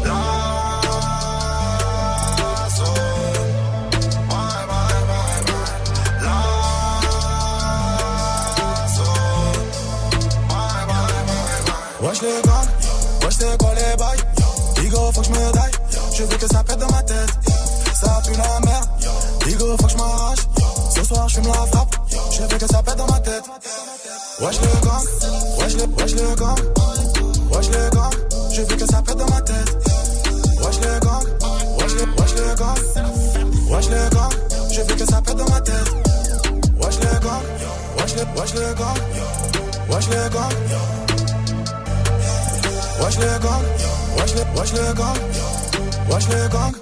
Wesh les gangs, wesh c'est quoi les bails? Digo faut que j'me daille, je veux que ça pète dans ma tête. Ça pue la merde, Digo faut que j'm'arrache. Ce soir j'fume la frappe, je veux que ça pète dans ma tête. Wesh les gangs, wesh les, wesh les gangs, wesh les gangs, je veux que ça pète dans ma tête. Wesh les gangs, wesh les, wesh les gangs, wesh les gangs, je veux que ça pète dans ma tête. Wesh les gangs, wesh les, wesh les gangs, wesh les gangs. Wesh les gangs, wesh les, wesh les gangs, wesh les gangs.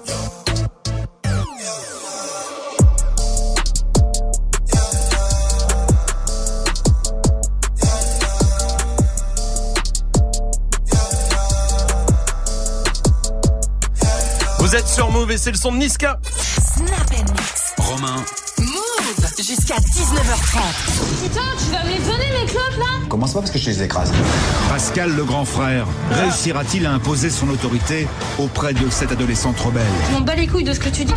Vous êtes sur Move et c'est le son de Niska. Snap and Mix. Romain. Move jusqu'à dix-neuf heures trente. Putain, tu vas me les donner mes clopes là? Commence pas parce que je les écrase. Pascal le grand frère réussira-t-il à imposer son autorité auprès de cette adolescente rebelle? Je m'en bats les couilles de ce que tu dis.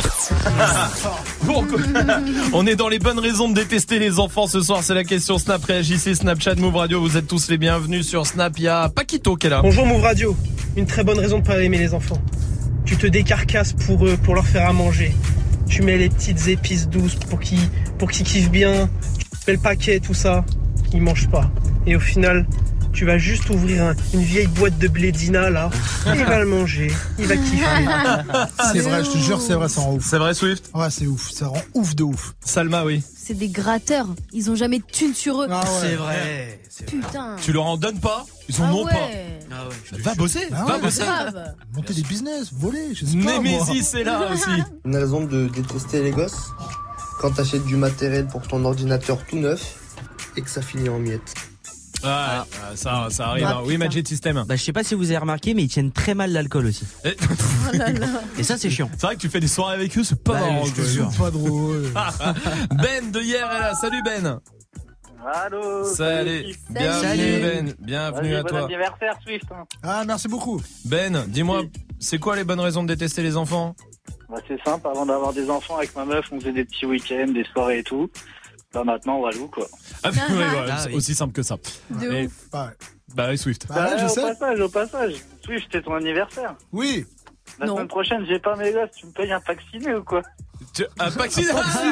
Bon, on est dans les bonnes raisons de détester les enfants ce soir, c'est la question Snap. Réagissez, Snapchat, Move Radio, vous êtes tous les bienvenus sur Snap. Il y a Paquito qui est là. Bonjour Move Radio, une très bonne raison de pas aimer les enfants. Tu te décarcasses pour eux, pour leur faire à manger. Tu mets les petites épices douces pour qu'ils, pour qu'ils kiffent bien. Tu mets le paquet, tout ça. Ils mangent pas. Et au final, tu vas juste ouvrir un, une vieille boîte de blédina là. Il va le manger. Il va kiffer. C'est vrai, je te jure, c'est vrai, ça rend ouf. C'est vrai, Swift? Ouais, c'est ouf. Ça rend ouf de ouf. Salma, oui. C'est des gratteurs. Ils ont jamais de thunes sur eux. Ah ouais. C'est vrai. C'est vrai. Putain. Tu leur en donnes pas? Ils en ah ont ouais. pas. Ah ouais, Va bosser, ah va ouais, bosser. Monter des business, voler, je sais pas. Némésis, c'est là aussi. Une raison de détester les gosses, quand t'achètes du matériel pour ton ordinateur tout neuf et que ça finit en miettes. Ah, ah, ça, ça arrive. Ah, oui, Magic System. Bah, je sais pas si vous avez remarqué, mais ils tiennent très mal l'alcool aussi. Et, oh là là. Et ça, c'est chiant. C'est vrai que tu fais des soirées avec eux, c'est pas bah, marrant. C'est pas drôle. Ben de hier est là. Salut Ben. Allô. Salut. Bienvenue Salut. Ben. Bienvenue Vas-y, à bon toi. anniversaire Swift. Hein. Ah, merci beaucoup. Ben, dis-moi, c'est quoi les bonnes raisons de détester les enfants? Bah, c'est simple, avant d'avoir des enfants avec ma meuf, on faisait des petits week-ends, des soirées et tout. Bah maintenant, walou quoi. Ah, oui, ouais, Ah, c'est oui. aussi simple que ça. De Et- ouf. Bah, Bah oui, Swift. bah, ouais, je au sais. passage, au passage. Swift, c'est ton anniversaire. Oui. La Non. semaine prochaine, j'ai pas mes gosses, tu me payes un vacciné ou quoi? Tu- Un vacciné.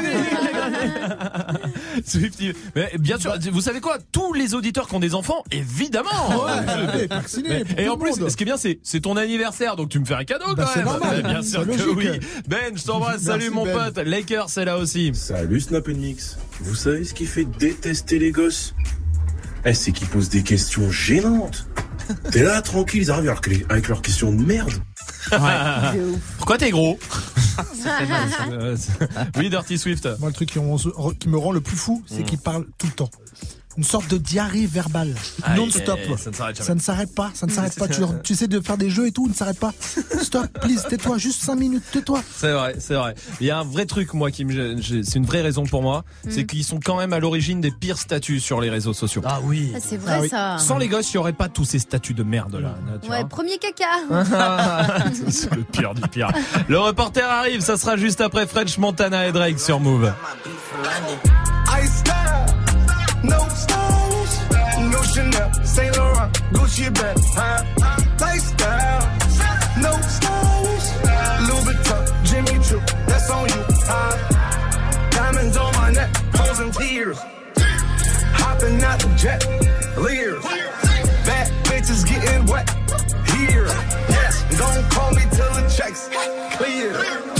Swift, il- mais bien sûr, vous savez quoi? Tous les auditeurs qui ont des enfants, évidemment. Ouais, vacciné. Mais- pour et tout en le plus, monde. ce qui est bien, c'est c'est ton anniversaire, donc tu me fais un cadeau Bah, quand c'est même. normal. Bien sûr C'est que logique. oui. Ben, je t'embrasse. Merci, Salut mon Ben. pote. Lakers, c'est là aussi. Salut Snap and Mix. Vous savez ce qui fait détester les gosses? Eh, c'est qu'ils posent des questions gênantes. T'es là, tranquille, ils arrivent avec les- avec leurs questions de merde. Pourquoi t'es gros? Euh, c'est- Oui, Dirty Swift. Moi, le truc qui, me- qui me rend le plus fou, c'est Mm. qu'il parle tout le temps. Une sorte de diarrhée verbale, Aïe, non-stop. aïe, aïe, ça ne s'arrête jamais. Ça ne s'arrête pas, ça ne s'arrête pas. Tu, tu essaies de faire des jeux et tout, il ne s'arrête pas. Stop, please, tais-toi, juste cinq minutes, tais-toi. C'est vrai, c'est vrai. Il y a un vrai truc, moi, qui me, gêne, j'ai- c'est une vraie raison pour moi, c'est qu'ils sont quand même à l'origine des pires statuts sur les réseaux sociaux. Ah oui. Ah, c'est vrai ça. Sans les gosses, il n'y aurait pas tous ces statuts de merde là. là, tu Ouais, vois. premier caca. C'est le pire du pire. Le reporter arrive, ça sera juste après French Montana et Drake sur Move. Ice style, no stylish, no Chanel, Saint Laurent, Gucci bag, huh? Lifestyle, no stylish, Louis Vuitton, Jimmy Choo, that's on you, huh? Diamonds on my neck, frozen tears, hopping out the jet, leers, bad bitches getting wet, here, yes, don't call me till the checks clear.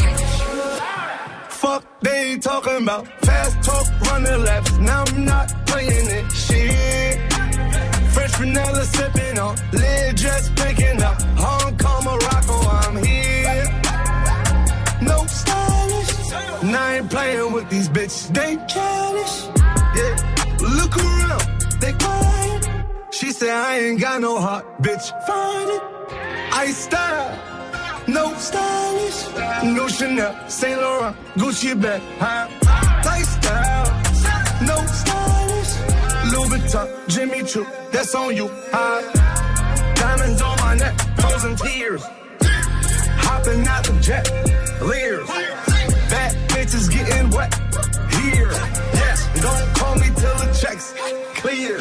Fuck, they ain't talking about fast talk, running laps. Now I'm not playing it, shit. Fresh vanilla sipping on, lid just picking up. Hong Kong, Morocco, I'm here. No stylish, and I ain't playing with these bitches. They childish, yeah. Look around, they quiet. She said I ain't got no heart, bitch. Find it, I style. No stylish, no Chanel, Saint Laurent, Gucci bag, huh? Lifestyle, no stylish, Louis Vuitton, Jimmy Choo, that's on you, huh? Diamond frozen tears. Hopping out the jet, leers. Bad bitches getting wet here. Yes, don't call me till the checks clear.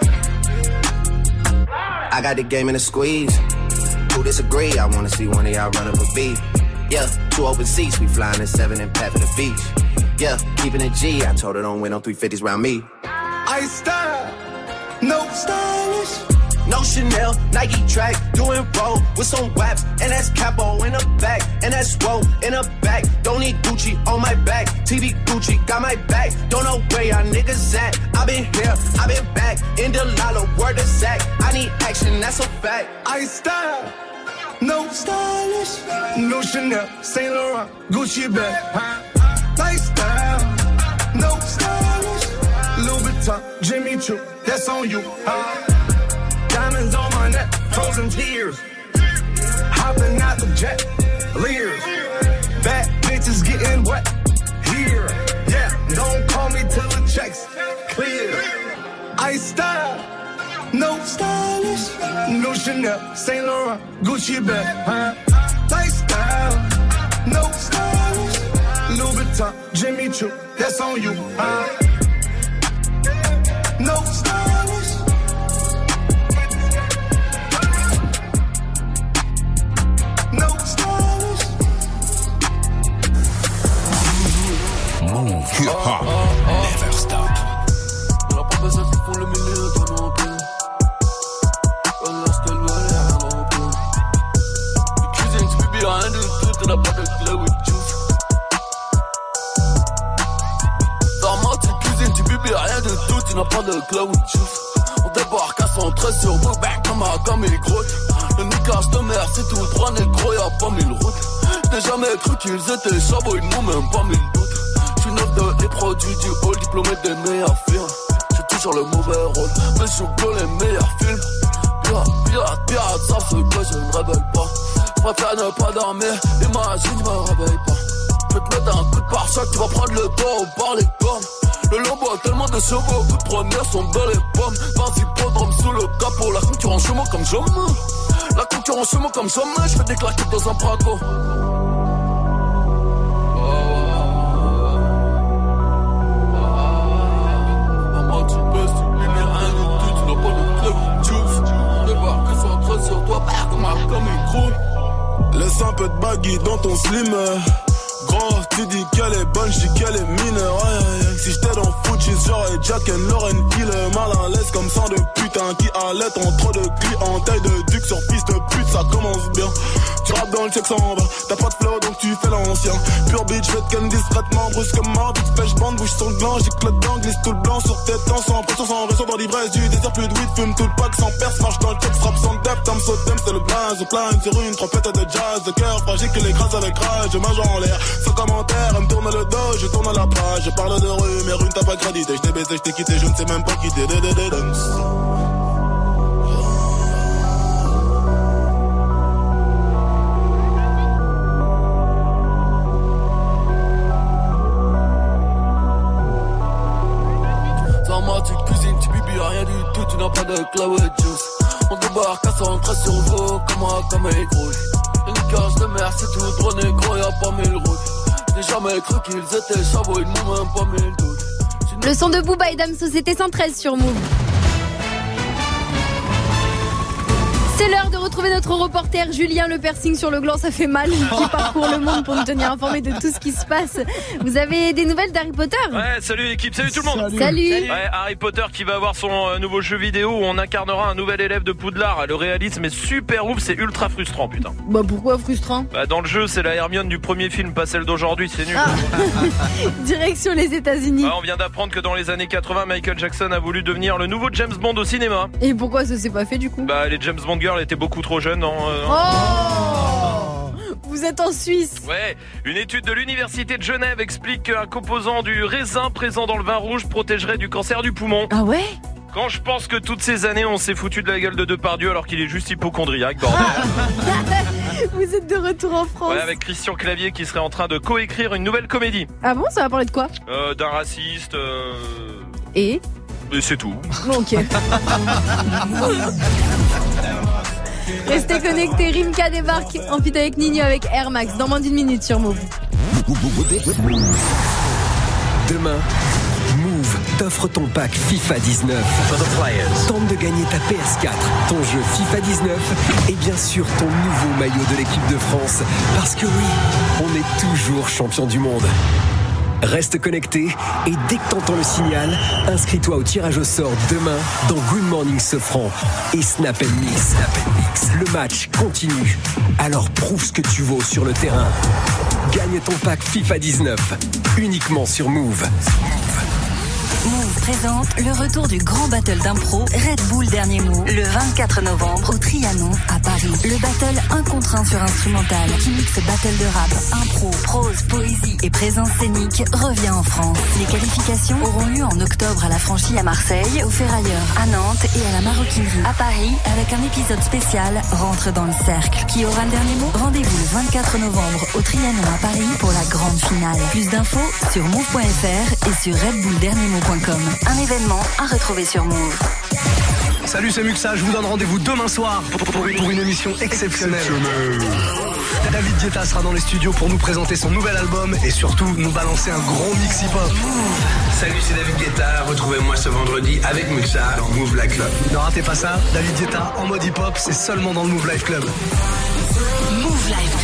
I got the game in a squeeze. Who disagree? I wanna see one of y'all run up a beat. Yeah, two open seats, we flying in seven and pat for the beach. Yeah, keeping it G. I told her don't win on three fifties round me. I style, no stylish. No Chanel, Nike track, doing roll with some waps, and that's capo in the back, and that's roll in the back. Don't need Gucci on my back, T V Gucci got my back. Don't know where y'all niggas at. I been here, I been back, in the lala, word of Zach. I need action, that's a fact. I style, no stylish. No Chanel, Saint Laurent, Gucci bag. Lifestyle, no stylish. Louis Vuitton, Jimmy Choo, that's on you. Uh, Diamonds on my neck, frozen tears. Hopping out the jet, leers. Bad bitches getting wet here. Yeah, don't call me till the checks clear. I style, no stylish. No Chanel, Saint Laurent, Gucci bag. Huh? Lifestyle, no stylish. Louis Vuitton, Jimmy Choo, that's on you. Huh? No stylish. Hip hop, never stop. La promesse qui font le milieu de mon pays. Lorsqu'elle veut rien en peu. Cuisine, tu bébé, rien de tout, tu n'as pas de clé with juice. Dormant, tu cuisines, tu bébé, rien de tout, tu n'as pas de clé with juice. On débarque à cent treize sur mon back comme un comme il grotte. Le niquage de mer, c'est tout droit, négro, y'a pas mille routes. J'ai jamais cru qu'ils étaient chabots, ils n'ont même pas mille doutes. J'suis neuf de les produits du hall, diplômé des meilleurs firmes. J'suis toujours le mauvais rôle, mais j'joue que les meilleurs films. Pirate, pirate, pirate, ça fait que je ne rebelle pas. J'préfère ne pas dormir, imagine, je me réveille pas. J'vais te mettre un coup de pare-choc, tu vas prendre le dos par les cornes. Le lambeau a tellement de chevaux, coup de première sont belles les pommes. vingt hippodromes sous le capot, la concurrence chez moi comme jamais. La concurrence chez moi comme jamais, j'fais des claquettes dans un braco. Laisse un peu de baggy dans ton slim. Gros, tu dis qu'elle est bonne, j'dis qu'elle est mineure. Aïe, aïe, aïe. Si j'étais dans Fuji, j'aurais Jack and Lauren qui le mal à l'aise comme sang de putain qui allait en trop de cul en taille de duc sur fils de pute, ça commence bien. Tu rappes dans le check sans bas, t'as pas de flow donc tu fais l'ancien. Pure bitch, fais de ken discrètement, brusquement, vite fait j'bande, bouge sur le gland, j'ai clotte dedans, glisse tout le blanc sur tes temps, sans pression, sans réseau dans l'ivresse du désert, plus de weed, fume tout le pack sans perce, marche dans le check, frappe sans depth, I'm so dumb, c'est le blaze, au plein sur une trompette de jazz, de cœur fragile qui l'écrase avec rage, je mange en l'air, sans commentaire, elle me tourne le dos, je tourne à la page, je parle de rue, mais rue t'as pas crédité, je t'ai baisé, je t'ai quitté, je ne sais même pas qui t'es, rien du tout, tu n'as pas de cloud juice. On débarque à cent treize sur vous, comme un comme un gros. Une cage de mer, c'est tout droit négro, y'a pas mille routes. J'ai jamais cru qu'ils étaient chavots, ils n'ont même pas mille doutes. Le son de Booba et Damso, c'était cent treize sur Move. C'est l'heure de retrouver notre reporter Julien. Le piercing sur le gland, ça fait mal. Qui parcourt le monde pour nous tenir informés de tout ce qui se passe. Vous avez des nouvelles d'Harry Potter ? Ouais, salut l'équipe, salut tout le monde. Salut. Salut. Ouais, Harry Potter qui va avoir son euh, nouveau jeu vidéo où on incarnera un nouvel élève de Poudlard. Le réalisme est super ouf, c'est ultra frustrant, putain. Bah pourquoi frustrant ? Bah dans le jeu, c'est la Hermione du premier film, pas celle d'aujourd'hui, c'est nul. Ah. Direction les États-Unis. Ouais, on vient d'apprendre que dans les années quatre-vingts, Michael Jackson a voulu devenir le nouveau James Bond au cinéma. Et pourquoi ça s'est pas fait du coup ? Bah les James Bond girls étaient beaucoup trop jeunes. Non, euh, oh, vous êtes en Suisse. Ouais, une étude de l'université de Genève explique qu'un composant du raisin présent dans le vin rouge protégerait du cancer du poumon. Ah ouais ? Quand je pense que toutes ces années on s'est foutu de la gueule de Depardieu alors qu'il est juste hypochondriaque, bordel. Vous êtes de retour en France. Ouais, avec Christian Clavier qui serait en train de coécrire une nouvelle comédie. Ah bon, ça va parler de quoi ? euh, D'un raciste. Euh... Et ? Et c'est tout. Ok. Restez connectés, Rimka débarque en feat avec Nino avec Air Max dans moins d'une minute sur Move. Demain, Move t'offre ton pack FIFA dix-neuf. Tente de gagner ta P S quatre, ton jeu FIFA dix-neuf et bien sûr ton nouveau maillot de l'équipe de France. Parce que oui, on est toujours champion du monde. Reste connecté et dès que t'entends le signal, inscris-toi au tirage au sort demain dans Good Morning Sofran et Snap and Mix. Snap and Mix. Le match continue. Alors prouve ce que tu vaux sur le terrain. Gagne ton pack FIFA dix-neuf uniquement sur Move. Move présente le retour du grand battle d'impro Red Bull Dernier Mot le vingt-quatre novembre au Trianon à Paris. Le battle un contre un sur instrumental qui mixe battle de rap, impro, prose, poésie et présence scénique revient en France. Les qualifications auront lieu en octobre à la Franchie à Marseille, au Ferrailleur à Nantes et à la Maroquinerie à Paris avec un épisode spécial Rentre dans le cercle. Qui aura le dernier mot? Rendez-vous le vingt-quatre novembre au Trianon à Paris pour la grande finale. Plus d'infos sur move point f r et sur red bull dernier mot point com. Un événement à retrouver sur Move. Salut, c'est Muxa, je vous donne rendez-vous demain soir pour, pour, pour une émission exceptionnelle. David Guetta sera dans les studios pour nous présenter son nouvel album et surtout nous balancer un gros mix hip-hop. Salut, c'est David Guetta, retrouvez-moi ce vendredi avec Muxa dans Move Live Club. Ne ratez pas ça, David Guetta en mode hip-hop, c'est seulement dans le Move Live Club. Move Live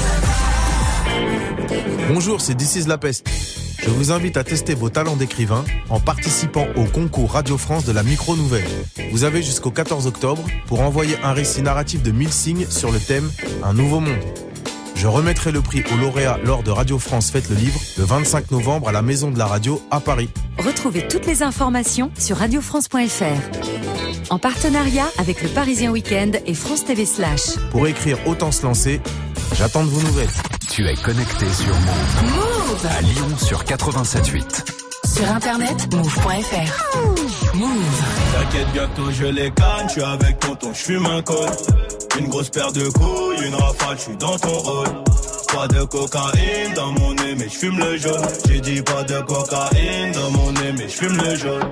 Club. Bonjour, c'est This is La Peste. Je vous invite à tester vos talents d'écrivain en participant au concours Radio France de la micro-nouvelle. Vous avez jusqu'au quatorze octobre pour envoyer un récit narratif de mille signes sur le thème « Un nouveau monde ». Je remettrai le prix aux lauréats lors de Radio France Fête le Livre le vingt-cinq novembre à la Maison de la Radio à Paris. Retrouvez toutes les informations sur radio france point f r. En partenariat avec le Parisien Week-end et France T V Slash. Pour écrire Autant se lancer, j'attends de vos nouvelles. Tu es connecté sur Move. Move à Lyon sur quatre-vingt-sept virgule huit. Sur internet, move point f r. Move. T'inquiète, bientôt je les canne, je suis avec tonton, je fume un col. Une grosse paire de couilles, une rafale, je suis dans ton rôle. Pas de cocaïne dans mon nez, mais je fume le jaune. J'ai dit pas de cocaïne dans mon nez, mais je fume le jaune.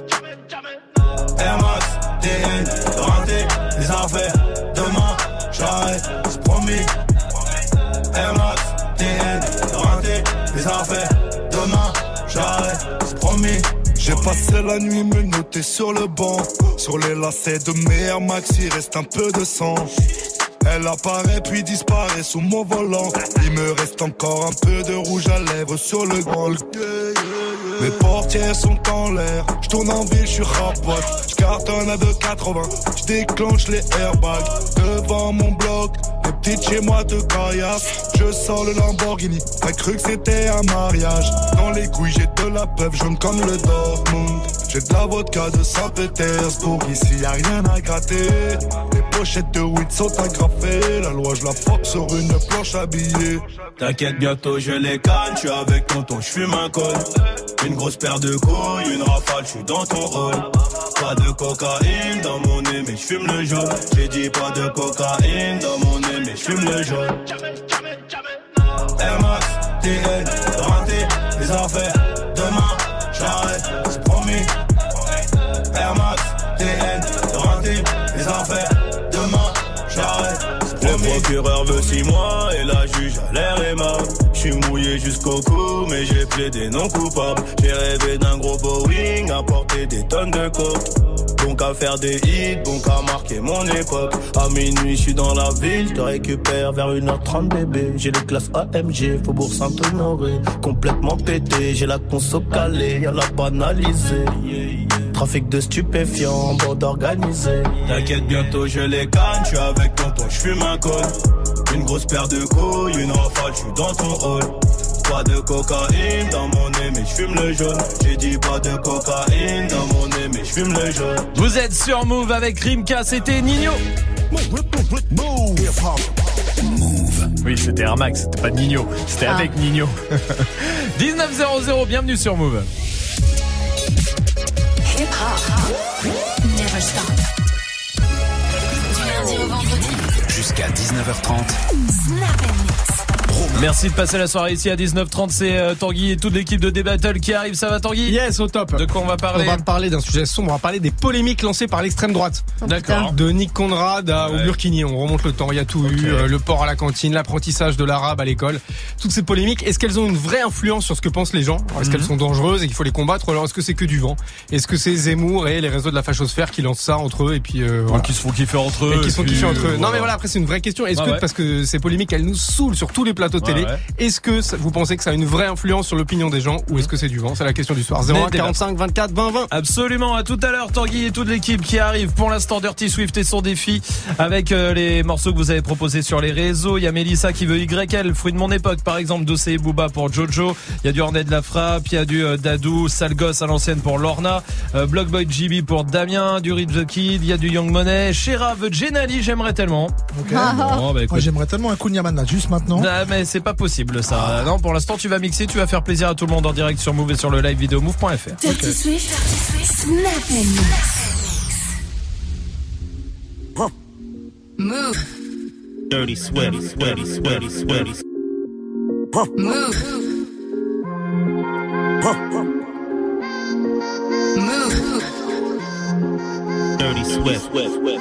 Air Max, T N, rentré, les affaires, demain, j'arrête, c'est promis. Air Max, T N, rentré, les affaires, demain, j'arrête, c'est promis. J'ai passé la nuit menotté sur le banc. Sur les lacets de mes Air Max, il reste un peu de sang. Elle apparaît puis disparaît sous mon volant. Il me reste encore un peu de rouge à lèvres sur le grand. Mes portières sont en l'air. J'tourne en ville, j'suis rapote. J'cartonne à deux quatre-vingts. J'déclenche les airbags devant mon bloc. Les petites chez moi de caillasse. Je sors le Lamborghini. T'as cru que c'était un mariage. Dans les couilles j'ai de la peuple jaune comme le Dortmund. J'ai de la vodka de Saint-Pétersbourg. Ici y'a rien à gratter. Les pochettes de weed sont agrafées. La loi je la frappe sur une planche habillée. T'inquiète, bientôt je les canne. Je suis avec tonton, je fume un col. Une grosse paire de couilles, une rafale, je suis dans ton rôle. Pas de cocaïne dans mon nez, mais je fume le jaune. J'ai dit pas de cocaïne dans mon nez, mais je fume le jaune. Air Max, T N, rentré, les affaires, demain, j'arrête, c'est promis. Air Max, T N, rentré, les affaires, demain, j'arrête, c'est promis. Le procureur veut six mois et la juge a l'air aimable. J'suis mouillé jusqu'au cou, mais j'ai plaidé non coupable. J'ai rêvé d'un gros Boeing, à porter des tonnes de coke. Bon qu'à faire des hits, bon qu'à marquer mon époque. À minuit, j'suis dans la ville, te récupère vers une heure trente bébé. J'ai les classes A M G, Faubourg Saint-Honoré. Complètement pété, j'ai la conso calée, y'a la banalisée. Trafic de stupéfiants, bande organisée. T'inquiète, bientôt je les canne, j'suis avec tonton, j'fume un col. Une grosse paire de couilles, une rafale, j'suis dans ton hall. Pas de cocaïne dans mon nez, mais j'fume le jaune. J'ai dit pas de cocaïne dans mon nez, mais j'fume le jaune. Vous êtes sur Move avec Rimka, c'était Nino. Move. Oui, c'était Air Max, c'était pas Nino, c'était ah. avec Nino. dix-neuf zéro zéro, bienvenue sur Move. Hip hop, never stop. Du lundi au vendredi. Jusqu'à dix-neuf heures trente. Snap and Mix. Merci de passer la soirée ici à dix-neuf trente. C'est euh, Tanguy et toute l'équipe de D-Battle qui arrive. Ça va, Tanguy? Yes, au top. De quoi on va parler? On va parler d'un sujet sombre. On va parler des polémiques lancées par l'extrême droite. D'accord. De Nick Conrad à, ouais. au Burkini. On remonte le temps. Il y a tout okay. eu. Euh, le port à la cantine, l'apprentissage de l'arabe à l'école. Toutes ces polémiques. Est-ce qu'elles ont une vraie influence sur ce que pensent les gens? Alors, est-ce mm-hmm. qu'elles sont dangereuses et qu'il faut les combattre? Ou alors est-ce que c'est que du vent? Est-ce que c'est Zemmour et les réseaux de la fachosphère qui lancent ça entre eux et puis euh, voilà. qui se font kiffer entre eux et qui se font puis... kiffer entre eux. Non mais voilà, après c'est une vraie question. Est-ce ah que ouais. parce que ces polémiques elles nous saoulent sur tous les plateaux de télé, ouais, ouais. est-ce que ça, vous pensez que ça a une vraie influence sur l'opinion des gens ou est-ce que c'est du vent? C'est la question du soir. zéro un quarante-cinq vingt-quatre vingt vingt. Absolument. À tout à l'heure, Tanguy et toute l'équipe qui arrive. Pour l'instant, Dirty Swift et son défi avec euh, les morceaux que vous avez proposés sur les réseaux. Il y a Mélissa qui veut Y L, fruit de mon époque par exemple, Dossé et Booba pour Jojo. Il y a du Ornette de la Frappe, il y a du euh, Dadou, Sale Gosse à l'ancienne pour Lorna, euh, Blockboy G B pour Damien, du Rich the Kid, il y a du Young Money, Shera veut Jenali, j'aimerais tellement. Okay. Bon, bah, Moi, j'aimerais tellement un Kunyaman là, juste maintenant. Non, mais c'est pas possible ça. Ah. Non, pour l'instant tu vas mixer, tu vas faire plaisir à tout le monde en direct sur Move et sur le live vidéo move point f r. Dirty okay. Swift, Snap and huh. Move. Dirty sweaty, sweaty, sweaty, sweaty. Huh. Move. Huh. Move. Dirty sweat.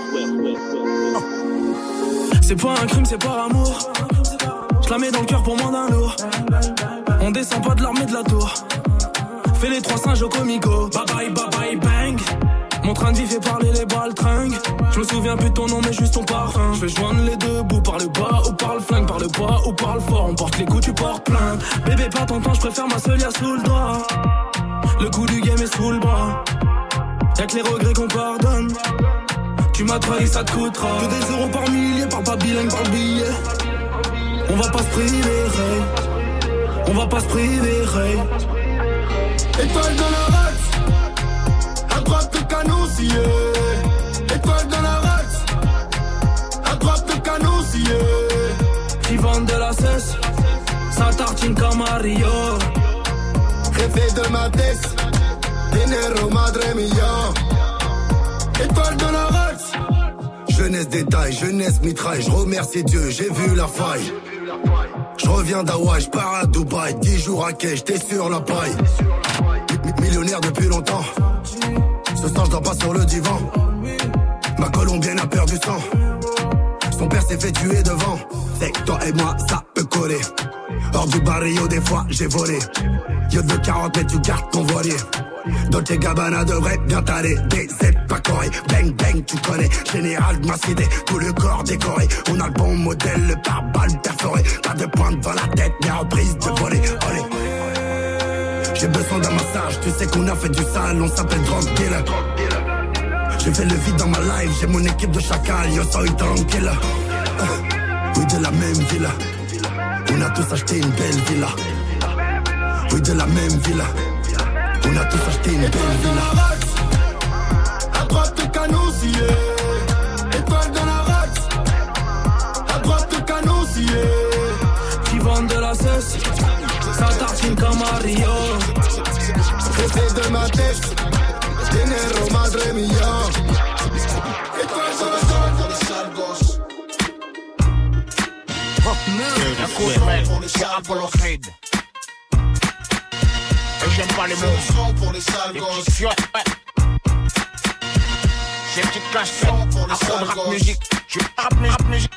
C'est pas un crime, c'est par amour. Je la mets dans le cœur pour moins d'un lourd. On descend pas de l'armée de la tour. Fais les trois singes au comico. Bye bye bye bye bang. Mon train de vie fait parler les baltringues. Je me souviens plus de ton nom mais juste ton parfum. Je fais joindre les deux bouts par le bas ou par le flingue. Par le bas ou par le fort. On porte les coups, tu portes plainte. Bébé pas ton temps, je préfère ma seule y'a sous le doigt. Le coup du game est sous le bras. Y'a que les regrets qu'on pardonne. Tu m'as trahi, ça te coûtera. Que des euros par millier, parle pas bilingue, parle billet. On va pas se priver, hey. On va pas se priver, hey. Étoile dans la race, à droite le canon scié. Étoile dans la race, à droite le canon scié. Qui vendent de la cesse, ça tartine comme Mario. Rêver de ma tête, dinero madre mia. Étoile dans la race. Jeunesse détail, jeunesse mitraille. Je remercie Dieu, j'ai vu la faille. Je reviens d'Hawaï, je pars à Dubaï. Dix jours à quai, j'étais sur la paille. Millionnaire depuis longtemps. Ce soir je dors pas sur le divan. Ma colombienne a perdu sang. Son père s'est fait tuer devant. C'est que toi et moi ça peut coller. Hors du barrio des fois j'ai volé. Yo de quarante mais tu gardes ton voilier. Dolce Gabbana devrait bien t'aller. D Z pas coré, bang bang tu connais. Général de ma cité, tout le corps décoré. On a le bon modèle, le pare-balles perforé. Pas de pointe dans la tête, mais reprise de voler. Olé. J'ai besoin d'un massage, tu sais qu'on a fait du sale. On s'appelle drug dealer. J'ai fait le vide dans ma life, j'ai mon équipe de chacal. Yo soy tranquille. euh, Oui de la même villa. On a tous acheté une belle villa. Oui de la même villa. On a tous acheté une belle villa. À droite le canon scié. Étoile dans la race. À droite le canon scié. Qui vendent de la cesse, ça tartine comme Mario. Rêver de ma tête, dinero madre mia. Étoile dans la zone pour les sales gosses. Pour les sales gosses. Et j'aime pas les mots pour les sales gosses. Les petites Ces petites casquettes, afro de rap musique. Je rap musique.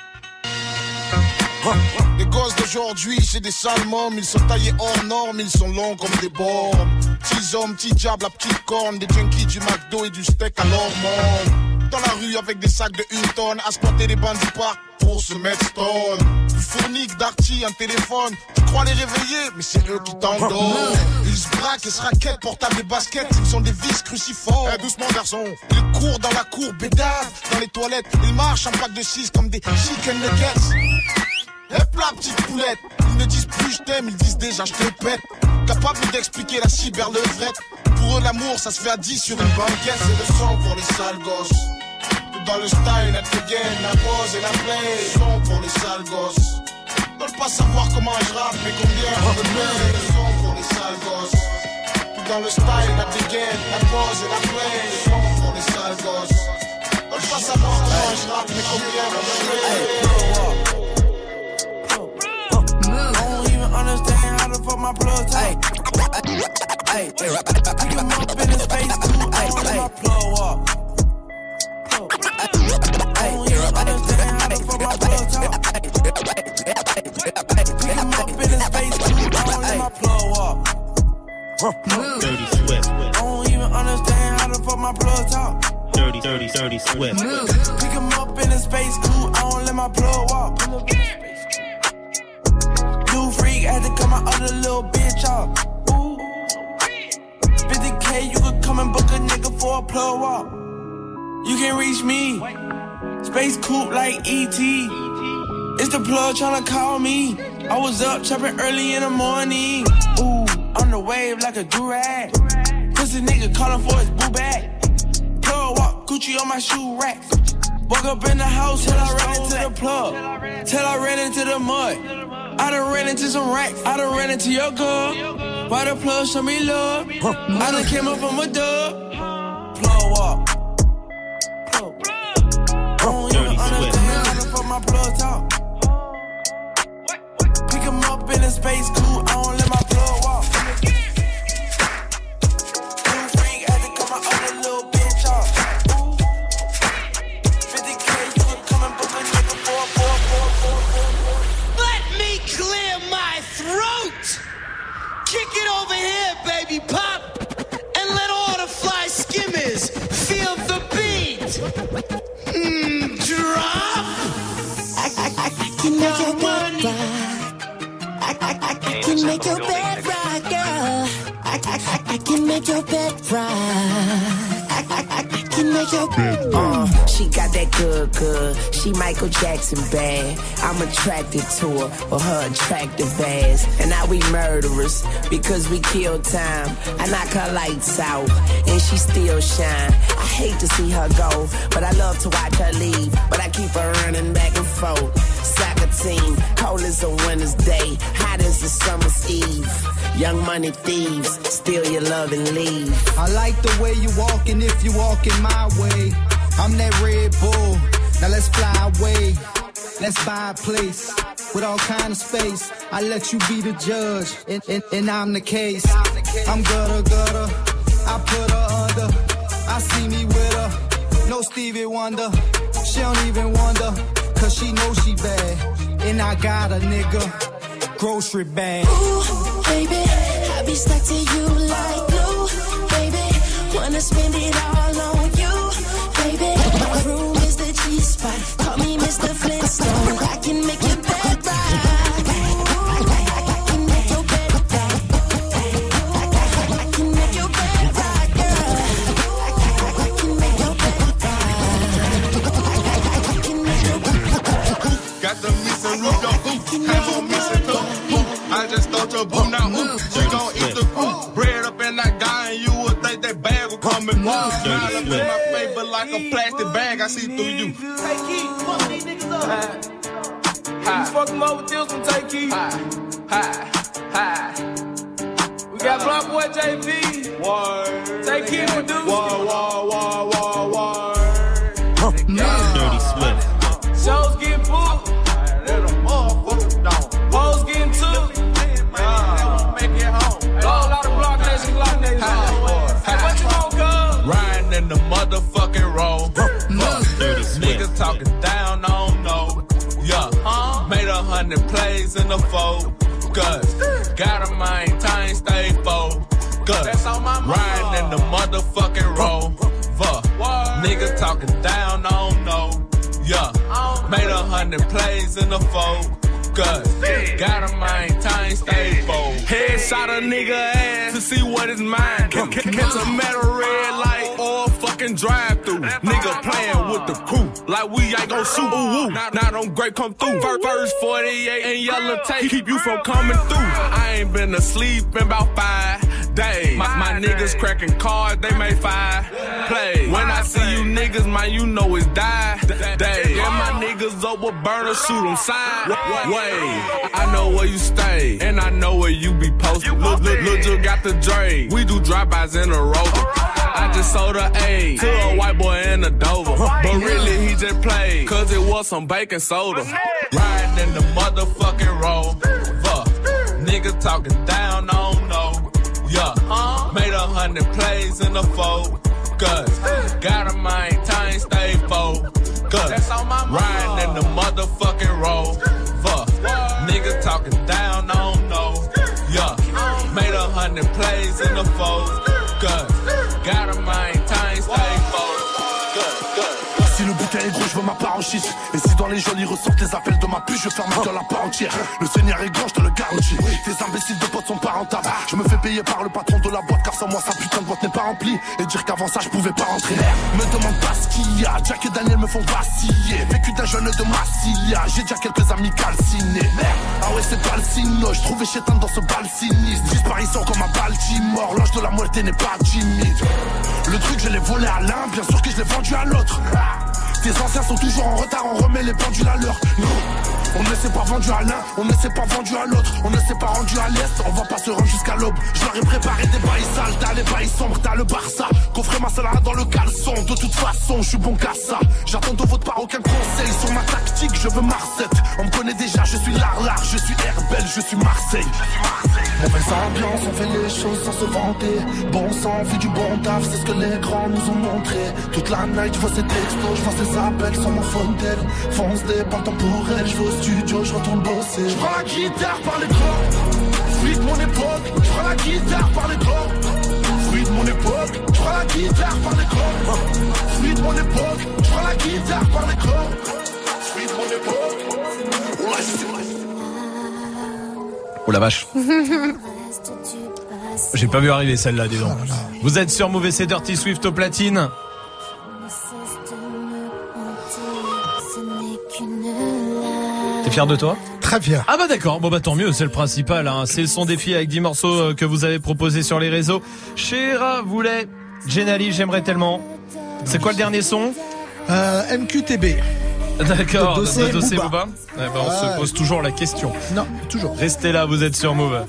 Les gosses d'aujourd'hui, c'est des sales mômes. Ils sont taillés hors normes, ils sont longs comme des bornes. Petits hommes, petits diables, la petite corne. Des junkies du McDo et du steak à l'hormone. Dans la rue avec des sacs de une tonne. À squatter les bancs du parc pour se mettre stone. Du fournique, d'arty, un téléphone. Tu crois les réveiller, mais c'est eux qui t'endorment. Ils se braquent et se raquettent, portables et baskets. Ils sont des vis cruciformes. Eh, doucement garçon. Ils courent dans la cour, bédave dans les toilettes. Ils marchent en pack de six comme des chicken nuggets. Hep la petite poulette. Ils ne disent plus je t'aime, ils disent déjà je te pète. Capable d'expliquer la cyberlevrette. Pour eux l'amour ça se fait à dix sur une banquette. C'est le son pour les sales gosses. Tout dans le style, la dégaine, la pose et la play. Son pour les sales gosses. Veulent pas savoir comment je rappe mais combien je me plais. C'est le son pour les sales gosses. Tout dans le style, la dégaine, la pose et la play. Son pour les sales gosses. Veulent pas savoir comment je rappe mais combien je me play. my plug top. Hey, hey, hey, pick him up in his face, too. I don't let my plug walk. I don't even understand how to fuck my plug top. Pick him up in his face, too. I don't let my plug walk. Dirty Swift. I don't even understand how to fuck my plug top. Dirty, dirty, dirty Swift. Pick him up in his space cool, I don't let my plug walk. New freak, had to cut my other little bitch off. Ooh. fifty K, you could come and book a nigga for a plug walk. You can reach me, space coupe like E T. It's the plug tryna call me. I was up chopping early in the morning. Ooh, on the wave like a durag. Pussy nigga calling for his boo bag. Plug walk, Gucci on my shoe racks. Woke up in the house till I ran into the plug. Till I ran into the mud. I done ran into some racks. I done ran into your girl. Why the plug show me love? I done came up from a dub. Plug walk. Plug. I don't even understand how to fuck my plug talk. Pick him up in a space cool. I don't let my plug walk. New freak, had to cut my other little bitch off. fifty K, you could come and book a nigga for a four, four, four, four. Let me clear my throat. Kick it over here, baby pop, and let all the fly skimmers feel the beat. Mm, drop. I, I, I, I can make your bed rock. I, I, I, I can make your bed rock, girl. I, I, I, I can make your bed rock. I, I, I, I can make your bed rock. Uh, she got that good, good. She Michael Jackson bad. I'm attracted to her for her attractive ass. And now we murderers because we kill time. I knock her lights out and she still shine. I hate to see her go, but I love to watch her leave. But I keep her running back and forth. Soccer team, cold as a winter's day, hot as a summer's eve. Young money thieves, steal your love and leave. I like the way you walking if you walking my way. I'm that Red Bull, now let's fly away. Let's buy a place with all kind of space. I let you be the judge, and, and, and I'm the case. I'm gutter, gutter, I put her under. I see me with her, no Stevie Wonder. She don't even wonder, cause she knows she bad. And I got a nigga, grocery bag. Ooh, baby, I be stuck to you like glue. Baby, wanna spend it all on you. Baby, my room is the G-spot. Call me Mister Flintstone. I can make your bed right. I can make your bed right. I can make your bed right, girl. I can make your bed right. I can make your bed right. Got the missing root of hoop. Have on missing the hoop. I just thought your boo now hoop. She gon' eat the food. Bread up in that guy and you would think that bag would come and move. Smile up in my face but like a plastic bag. I see through you. Hey, Keith, fuck these niggas up. Hi. You fuck them up with this one, take Keith. Hi. Hi. Hi. We got Block Boy J P. Word. Take Keith for dudes. Word, word, word, word, word. Dirty Swift. Shows getting booked. Hoes getting took. Make it home. A lot of Block Nation, Block Nation. What you want, cuz? Riding in the motherfucking road. Niggas talking down, I don't know. Yeah, huh? Made a hundred plays in the focus. Gotta maintain, stay focused. That's on my mind. Riding in the motherfucking road. Niggas talking down, I don't know. Yeah, made a hundred plays in the focus. Gotta maintain, stay focused. Headshot a nigga ass to see what is mine. Catch a metal red light or fucking drive through. Nigga playing with the crew like we ain't gon' shoot. Ooh, ooh. Now, now them great come through. First forty-eight and yellow tape keep you from coming through. I ain't been asleep in about five days. My, my niggas cracking cards, they made five plays. When I see you niggas, man, you know it's die day. Yeah, my niggas up with burner, shoot them side way. I know where you stay, and I know where you be posted. Look, look, look, you got the Dre. We do drive-bys in a rover. I just sold a A to a white boy in a Dover. But really, he just played, cause it was some baking soda. Riding in the motherfucking road. Niggas talking down, I don't know. Yeah, made a hundred plays in the focus. Gotta maintain, stay focused. Riding in the motherfucking rover. Nigga talking down, I don't know. Yeah, made a hundred plays in the focus. Gotta maintain, stay focused. Si le bouquin est gros, je veux ma part en shit. Et si dans les jolis ressortent les appels de ma pute, je ferme ma gueule à part entière. Le Seigneur est grand, je te le garantis. Tes imbéciles de potes sont pas rentables. Je me fais payer par le patron de la boîte, car sans moi sa putain de boîte n'est pas remplie. Et dire qu'avant ça je pouvais pas rentrer. Me demande pas ce qu'il y a, Jack et Daniel me font vaciller. Vécu d'un jeune de Massilia, j'ai déjà quelques amis calcinés. Ah ouais c'est pas le signe, je trouvais chétan dans ce bal sinistre. Disparition comme à Baltimore, l'ange de la muerte n'est pas timide. Le truc je l'ai volé à l'un, bien sûr que je l'ai vendu à l'autre. Tes anciens sont toujours en retard, on remet les pendules à l'heure. On ne s'est pas vendu à l'un, on ne s'est pas vendu à l'autre. On ne s'est pas rendu à l'est, on va pas se rendre jusqu'à l'aube. Je leur ai préparé des bails sales, t'as les bails sombres, t'as le Barça. Coffrez ma salade dans le caleçon, de toute façon je suis bon qu'à ça. J'attends de votre part aucun conseil sur ma tactique, je veux Marcette. On me connaît déjà, je suis Larlar, je suis Herbel, je suis Marseille. Mauvaise ambiance, on fait les choses sans se vanter. Bon sang, fait du bon taf, c'est ce que les grands nous ont montré. Toute la night, je vois ces textos, je vois ces appels sur mon phone tel. Fonce des pas le temps pour elle, je vais au studio, je retourne bosser. Je prends la guitare par les corps, fruit de mon époque. Je prends la guitare par les corps, fruit de mon époque. Je prends la guitare par les corps, fruit de mon époque. Je prends la guitare par les corps, fruit de mon époque. Ouais, c'est vrai. Oh la vache. J'ai pas vu arriver celle-là, dis donc. Vous êtes sur Move et c'est Dirty Swift au platine. T'es fier de toi ? Très fier. Ah bah d'accord, bon bah tant mieux, c'est le principal, hein. C'est le son défi avec dix morceaux que vous avez proposés sur les réseaux. Chéra voulait, Genali, j'aimerais tellement. C'est quoi le dernier son ? euh, M Q T B. D'accord, de dossier, de dossier Booba. Booba. Eh ben, on ah, se pose toujours la question. Non, toujours. Restez là, vous êtes sur Move.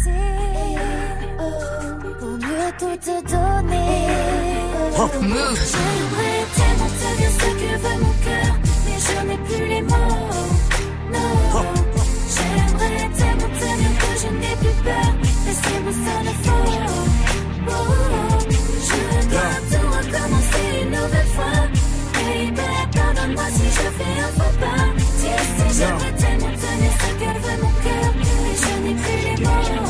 Pour mieux tout te donner. Oh. Move. J'aimerais tellement te dire ce que veut mon cœur, mais je n'ai plus les mots. Non. Oh. J'aimerais tellement te dire que je n'ai plus peur, mais c'est mon seul effort. Oh. Je dois yeah. tout recommencer une nouvelle fois. Baby, pardonne-moi si je fais un faux pas. Tu sais, j'aimerais tellement te dire ce que veut mon cœur, mais je n'ai plus les mots.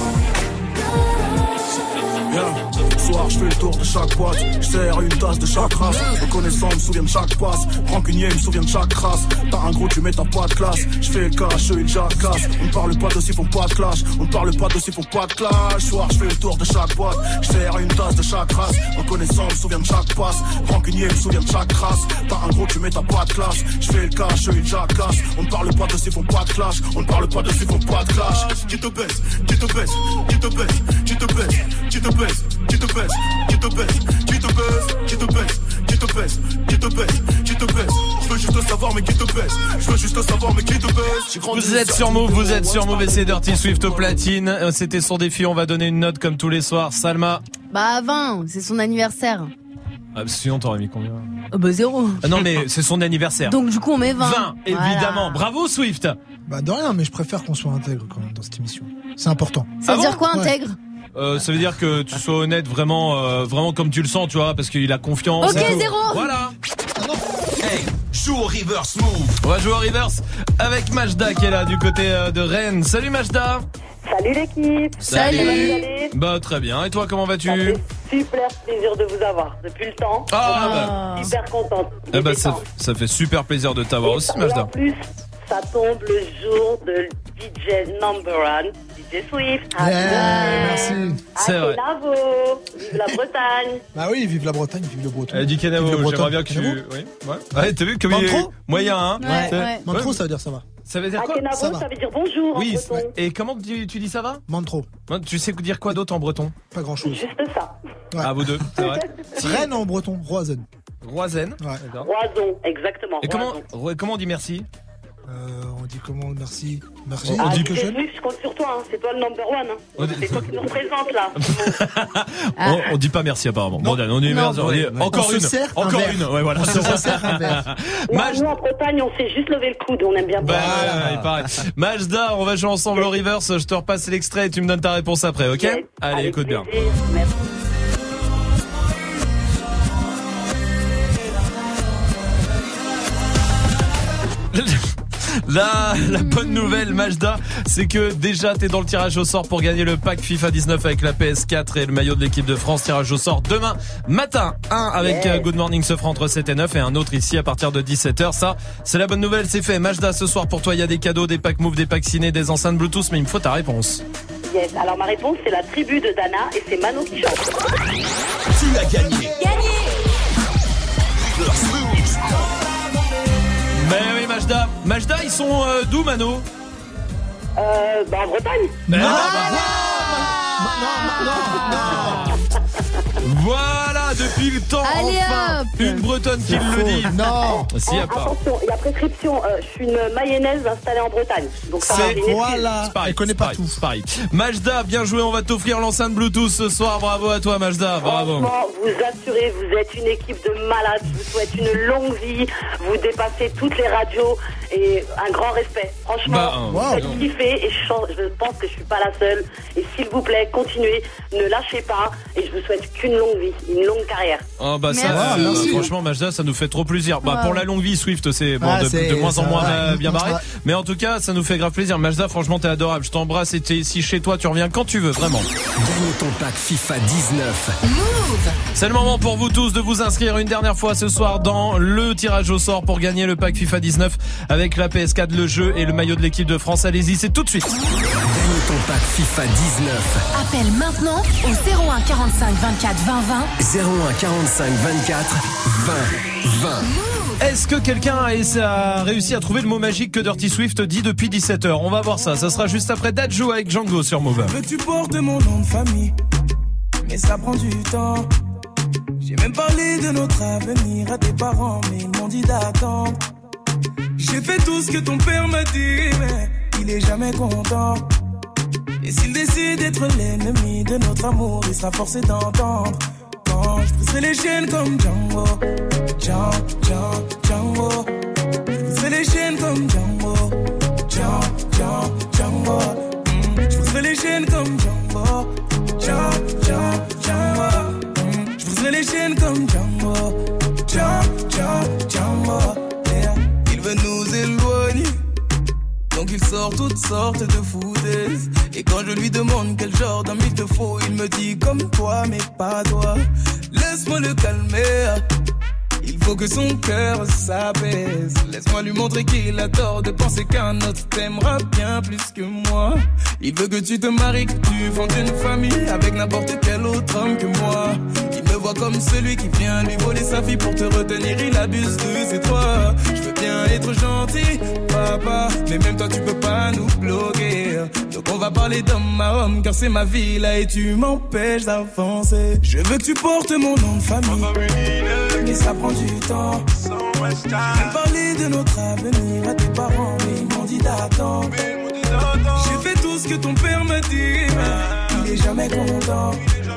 Yeah. Soir, je fais le tour de chaque boîte, je sers une tasse de chaque race. Reconnaissant, me souviens de chaque passe. Rancunier, me souviens de chaque race. T'as un gros, tu mets ta pas de classe. Je fais le cash, eux ils jacassent. On ne parle pas de s'ils font pas de clash. On ne parle pas de s'ils font pas de clash. Soir, je fais le tour de chaque boîte, je sers une tasse de chaque race. Reconnaissant, me souviens de chaque passe. Rancunier, me souviens de chaque race. T'as un gros, tu mets ta pas de classe. Je fais le cash, eux ils jacassent. On ne parle pas de s'ils font pas de clash. On ne parle pas de s'ils font pas de clash. Qui te baisse, qui te baisse, qui te baisse, qui te baisse, qui te baisse, qui te baisse, qui te baisse, qui te baisse, qui te baisse, qui te baisse, qui te baisse, qui te baisse. Je veux juste savoir mais qui te baisse. Je veux juste savoir mais qui te baisse. Vous êtes sur Move, vous êtes sur Move et c'est Dirty Swift au platine. C'était son défi, on va donner une note comme tous les soirs. Salma. Bah vingt, c'est son anniversaire. Ah, sinon t'aurais mis combien ? Oh bah zéro. Ah non mais c'est son anniversaire. Donc du coup on met vingt. vingt, évidemment. Voilà. Bravo Swift. Bah de rien, mais je préfère qu'on soit intègre quand même dans cette émission. C'est important. Ça veut ah dire bon quoi intègre ? Euh, ça veut dire que tu sois honnête vraiment, euh, vraiment comme tu le sens, tu vois, parce qu'il a confiance. Ok, zéro. Voilà. Hey, joue au reverse move. On va jouer au reverse avec Majda qui est là du côté euh, de Rennes. Salut Majda. Salut l'équipe. Salut. Salut. Bah très bien. Et toi, comment vas-tu ? Ça fait super plaisir de vous avoir depuis le temps. Ah, bah. Super contente. Eh bah ça, ça fait super plaisir de t'avoir aussi, Majda. En plus, ça tombe le jour de D J number one, D J Swift. Yeah, yeah, merci. C'est vrai. Bravo. Vive la Bretagne. Bah oui, vive la Bretagne, vive le Breton. Elle dit Canavo, j'aimerais bien que tu... Oui, ouais. Ouais, t'as vu comme il est moyen, hein. Ouais, ouais. Mantro, ça veut dire ça va. Ça veut dire quoi ? Kenavo, ça, ça veut dire bonjour oui, en breton. Et comment tu, tu dis ça va ? Mantro. Tu sais dire quoi d'autre en breton ? Pas grand chose. Juste ça. Ouais. Ah, vous deux, c'est vrai. Rennes en breton, Roizen. Roizen. Ouais. Roison, exactement. Et comment, comment on dit merci ? Euh, on dit comment? Merci. Merci. Ah, on dit D J Swift, je compte sur toi, hein. C'est toi le number one. Hein. On dit- C'est toi qui nous représente là. on, on dit pas merci apparemment. Bon, on dit Non, merci, on dit ouais. encore On se une. sert un Encore verre. une. Ouais, voilà. On se resserre un verre. Maj- Nous en Bretagne, on sait juste lever le coude, on aime bien Bah, boire. ouais, il paraît. Majda, on va jouer ensemble au reverse. Je te repasse l'extrait et tu me donnes ta réponse après, ok? Yes. Allez, Avec écoute bien. plaisir. Merci. La, la bonne nouvelle, Majda, c'est que déjà t'es dans le tirage au sort pour gagner le pack FIFA dix-neuf avec la P S quatre et le maillot de l'équipe de France. Tirage au sort demain matin. Un avec Yeah. euh, Good Morning Sofra entre sept et neuf et un autre ici à partir de dix-sept heures. Ça, c'est la bonne nouvelle, c'est fait. Majda, ce soir pour toi, il y a des cadeaux, des packs Move, des packs ciné, des enceintes Bluetooth, mais il me faut ta réponse. Yes. Alors ma réponse, c'est la tribu de Dana et c'est Mano qui chante. Tu as gagné. Mais oui, Majda. Majda, ils sont euh, d'où, Mano? Euh, bah en Bretagne. Ben, bah, Voilà, depuis le temps, Allez, enfin, hop. une Bretonne qui le dit. Non. Si, à Oh, part. attention, il y a prescription. Euh, je suis une mayonnaise installée en Bretagne. Donc ça va C'est une excuse. C'est pareil, c'est pareil, c'est pareil. Majda, bien joué, on va t'offrir l'enceinte Bluetooth ce soir. Bravo à toi, Majda, bravo. Franchement, vous assurez, vous êtes une équipe de malades. Je vous souhaite une longue vie. Vous dépassez toutes les radios et un grand respect. Franchement, Bah, vous wow. faites kiffer et je, sens- je pense que je suis pas la seule. Et s'il vous plaît, continuez, ne lâchez pas. Et je vous souhaite qu'une longue vie, une longue carrière. Oh bah ça, Merci. euh, Merci. franchement Majda, ça nous fait trop plaisir. Bah Ouais. pour la longue vie, Swift, c'est bon, Ah, de, c'est- de moins en ça moins va. euh, bien barré. Ouais. Mais en tout cas, ça nous fait grave plaisir. Majda, franchement, t'es adorable. Je t'embrasse et t'es ici chez toi. Tu reviens quand tu veux, vraiment. Gagne ton pack FIFA dix-neuf. C'est le moment pour vous tous de vous inscrire une dernière fois ce soir dans le tirage au sort pour gagner le pack FIFA dix-neuf avec la P S quatre, le jeu et le maillot de l'équipe de France. Allez-y, c'est tout de suite. Gagne ton pack FIFA dix-neuf. Appelle maintenant au zéro un quarante-cinq vingt-quatre vingt vingt. zéro un quarante-cinq vingt-quatre vingt vingt. Est-ce que quelqu'un a, a réussi à trouver le mot magique que Dirty Swift dit depuis dix-sept heures? On va voir ça. Ça sera juste après Dadju avec Django sur Move. Veux que tu portes mon nom de famille, mais ça prend du temps. J'ai même parlé de notre avenir à tes parents, mais ils m'ont dit d'attendre. J'ai fait tout ce que ton père m'a dit, mais il est jamais content. Et s'il décide d'être l'ennemi de notre amour, il sera forcé d'entendre. Quand je briserai les chaînes comme Django, Django, Django, Django. Je briserai les chaînes comme Django, Django, Django, Django. Mm. Je briserai les chaînes comme Django, Django, Django, Django. Mm. Je briserai les chaînes comme Django, Django, Django, Django. Yeah. Il veut nous éloigner, donc il sort toutes sortes de foutaises. Et quand je lui demande quel genre d'homme il te faut, il me dit comme toi mais pas toi. Laisse-moi le calmer, il faut que son cœur s'apaise. Laisse-moi lui montrer qu'il a tort de penser qu'un autre t'aimera bien plus que moi. Il veut que tu te maries, que tu fondes une famille avec n'importe quel autre homme que moi. Il me voit comme celui qui vient lui voler sa fille pour te retenir, il abuse de ses droits. Je veux bien être gentil, papa, mais même toi tu peux pas nous bloquer. Donc on va parler d'homme à homme, car c'est ma vie là et tu m'empêches d'avancer. Je veux que tu portes mon nom de famille, mais ça prend du temps. J'ai parlé de notre avenir à tes parents, mais ils m'ont dit d'attendre. J'ai fait tout ce que ton père m'a dit, mais il est jamais content.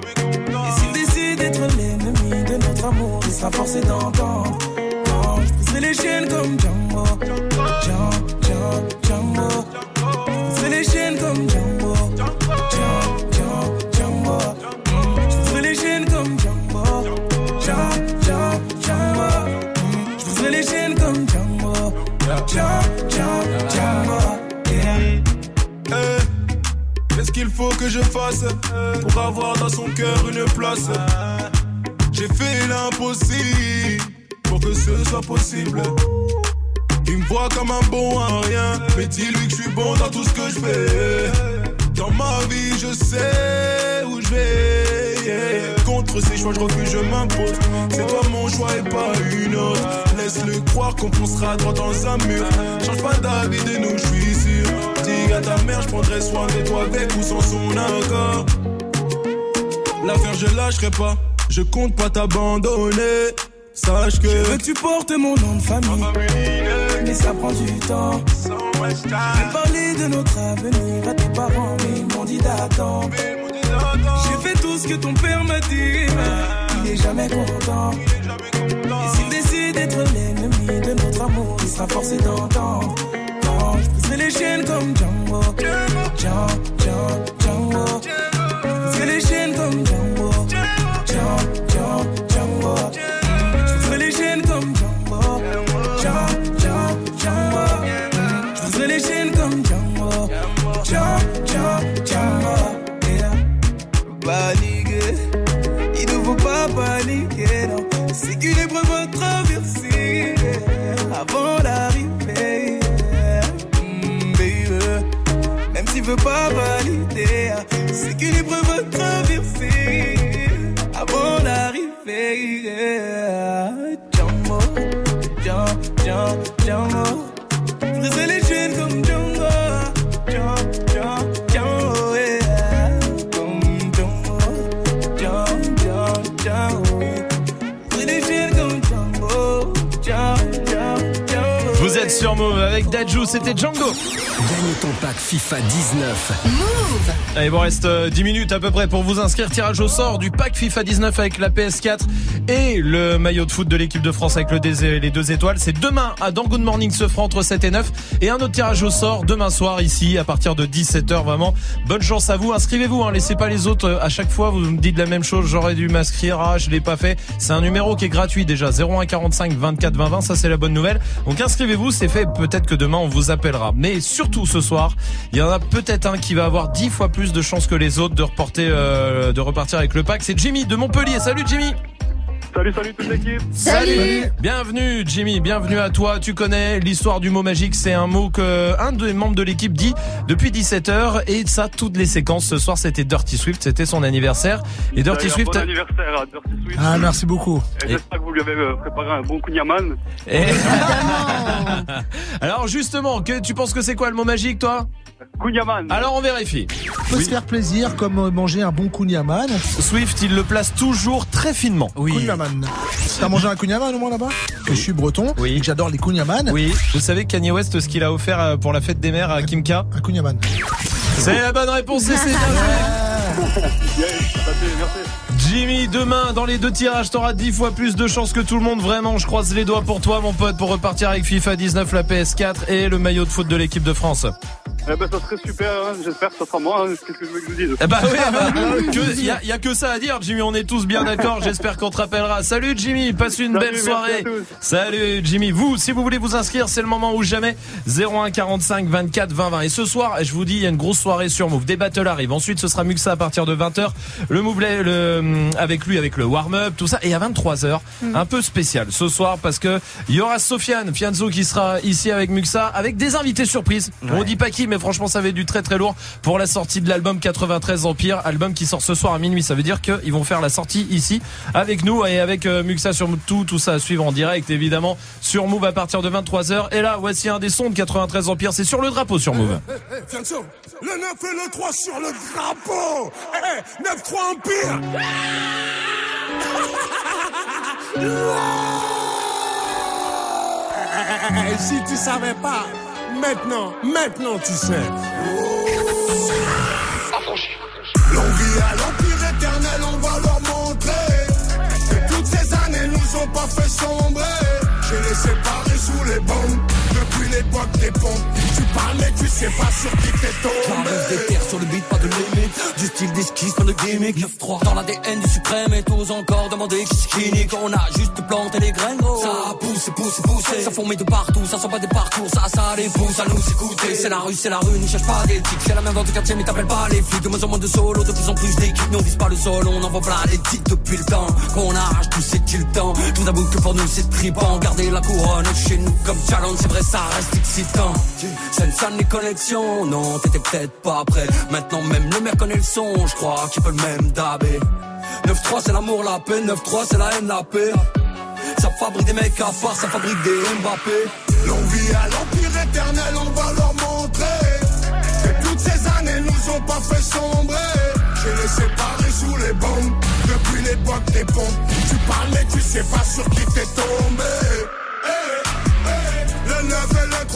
Et s'il décide d'être l'ennemi de notre amour, il sera forcé d'entendre. Quand je briserai les chaînes comme Django, Django, Django, Django. Je briserai les chaînes comme Django, Django, Django, Django. Mm. Je briserai les chaînes comme Django, Django, Django, Django. Mm. Je briserai les chaînes comme Django, Django, Django, Django. Yeah. Hey, qu'est-ce qu'il faut que je fasse pour avoir dans son cœur une place? J'ai fait l'impossible pour que ce soit possible. Il me voit comme un bon à rien, mais dis-lui que je suis bon dans tout ce que je fais. Dans ma vie, je sais où je vais. Yeah. Contre ces choix, je refuse, je m'impose. C'est toi mon choix et pas une autre. Laisse-le croire qu'on foncera droit dans un mur. Change pas d'avis de nous, je suis sûr. Dis à ta mère, je prendrai soin de toi avec ou sans son accord. L'affaire, je lâcherai pas. Je compte pas t'abandonner. Sache que je veux que tu portes mon nom de famille, mais ça prend du temps. J'ai parlé de notre avenir à tes parents, mais ils m'ont dit d'attendre. J'ai fait tout ce que ton père m'a dit, mais il est jamais content. Et s'il décide d'être l'ennemi de notre amour, il sera forcé d'entendre. Non, je briserai les chaînes comme Django. Django, Django, Django. Je briserai les chaînes comme Django. Django, Django, Django. Je briserai les chaînes comme Django. Django, Django, Django. Je briserai les chaînes comme Django. Django, Django, Django. Paniquer, il ne faut pas paniquer, non. C'est qu'une épreuve à traverser avant l'arrivée, mm, baby. Même s'il veut pas valider, c'est qu'une épreuve à traverser avant l'arrivée. Django, Django, Django, Django. Je briserai les chaînes comme Django. Django, Django, Django, yeah. Vous êtes sur Move avec Dadju, c'était Django. Gagne ton pack FIFA dix-neuf. Move. Allez, il vous reste dix minutes à peu près pour vous inscrire. Tirage au sort du pack FIFA dix-neuf avec la P S quatre et le maillot de foot de l'équipe de France avec le dé- les deux étoiles. C'est demain à Dans Good Morning se fera entre sept et neuf. Et un autre tirage au sort demain soir ici à partir de dix-sept heures. Vraiment, bonne chance à vous. Inscrivez-vous, hein, laissez pas les autres. À chaque fois, vous me dites la même chose. J'aurais dû m'inscrire. Ah, je l'ai pas fait. C'est un numéro qui est gratuit déjà. zéro un quarante-cinq vingt-quatre vingt vingt. Ça, c'est la bonne nouvelle. Donc inscrivez-vous, c'est fait. Peut-être que demain, on vous appellera. Mais surtout ce soir, il y en a peut-être un qui va avoir dix fois plus de chances que les autres de reporter, euh, de repartir avec le pack. C'est Jimmy de Montpellier. Salut Jimmy. Salut, salut toute l'équipe. Salut. Bienvenue Jimmy, bienvenue à toi. Tu connais l'histoire du mot magique, c'est un mot que un des membres de l'équipe dit depuis dix-sept heures et ça toutes les séquences. Ce soir c'était Dirty Swift, c'était son anniversaire. Et Dirty Swift. Bon anniversaire à Dirty Swift. Ah, merci beaucoup. Et j'espère que vous lui avez préparé un bon kunyaman. Et... Alors justement, que tu penses que c'est quoi le mot magique toi? Kunyaman. Alors on vérifie. On peut oui. se faire plaisir comme manger un bon kunyaman. Swift, il le place toujours très finement. Oui. Kunyaman. T'as mangé un kunyaman au moins là-bas? Que je suis breton. Oui. Et que j'adore les kunyaman. Oui. Vous savez Kanye West ce qu'il a offert pour la fête des mères à Kim K? Un kunyaman. C'est la bonne réponse et c'est bien joué. Jimmy, demain dans les deux tirages t'auras dix fois plus de chances que tout le monde. Vraiment, je croise les doigts pour toi mon pote pour repartir avec FIFA dix-neuf, la P S quatre et le maillot de foot de l'équipe de France. Eh ben ça serait super, hein. J'espère que ça sera moi, hein. Qu'est-ce que je veux que je vous dise? Eh bah oui, bah, que, y, a, y a que ça à dire Jimmy, on est tous bien d'accord, j'espère qu'on te rappellera. Salut Jimmy, passe une Salut, belle soirée. Salut Jimmy, vous, si vous voulez vous inscrire, c'est le moment ou jamais. zéro un quarante-cinq vingt-quatre vingt vingt. Et ce soir, je vous dis, il y a une grosse soirée sur Move, des battles arrivent. Ensuite ce sera Muxa à partir de vingt heures, le Move le, avec lui, avec le warm-up, tout ça. Et à vingt-trois heures, mm. un peu spécial ce soir parce que il y aura Sofiane Fianzo qui sera ici avec Muxa, avec des invités surprises. Ouais. On dit pas qui, mais franchement ça va être du très très lourd pour la sortie de l'album quatre-vingt-treize Empire, album qui sort ce soir à minuit. Ça veut dire qu'ils vont faire la sortie ici avec nous et avec euh, Muxa sur tout, tout ça à suivre en direct évidemment sur Move à partir de vingt-trois heures. Et là voici un des sons de quatre-vingt-treize Empire, c'est sur le drapeau sur Move. Hey, hey, hey, Fianzo, le neuf et le trois sur le drapeau. Hey, neuf trois Empire. Hey, si tu savais pas, maintenant, maintenant tu sais. Longue vie à l'empire éternel, on va leur montrer que toutes ces années nous ont pas fait sombrer. J'ai les séparés sous les bombes depuis l'époque des pompes. Tu parles mais tu sais pas sur qui t'es tombé. J'arrive des terres sur le beat, pas de limite. Du style d'esquisse, pas de gimmick. neuf trois dans l'A D N du suprême et tous encore demander qui c'est qui nique. On a juste planté les graines gros. Ça pousse, pousse, pousse. Ça fourmille de partout, ça sent pas des parcours. Ça, ça les pousse à nous écouter. C'est la rue, c'est la rue, n'y cherche pas d'éthique. C'est la même dans le quartier mais t'appelles pas les flics. De moins en moins de solo, de plus en plus d'équipes. Nous on vise pas le sol, on envoie plein les titres depuis le temps qu'on arrache tout c'est-il le temps. Tout d'abord que pour nous c'est trippant. Garder la couronne chez nous comme challenge, c'est vrai ça reste excitant. C'est une salle les connexions, non t'étais peut-être pas prêt. Maintenant même le maire connaît le son, je crois qu'il peut le même dabé. neuf trois c'est l'amour, la paix, neuf trois c'est la haine, la paix. Ça fabrique des mecs à part, ça fabrique des Mbappé. Longue vie à l'empire éternel, on va leur montrer que toutes ces années nous ont pas fait sombrer. J'ai les séparés sous les bombes depuis l'époque des pompes. Tu parles mais tu sais pas sur qui t'es tombé. Hey, hey, le neuf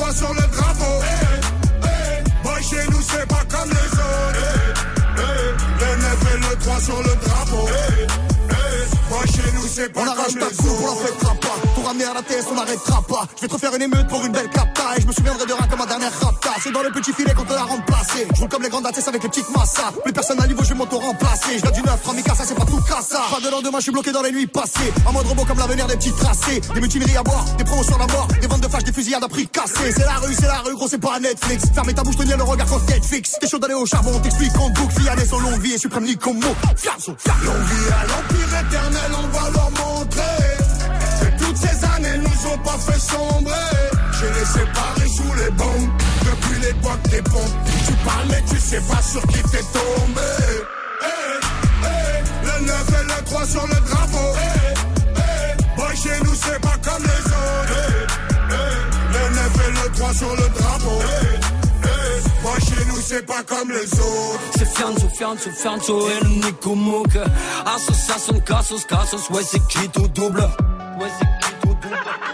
trois sur le drapeau. Hey, hey. Boy, chez nous, c'est pas comme les autres. Hey, hey. Le neuf et le trois sur le drapeau. Hey, hey. Boy, chez nous, c'est pas on comme arrache les ta coupe, on la autres. fêtera pas. Pour ramener à la T S, on n'arrêtera pas. Je vais te refaire une émeute pour une belle capta. Et je me souviendrai de rien comme ma dernière rapta. C'est dans le petit filet qu'on te l'a remplacé. Je roule comme les grandes dates avec les petites massas. Plus personne à niveau, je vais m'auto-remplacer. Je viens du neuf, trois mille ça c'est pas tout cassa. Pas de lendemain, je suis bloqué dans les nuits passées. En mode robot comme l'avenir des petits tracés. Des mutineries à boire, des promos sur la mort. Des ventes de flash, des fusillades à prix cassés. C'est la rue, c'est la rue, gros, c'est pas Netflix. Fermez ta bouche, tenir le regard quand Netflix. T'es chaud d'aller au charbon, on t'explique en boucle. Fiané son longue vie et suprême ni comme mot. Fiazo, fiazo. Longue vie à l'empire éternel, on va leur montrer que toutes ces années nous ont pas fait sombrer. J'ai les séparés sous les bombes depuis l'époque des pompes. Tu parles mais tu sais pas sur qui t'es tombé. Hey, hey, le neuf et le trois sur le drapeau. Hey, hey, boy chez nous c'est pas comme les autres. Hey, hey, le neuf et le trois sur le drapeau. Hey, hey, boy chez nous c'est pas comme les autres. C'est Fianzo, Fianzo, Fianzo et le Nico Mouk. Association, Cassos, Cassos, ouais c'est qui tout double. Ouais c'est qui tout double.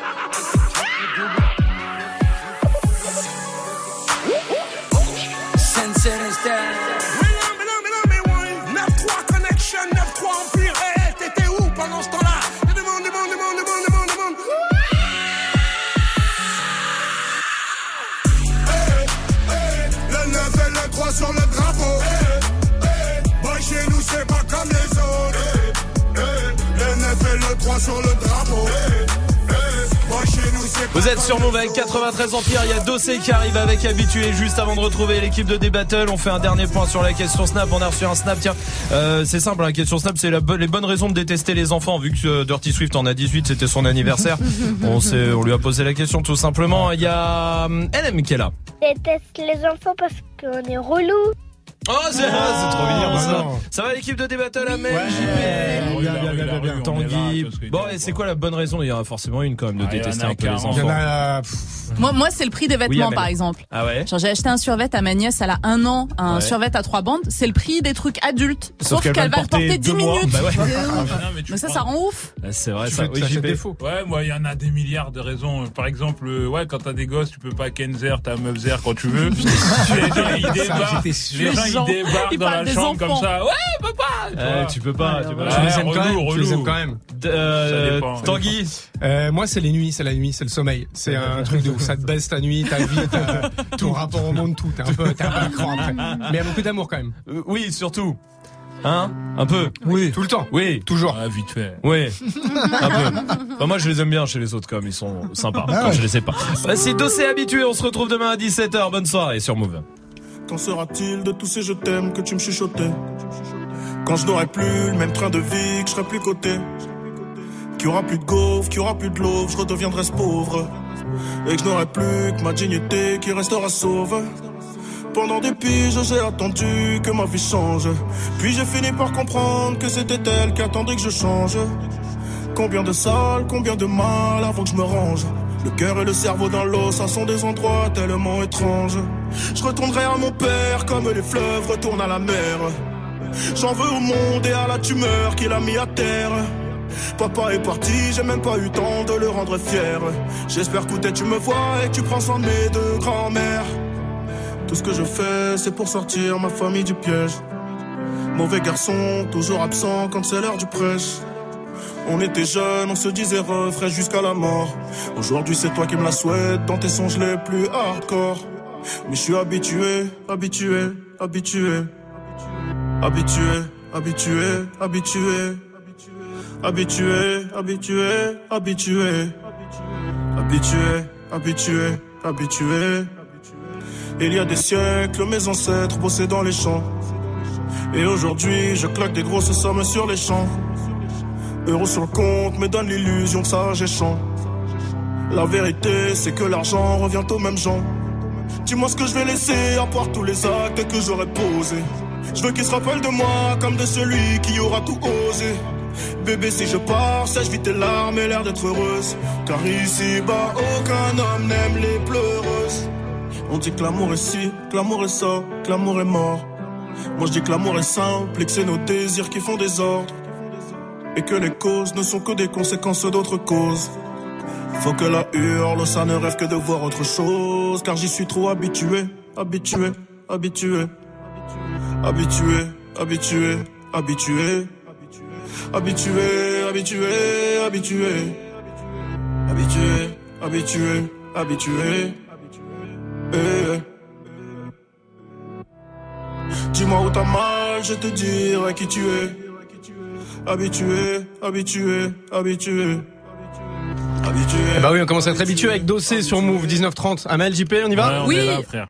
Sense neuf trois Connection, neuf trois Empire. Hey, t'étais où pendant ce temps-là? Demande, demande, demande, demande, demande, demande. Hey, hey, le neuf et le trois sur le drapeau. Hey, hey, boy, chez nous, c'est pas comme les autres. Hey, hey, le neuf et le trois sur le drapeau. Hey, vous êtes sur Move avec quatre-vingt-treize Empire. Il y a Dossé qui arrive avec Habitué. Juste avant de retrouver l'équipe de D-Battle, on fait un dernier point sur la question Snap. On a reçu un Snap. Tiens, euh, c'est simple, la question Snap, c'est la bo- les bonnes raisons de détester les enfants. Vu que euh, Dirty Swift en a dix-huit, c'était son anniversaire. on, s'est, on lui a posé la question tout simplement. Il y a euh, L M qui est là. Je déteste les enfants parce qu'on est relou. Oh, c'est, ah, c'est trop mignon ça. Ça va l'équipe de D-Battle, Amel, ouais, J P, bien, bien, bien, bien, bien. Tanguy. Bon, et c'est quoi la bonne raison? Il y en a forcément une quand même de ah, détester un un peu les enfants. Il y en a, moi, moi, c'est le prix des vêtements, oui, par exemple. Ah ouais? Genre, j'ai acheté un survêt à ma nièce, elle a un an, un ouais. survêt à trois bandes. C'est le prix des trucs adultes. Sauf, Sauf qu'elle, qu'elle va le porter dix minutes. Bah ouais. non, mais, mais ça, ça rend ouf. C'est vrai, tu ça. Oui, J P. Ouais, moi, il y en a des milliards de raisons. Par exemple, ouais, quand t'as des gosses, tu peux pas Kenzer, t'as Meufzer quand tu veux. Les gens, ils débarquent. Les gens, ils débarquent dans la chambre comme ça. Ouais, papa! Euh, tu peux pas, tu peux pas. Tu les aimes quand même. Tu les aimes quand même. Euh, Tanguy. Euh, moi, c'est les nuits, c'est la nuit, c'est le sommeil. C'est un truc de ouf. Ça te baisse ta nuit, ta vie, ta, ton rapport au monde, tout. T'es un peu, t'es un peu à cran après. Mais il y a beaucoup d'amour quand même. Euh, oui, surtout. Hein? Un peu. Oui. Tout le temps. Oui. Toujours. Ah, vite fait. Oui. Un peu. Enfin, moi, je les aime bien chez les autres, comme ils sont sympas. Ah, quand ouais. Je les sais pas. Voici Dossé Habitué. On se retrouve demain à dix-sept heures. Bonne soirée sur Move. Qu'en sera-t-il de tous ces je t'aime que tu me chuchotais? Quand je n'aurai plus le même train de vie, que je serai plus coté, qu'il y aura plus de gaufres, qu'il y aura plus de l'eau, je redeviendrai ce pauvre, et que je n'aurai plus que ma dignité qui restera sauve. Pendant des piges, j'ai attendu que ma vie change, puis j'ai fini par comprendre que c'était elle qui attendait que je change. Combien de salles, combien de mal avant que je me range. Le cœur et le cerveau dans l'eau, ça sont des endroits tellement étranges. Je retournerai à mon père comme les fleuves retournent à la mer. J'en veux au monde et à la tumeur qu'il a mis à terre. Papa est parti, j'ai même pas eu temps de le rendre fier. J'espère que tu me vois et que tu prends soin de mes deux grands-mères. Tout ce que je fais, c'est pour sortir ma famille du piège. Mauvais garçon, toujours absent quand c'est l'heure du prêche. On était jeunes, on se disait refrain jusqu'à la mort. Aujourd'hui c'est toi qui me la souhaites dans tes songes les plus hardcore. Mais je suis habitué, habitué, habitué. Habitué, habitué, habitué. Habitué, habitué, habitué. Habitué, habitué, habitué. Il y a des siècles, mes ancêtres bossaient dans les champs. Et aujourd'hui, je claque des grosses sommes sur les champs. Euros sur le compte me donne l'illusion que ça j'ai champ. La vérité c'est que l'argent revient aux mêmes gens. Dis-moi ce que je vais laisser à part tous les actes que j'aurais posés. Je veux qu'ils se rappellent de moi comme de celui qui aura tout osé. Bébé si je pars, sèche vite tes larmes et l'air d'être heureuse. Car ici bas aucun homme n'aime les pleureuses. On dit que l'amour est ci, que l'amour est ça, que l'amour est mort. Moi je dis que l'amour est simple et que c'est nos désirs qui font désordre. Et que les causes ne sont que des conséquences d'autres causes. Faut que la hurle, ça ne rêve que de voir autre chose. Car j'y suis trop habitué, habitué, habitué. Habitué, habitué, habitué. Habitué, habitué, habitué. Habitué, habitué, habitué. Eh. Dis-moi où t'as mal, je te dirai qui tu es. Habitué, habitué, habitué. Eh bah oui, on commence à être habitué avec Dossé sur Move dix-neuf trente. Amel, J P, on y va? Oui. Là, frère.